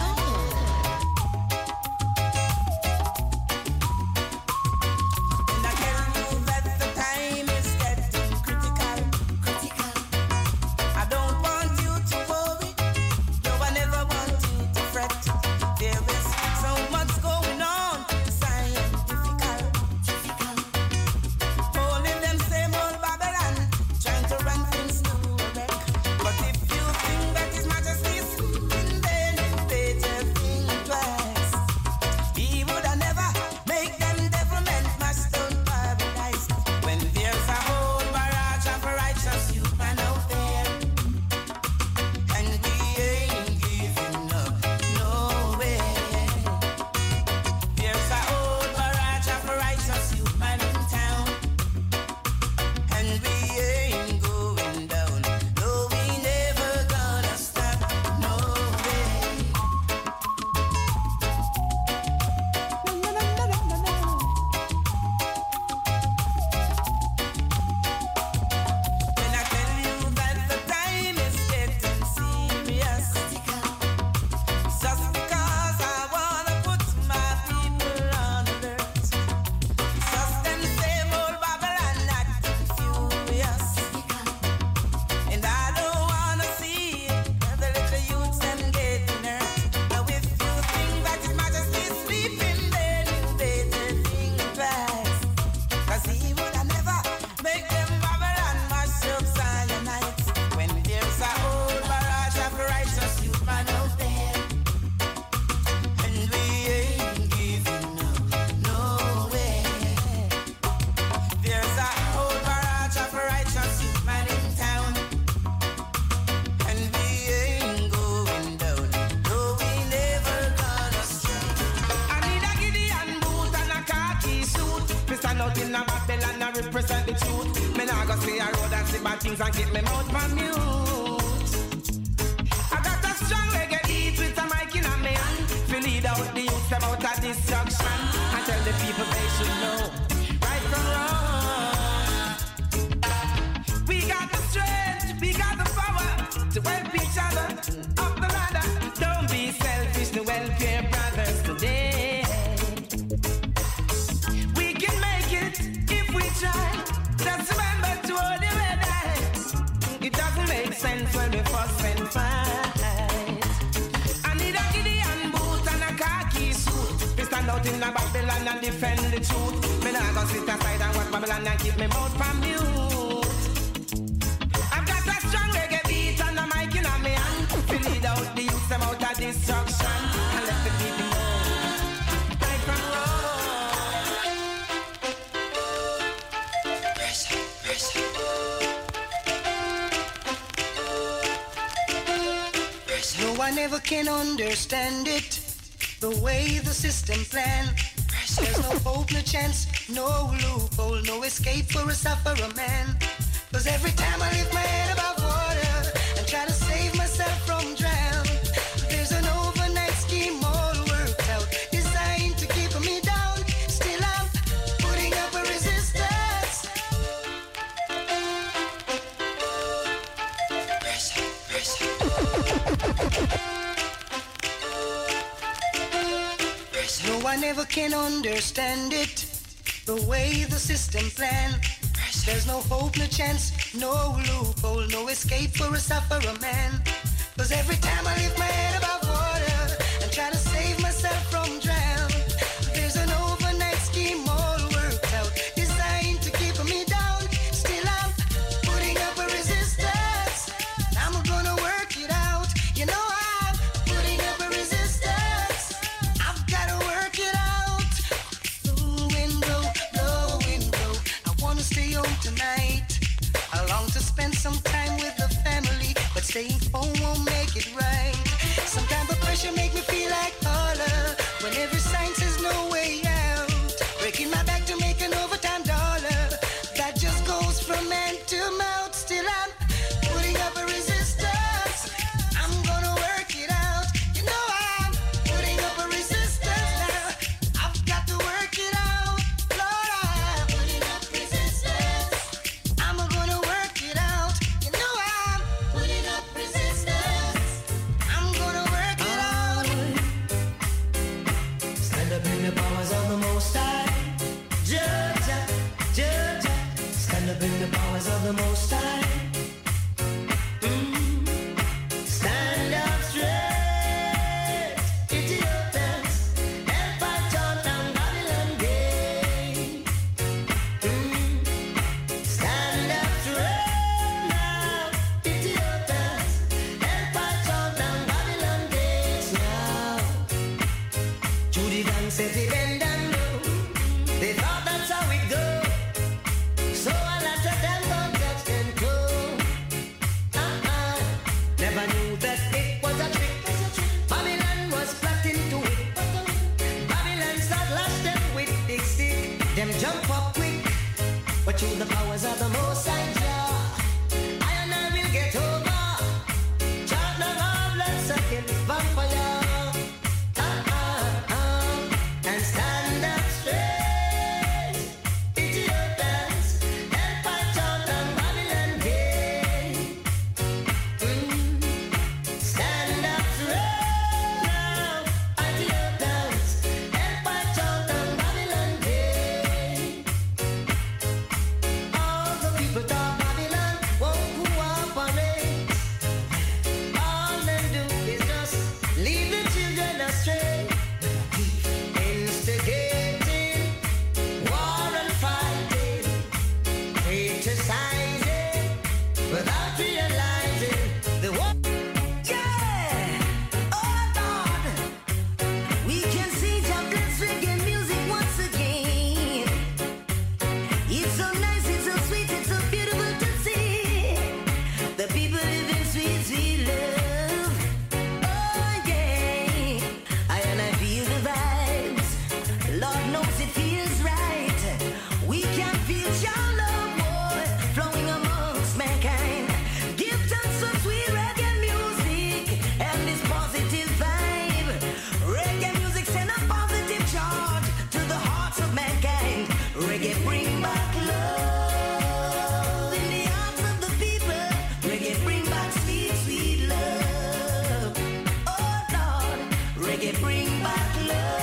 Speaker 12: Understand it, the way the system plan. There's no hope, no chance, no loophole, no escape for a sufferer man. Cause every time I lift my head above water and try to save myself from drown, there's an overnight scheme all worked out, designed to keep me down. Still I'm putting up a resistance. Pressure, pressure. No, I never can understand it, the way the system plan. There's no hope, no chance, no loophole, no escape for a sufferer man. Cause every time I lift my head above water and try to save myself from drown, there's an overnight scheme all worked out, designed to keep me down. Still I'm putting up a resistance. I'm gonna work it out. You know I'm putting up a resistance. I've gotta work it out. Blow and blow, blow and blow. I wanna stay home tonight. I long to spend some time with the family, but staying home won't make it right. Sometimes the pressure make me feel like Paula, when every sign says no way out. Breaking my back to make an overtime dollar, that just goes from hand to mouth. Still I'm putting up a resistance. I'm gonna work it out. You powers of the Most High. Mm. Stand up straight, Ethiopians, and fight on down Babylon Gate. Mm. Stand up straight now, Ethiopians, and fight on down Babylon Gate now. Judy Dan said he bend down low. They thought that's how it go. So a lot of them don't touch them toe. Uh-uh. Never knew that it was a trick. Babylon was plotting to it. Babylon start lash them with big stick. Them jump up quick. But through the powers of the Most High Jah, I and I will get over. Chant the blood sucking vampire. Uh-uh. uh. And stand up straight, Ethiopians, and fight on down Babylon Gate. Mm. Stand up straight now, Ethiopians, and fight on down Babylon Gate. All the people talk Babylon won't cooperate. All them do is just lead the children astray. Instigating war and fighting, criticizing without realizing the war. Yeah, oh Lord, we can see Jablin's reggae music once again. It's so nice, it's so sweet, it's so beautiful to see. The people live in sweet, sweet love. Oh yeah, I and I feel the vibes. Lord knows it feels right. We can feel your love, boy, flowing amongst mankind. Give thanks for sweet reggae music and this positive vibe. Reggae music send a positive charge to the hearts of mankind. Reggae bring back love in the hearts of the people. Reggae bring back sweet, sweet love. Oh Lord, reggae bring back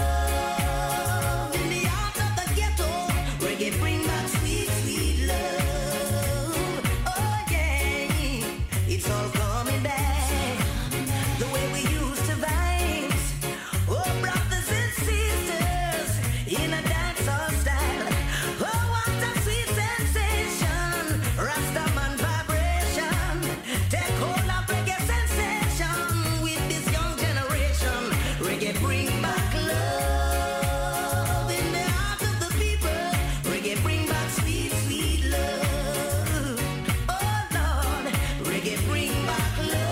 Speaker 12: love in the heart of the ghetto. Reggae bring back sweet, sweet love. Oh yeah, it's all coming back the way we used to vibes. Oh brothers and sisters in a dancehall style. Oh what a sweet sensation, Rastaman vibration. Take hold of reggae sensation with this young generation. Reggae bring back love in the heart of the people. Reggae bring back sweet, sweet love. Oh Lord, reggae bring back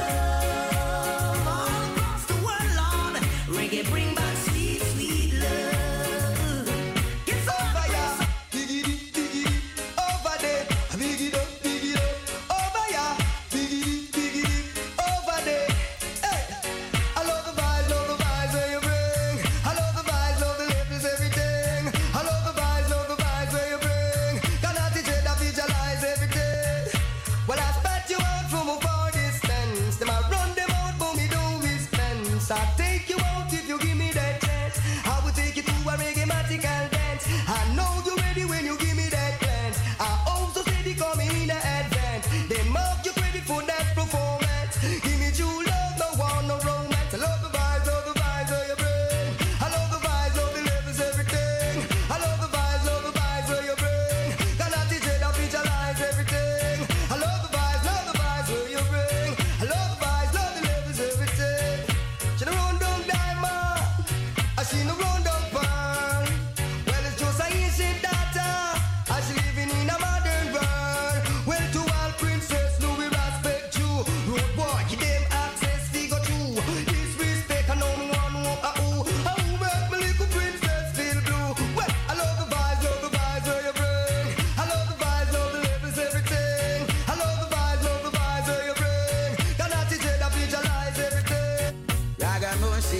Speaker 12: love all across the world, Lord. Reggae bring back sweet, sweet love. Get over ya, dig it, dig it, over there, dig it up, dig it up, over ya, dig it, dig it, over there. Hey, I love the vibes, love the vibes where you bring. I love the vibes, love the left is everything. I love the vibes, love the vibes where you bring. Cannot teach it, I visualize everything. Well, I spat you out from a far distance. Them I run them out, but me don't dispense. I take you out if you give me that chance. I will take you to a reggae-matical dance. I know you're ready when you give me that glance. I also steady coming in the advance. They mark you credit for that performance. Give me true love, no one, no romance. I love the vibes, love the vibes where you bring. I love the vibes, love the love is everything. I love the vibes, love the vibes where you bring. Cannot teach it, I visualize everything. I love the vibes, love the vibes where you bring. I love the vibes, love the love is everything. She the run down diamond, I see no run down pearl. Well, it's just a ancient data. I she living in a modern world. Well, to all princess, no we respect you. Road boy, give them access, figure two. Disrespect, I know no one know a who. A who make me little princess feel blue. Well, I love the vibes, love the vibes where you bring. I love the vibes, love the love is everything. I love the vibes, love the vibes where you bring. Cannot teach it, I visualize everything. Raga mercy.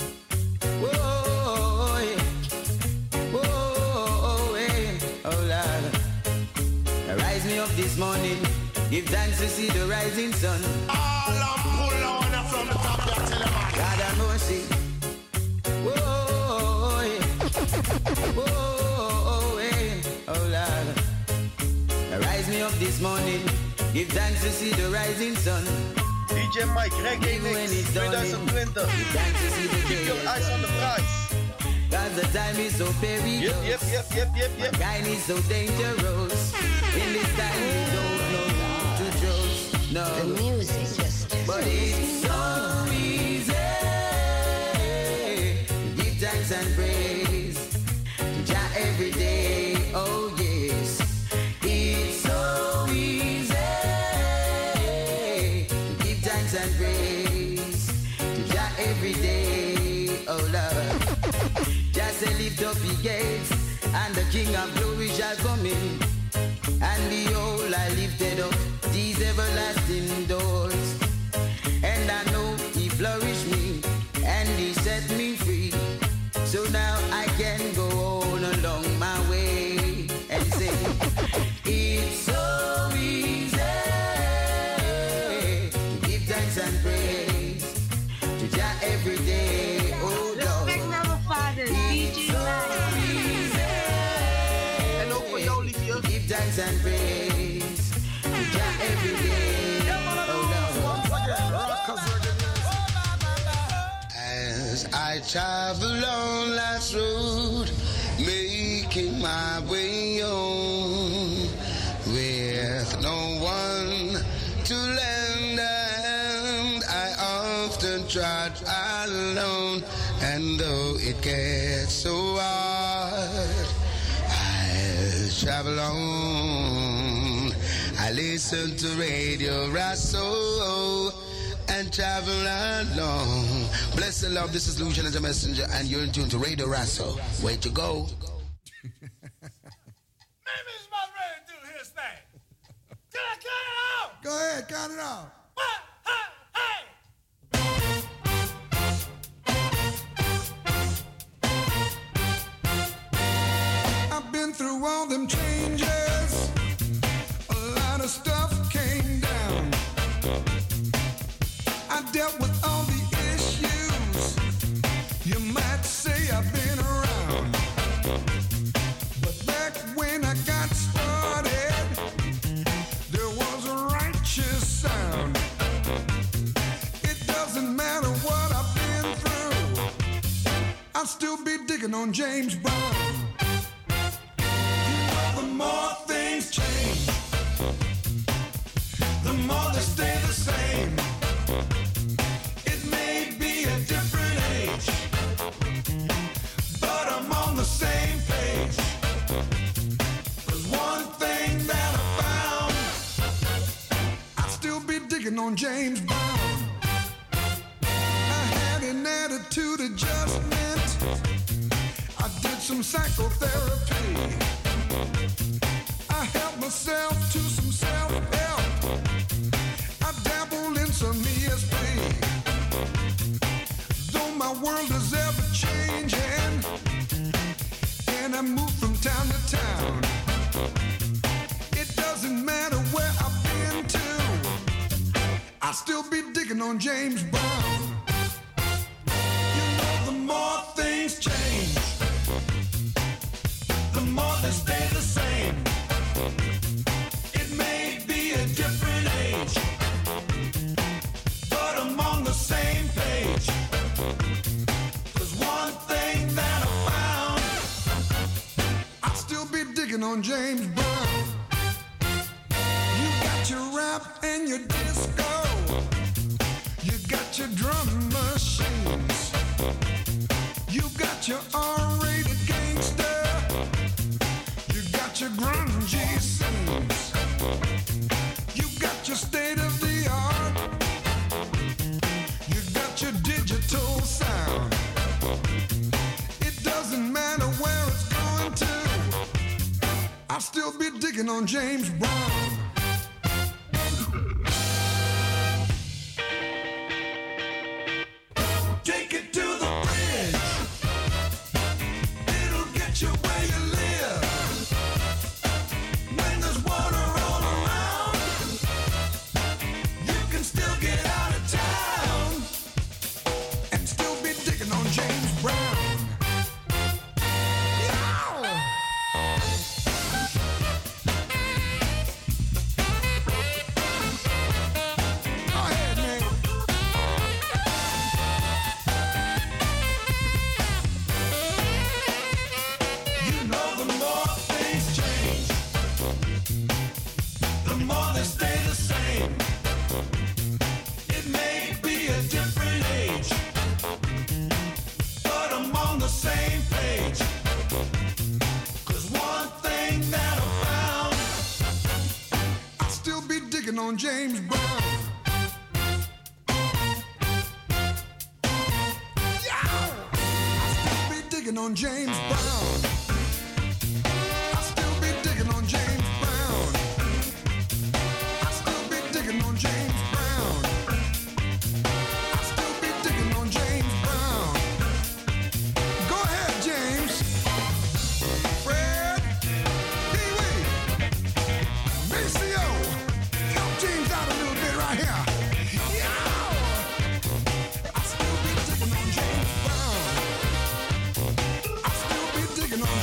Speaker 12: Whoa, yeah. Whoa, yeah. Oh Lord. Rise me up this morning. Give thanks to see the rising sun.
Speaker 11: All I'm pull on from the top, you tell them.
Speaker 12: God have mercy. Whoa, yeah. Whoa, yeah. Oh Lord. Rise me up
Speaker 7: up this morning. Give thanks to see the rising sun.
Speaker 14: D J Mike, Reggae Mix twenty twenty.
Speaker 7: Give thanks to see the
Speaker 14: Keep your eyes on the prize.
Speaker 7: Cause the time is so perilous.
Speaker 14: Yep, yep, yep, yep, yep, yep.
Speaker 7: Kind is so dangerous. In this time we don't know to trust. No.
Speaker 15: The music just.
Speaker 7: But it's so easy. Give thanks and praise to Jah every day. Oh yes. It's so easy. Give thanks and praise to Jah every day. Oh Lord. Jah say lift up the gates and the King of glory shall come in. And behold, I lifted up these everlasting doors. And I know he flourished me and he set me free. So now I can go on along my way and say, it's so easy to give thanks and praise to Jah every day. Oh Lord, it's so easy.
Speaker 14: Hello for you, Olivia.
Speaker 7: Give thanks and praise to Jah every day.
Speaker 13: As I travel on life's road, making my way home, with no one to lend a hand, I often trot alone, and though it gets so hard, I travel on. I listen to Radio Rasso and travel along. Bless and love, this is Lucian as a messenger, and you're in tune to Radio Rasso. Way to go.
Speaker 22: Maybe he's about ready to do his thing. Can I count it out?
Speaker 19: Go ahead, count it out.
Speaker 22: One, hey, hey.
Speaker 19: I've been through all them changes. A lot of stuff came down. I dealt with all the issues. You might say I've been around. But back when I got started, there was a righteous sound. It doesn't matter what I've been through, I'll still be digging on James Brown. You know, the more things change, the more they stay the same. It may be a different age, but I'm on the same page. There's one thing that I found, I'll still be digging on James Brown. I had an attitude adjustment, I did some psychotherapy, I helped myself to some self-help, I dabbled in some E S P. Though my world is ever changing, and I move from town to town, it doesn't matter where I've been to, I'll still be digging on James Brown. You know, the more things change, the more they stay the same. It may be a different age, but I'm on the same page. There's one thing that I found, I'll still be digging on James Brown. You got your rap and your disco, you got your drum machines, you got your R-rated gangster, you got your grungy scenes, you got your state of the art, you got your digital sound. It doesn't matter where it's going to, I'll still be digging on James Brown. Take it to the bridge, it'll get you where you live. When there's water all around, you can still get out of town and still be digging on James Brown. Yeah.
Speaker 8: same. It may be a different age, but I'm on the same page. Cause one thing that I found,
Speaker 11: I'll still be digging on James Brown. Yeah! I'll still be digging on James Brown. I'll still be digging on James Brown. I'll still be digging on James Brown. I'll still be digging on James Brown. Go ahead, James. Fred, Pee-wee, B C O. Help James out a little bit right here. Yeah. I'll still be digging on James Brown. I'll still be digging on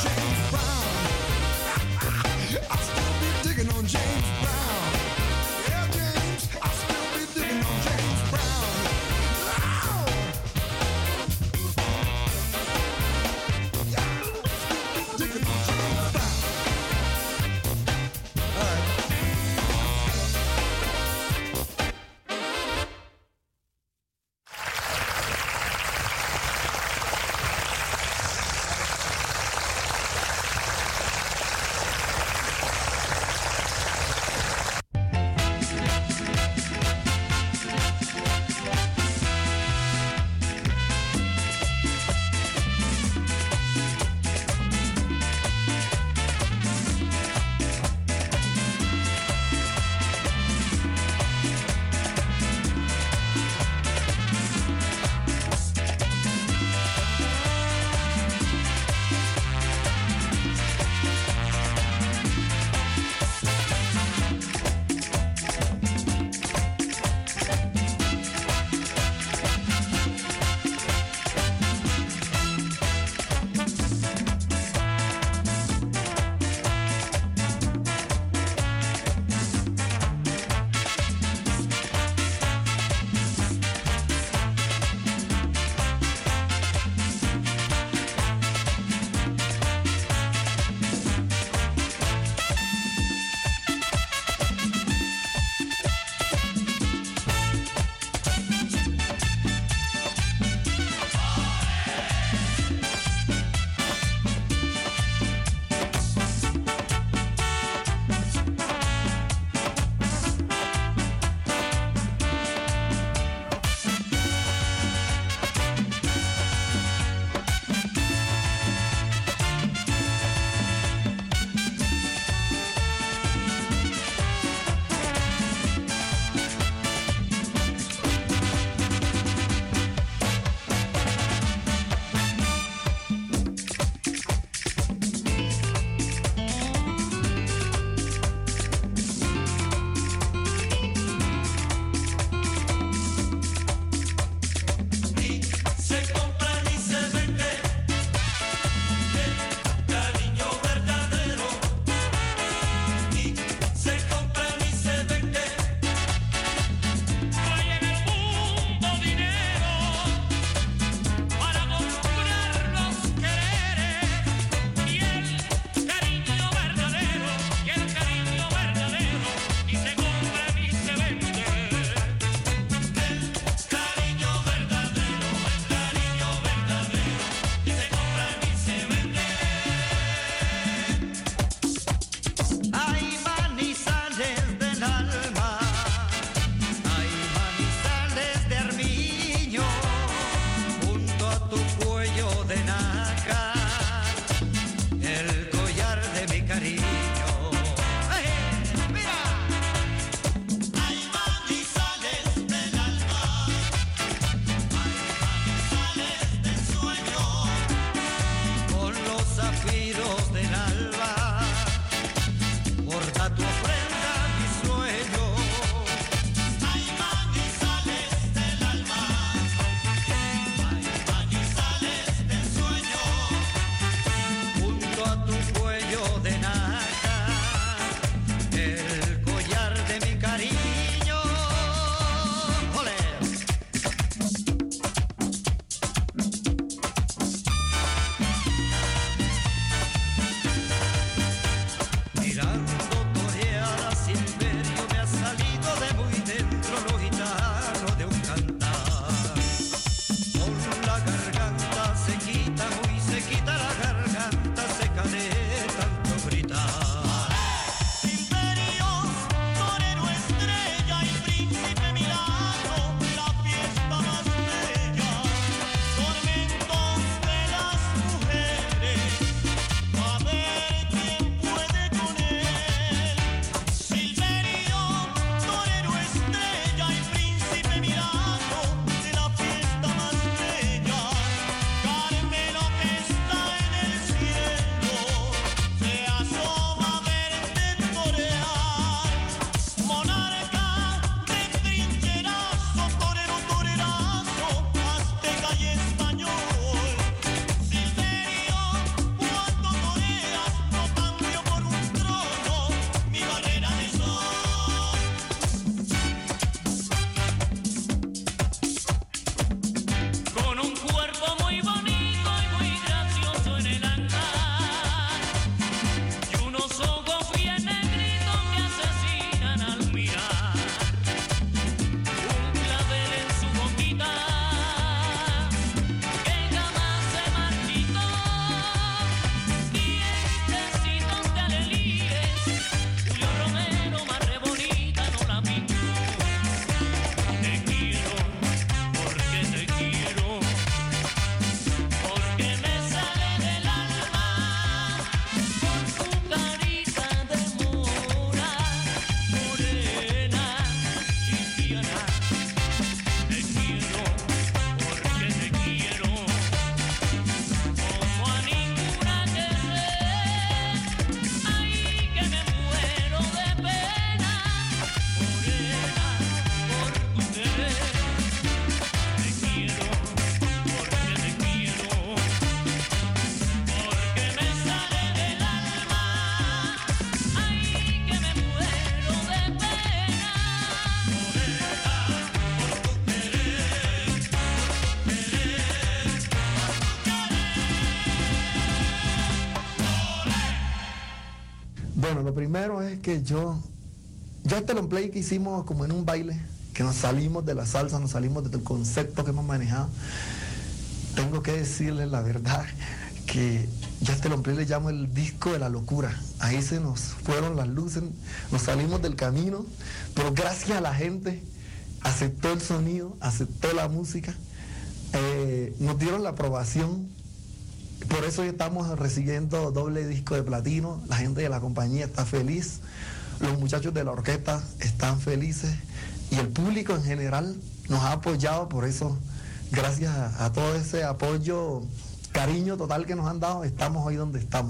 Speaker 16: primero es que yo, yo este long play que hicimos como en un baile, que nos salimos de la salsa, nos salimos del concepto que hemos manejado. Tengo que decirles la verdad, que yo a este long play le llamo el disco de la locura. Ahí se nos fueron las luces, nos salimos del camino, pero gracias a la gente aceptó el sonido, aceptó la música, eh, nos dieron la aprobación. Por eso hoy estamos recibiendo doble disco de platino, la gente de la compañía está feliz, los muchachos de la orquesta están felices y el público en general nos ha apoyado. Por eso, gracias a, a todo ese apoyo, cariño total que nos han dado, estamos hoy donde estamos.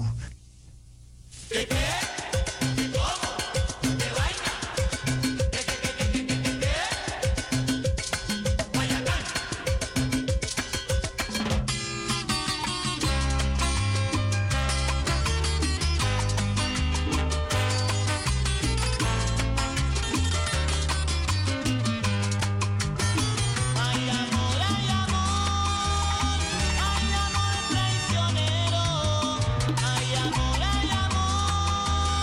Speaker 8: Ay, amor, ay, amor,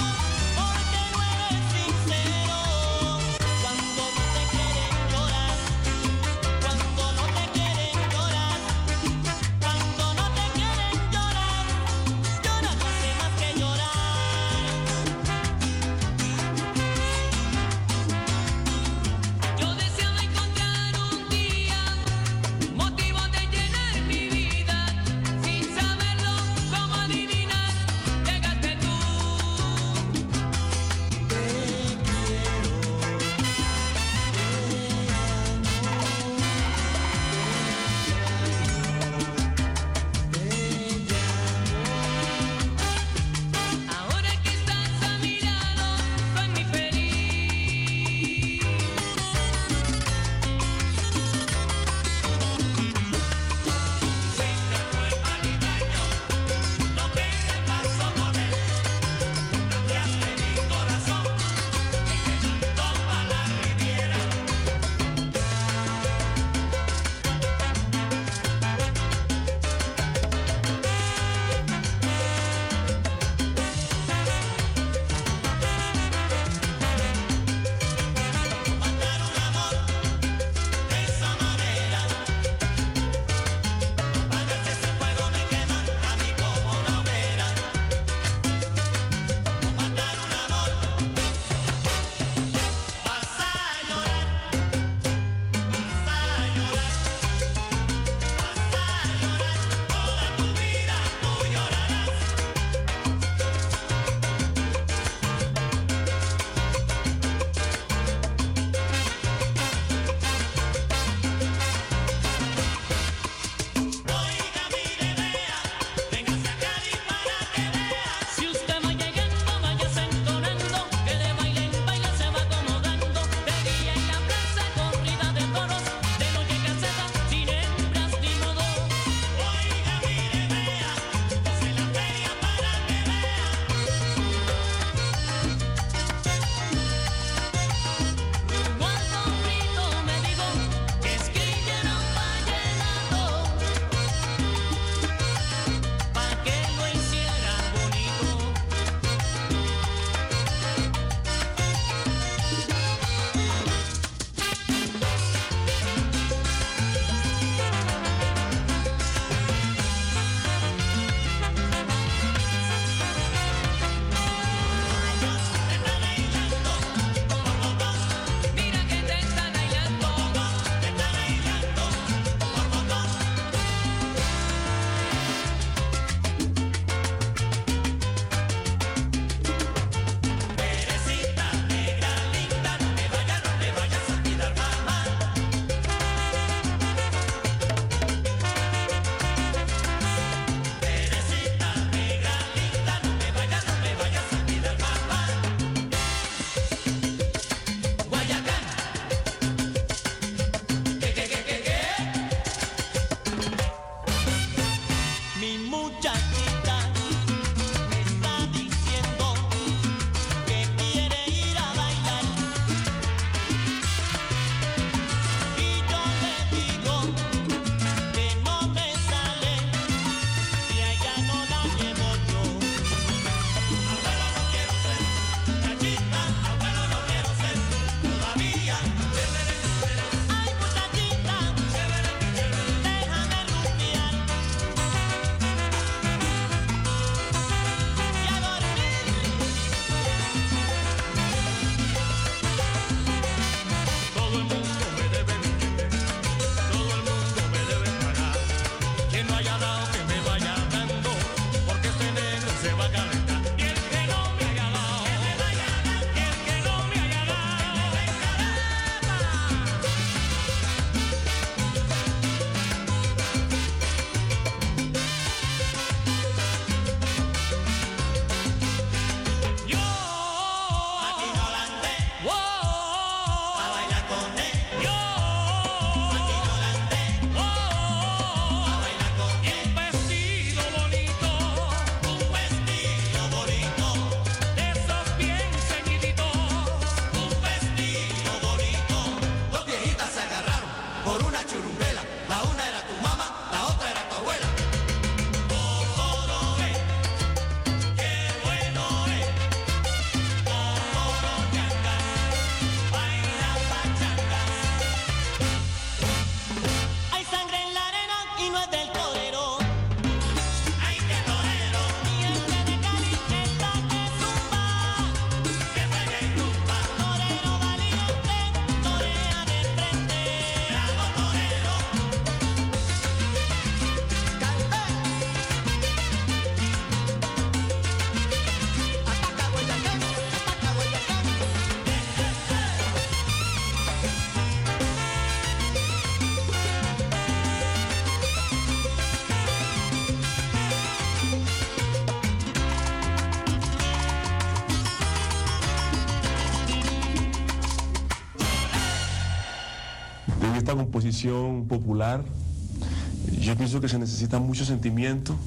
Speaker 17: en esta composición popular yo pienso que se necesita mucho sentimiento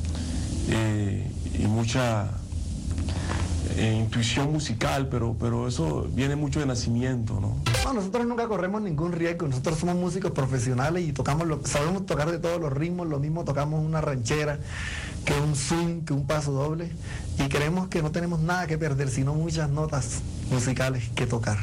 Speaker 17: eh, y mucha eh, intuición musical, pero, pero eso viene mucho de nacimiento, ¿no?
Speaker 16: No, nosotros nunca corremos ningún riesgo, nosotros somos músicos profesionales y tocamos lo, sabemos tocar de todos los ritmos, lo mismo tocamos una ranchera, que un swing, que un paso doble, y creemos que no tenemos nada que perder, sino muchas notas musicales que tocar.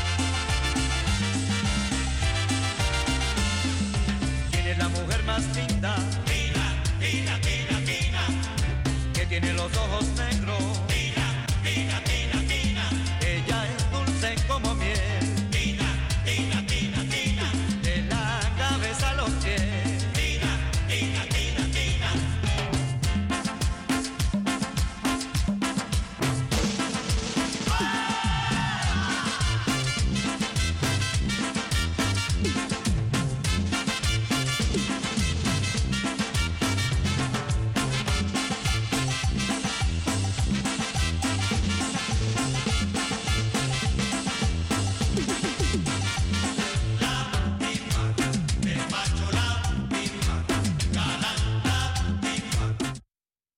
Speaker 8: Más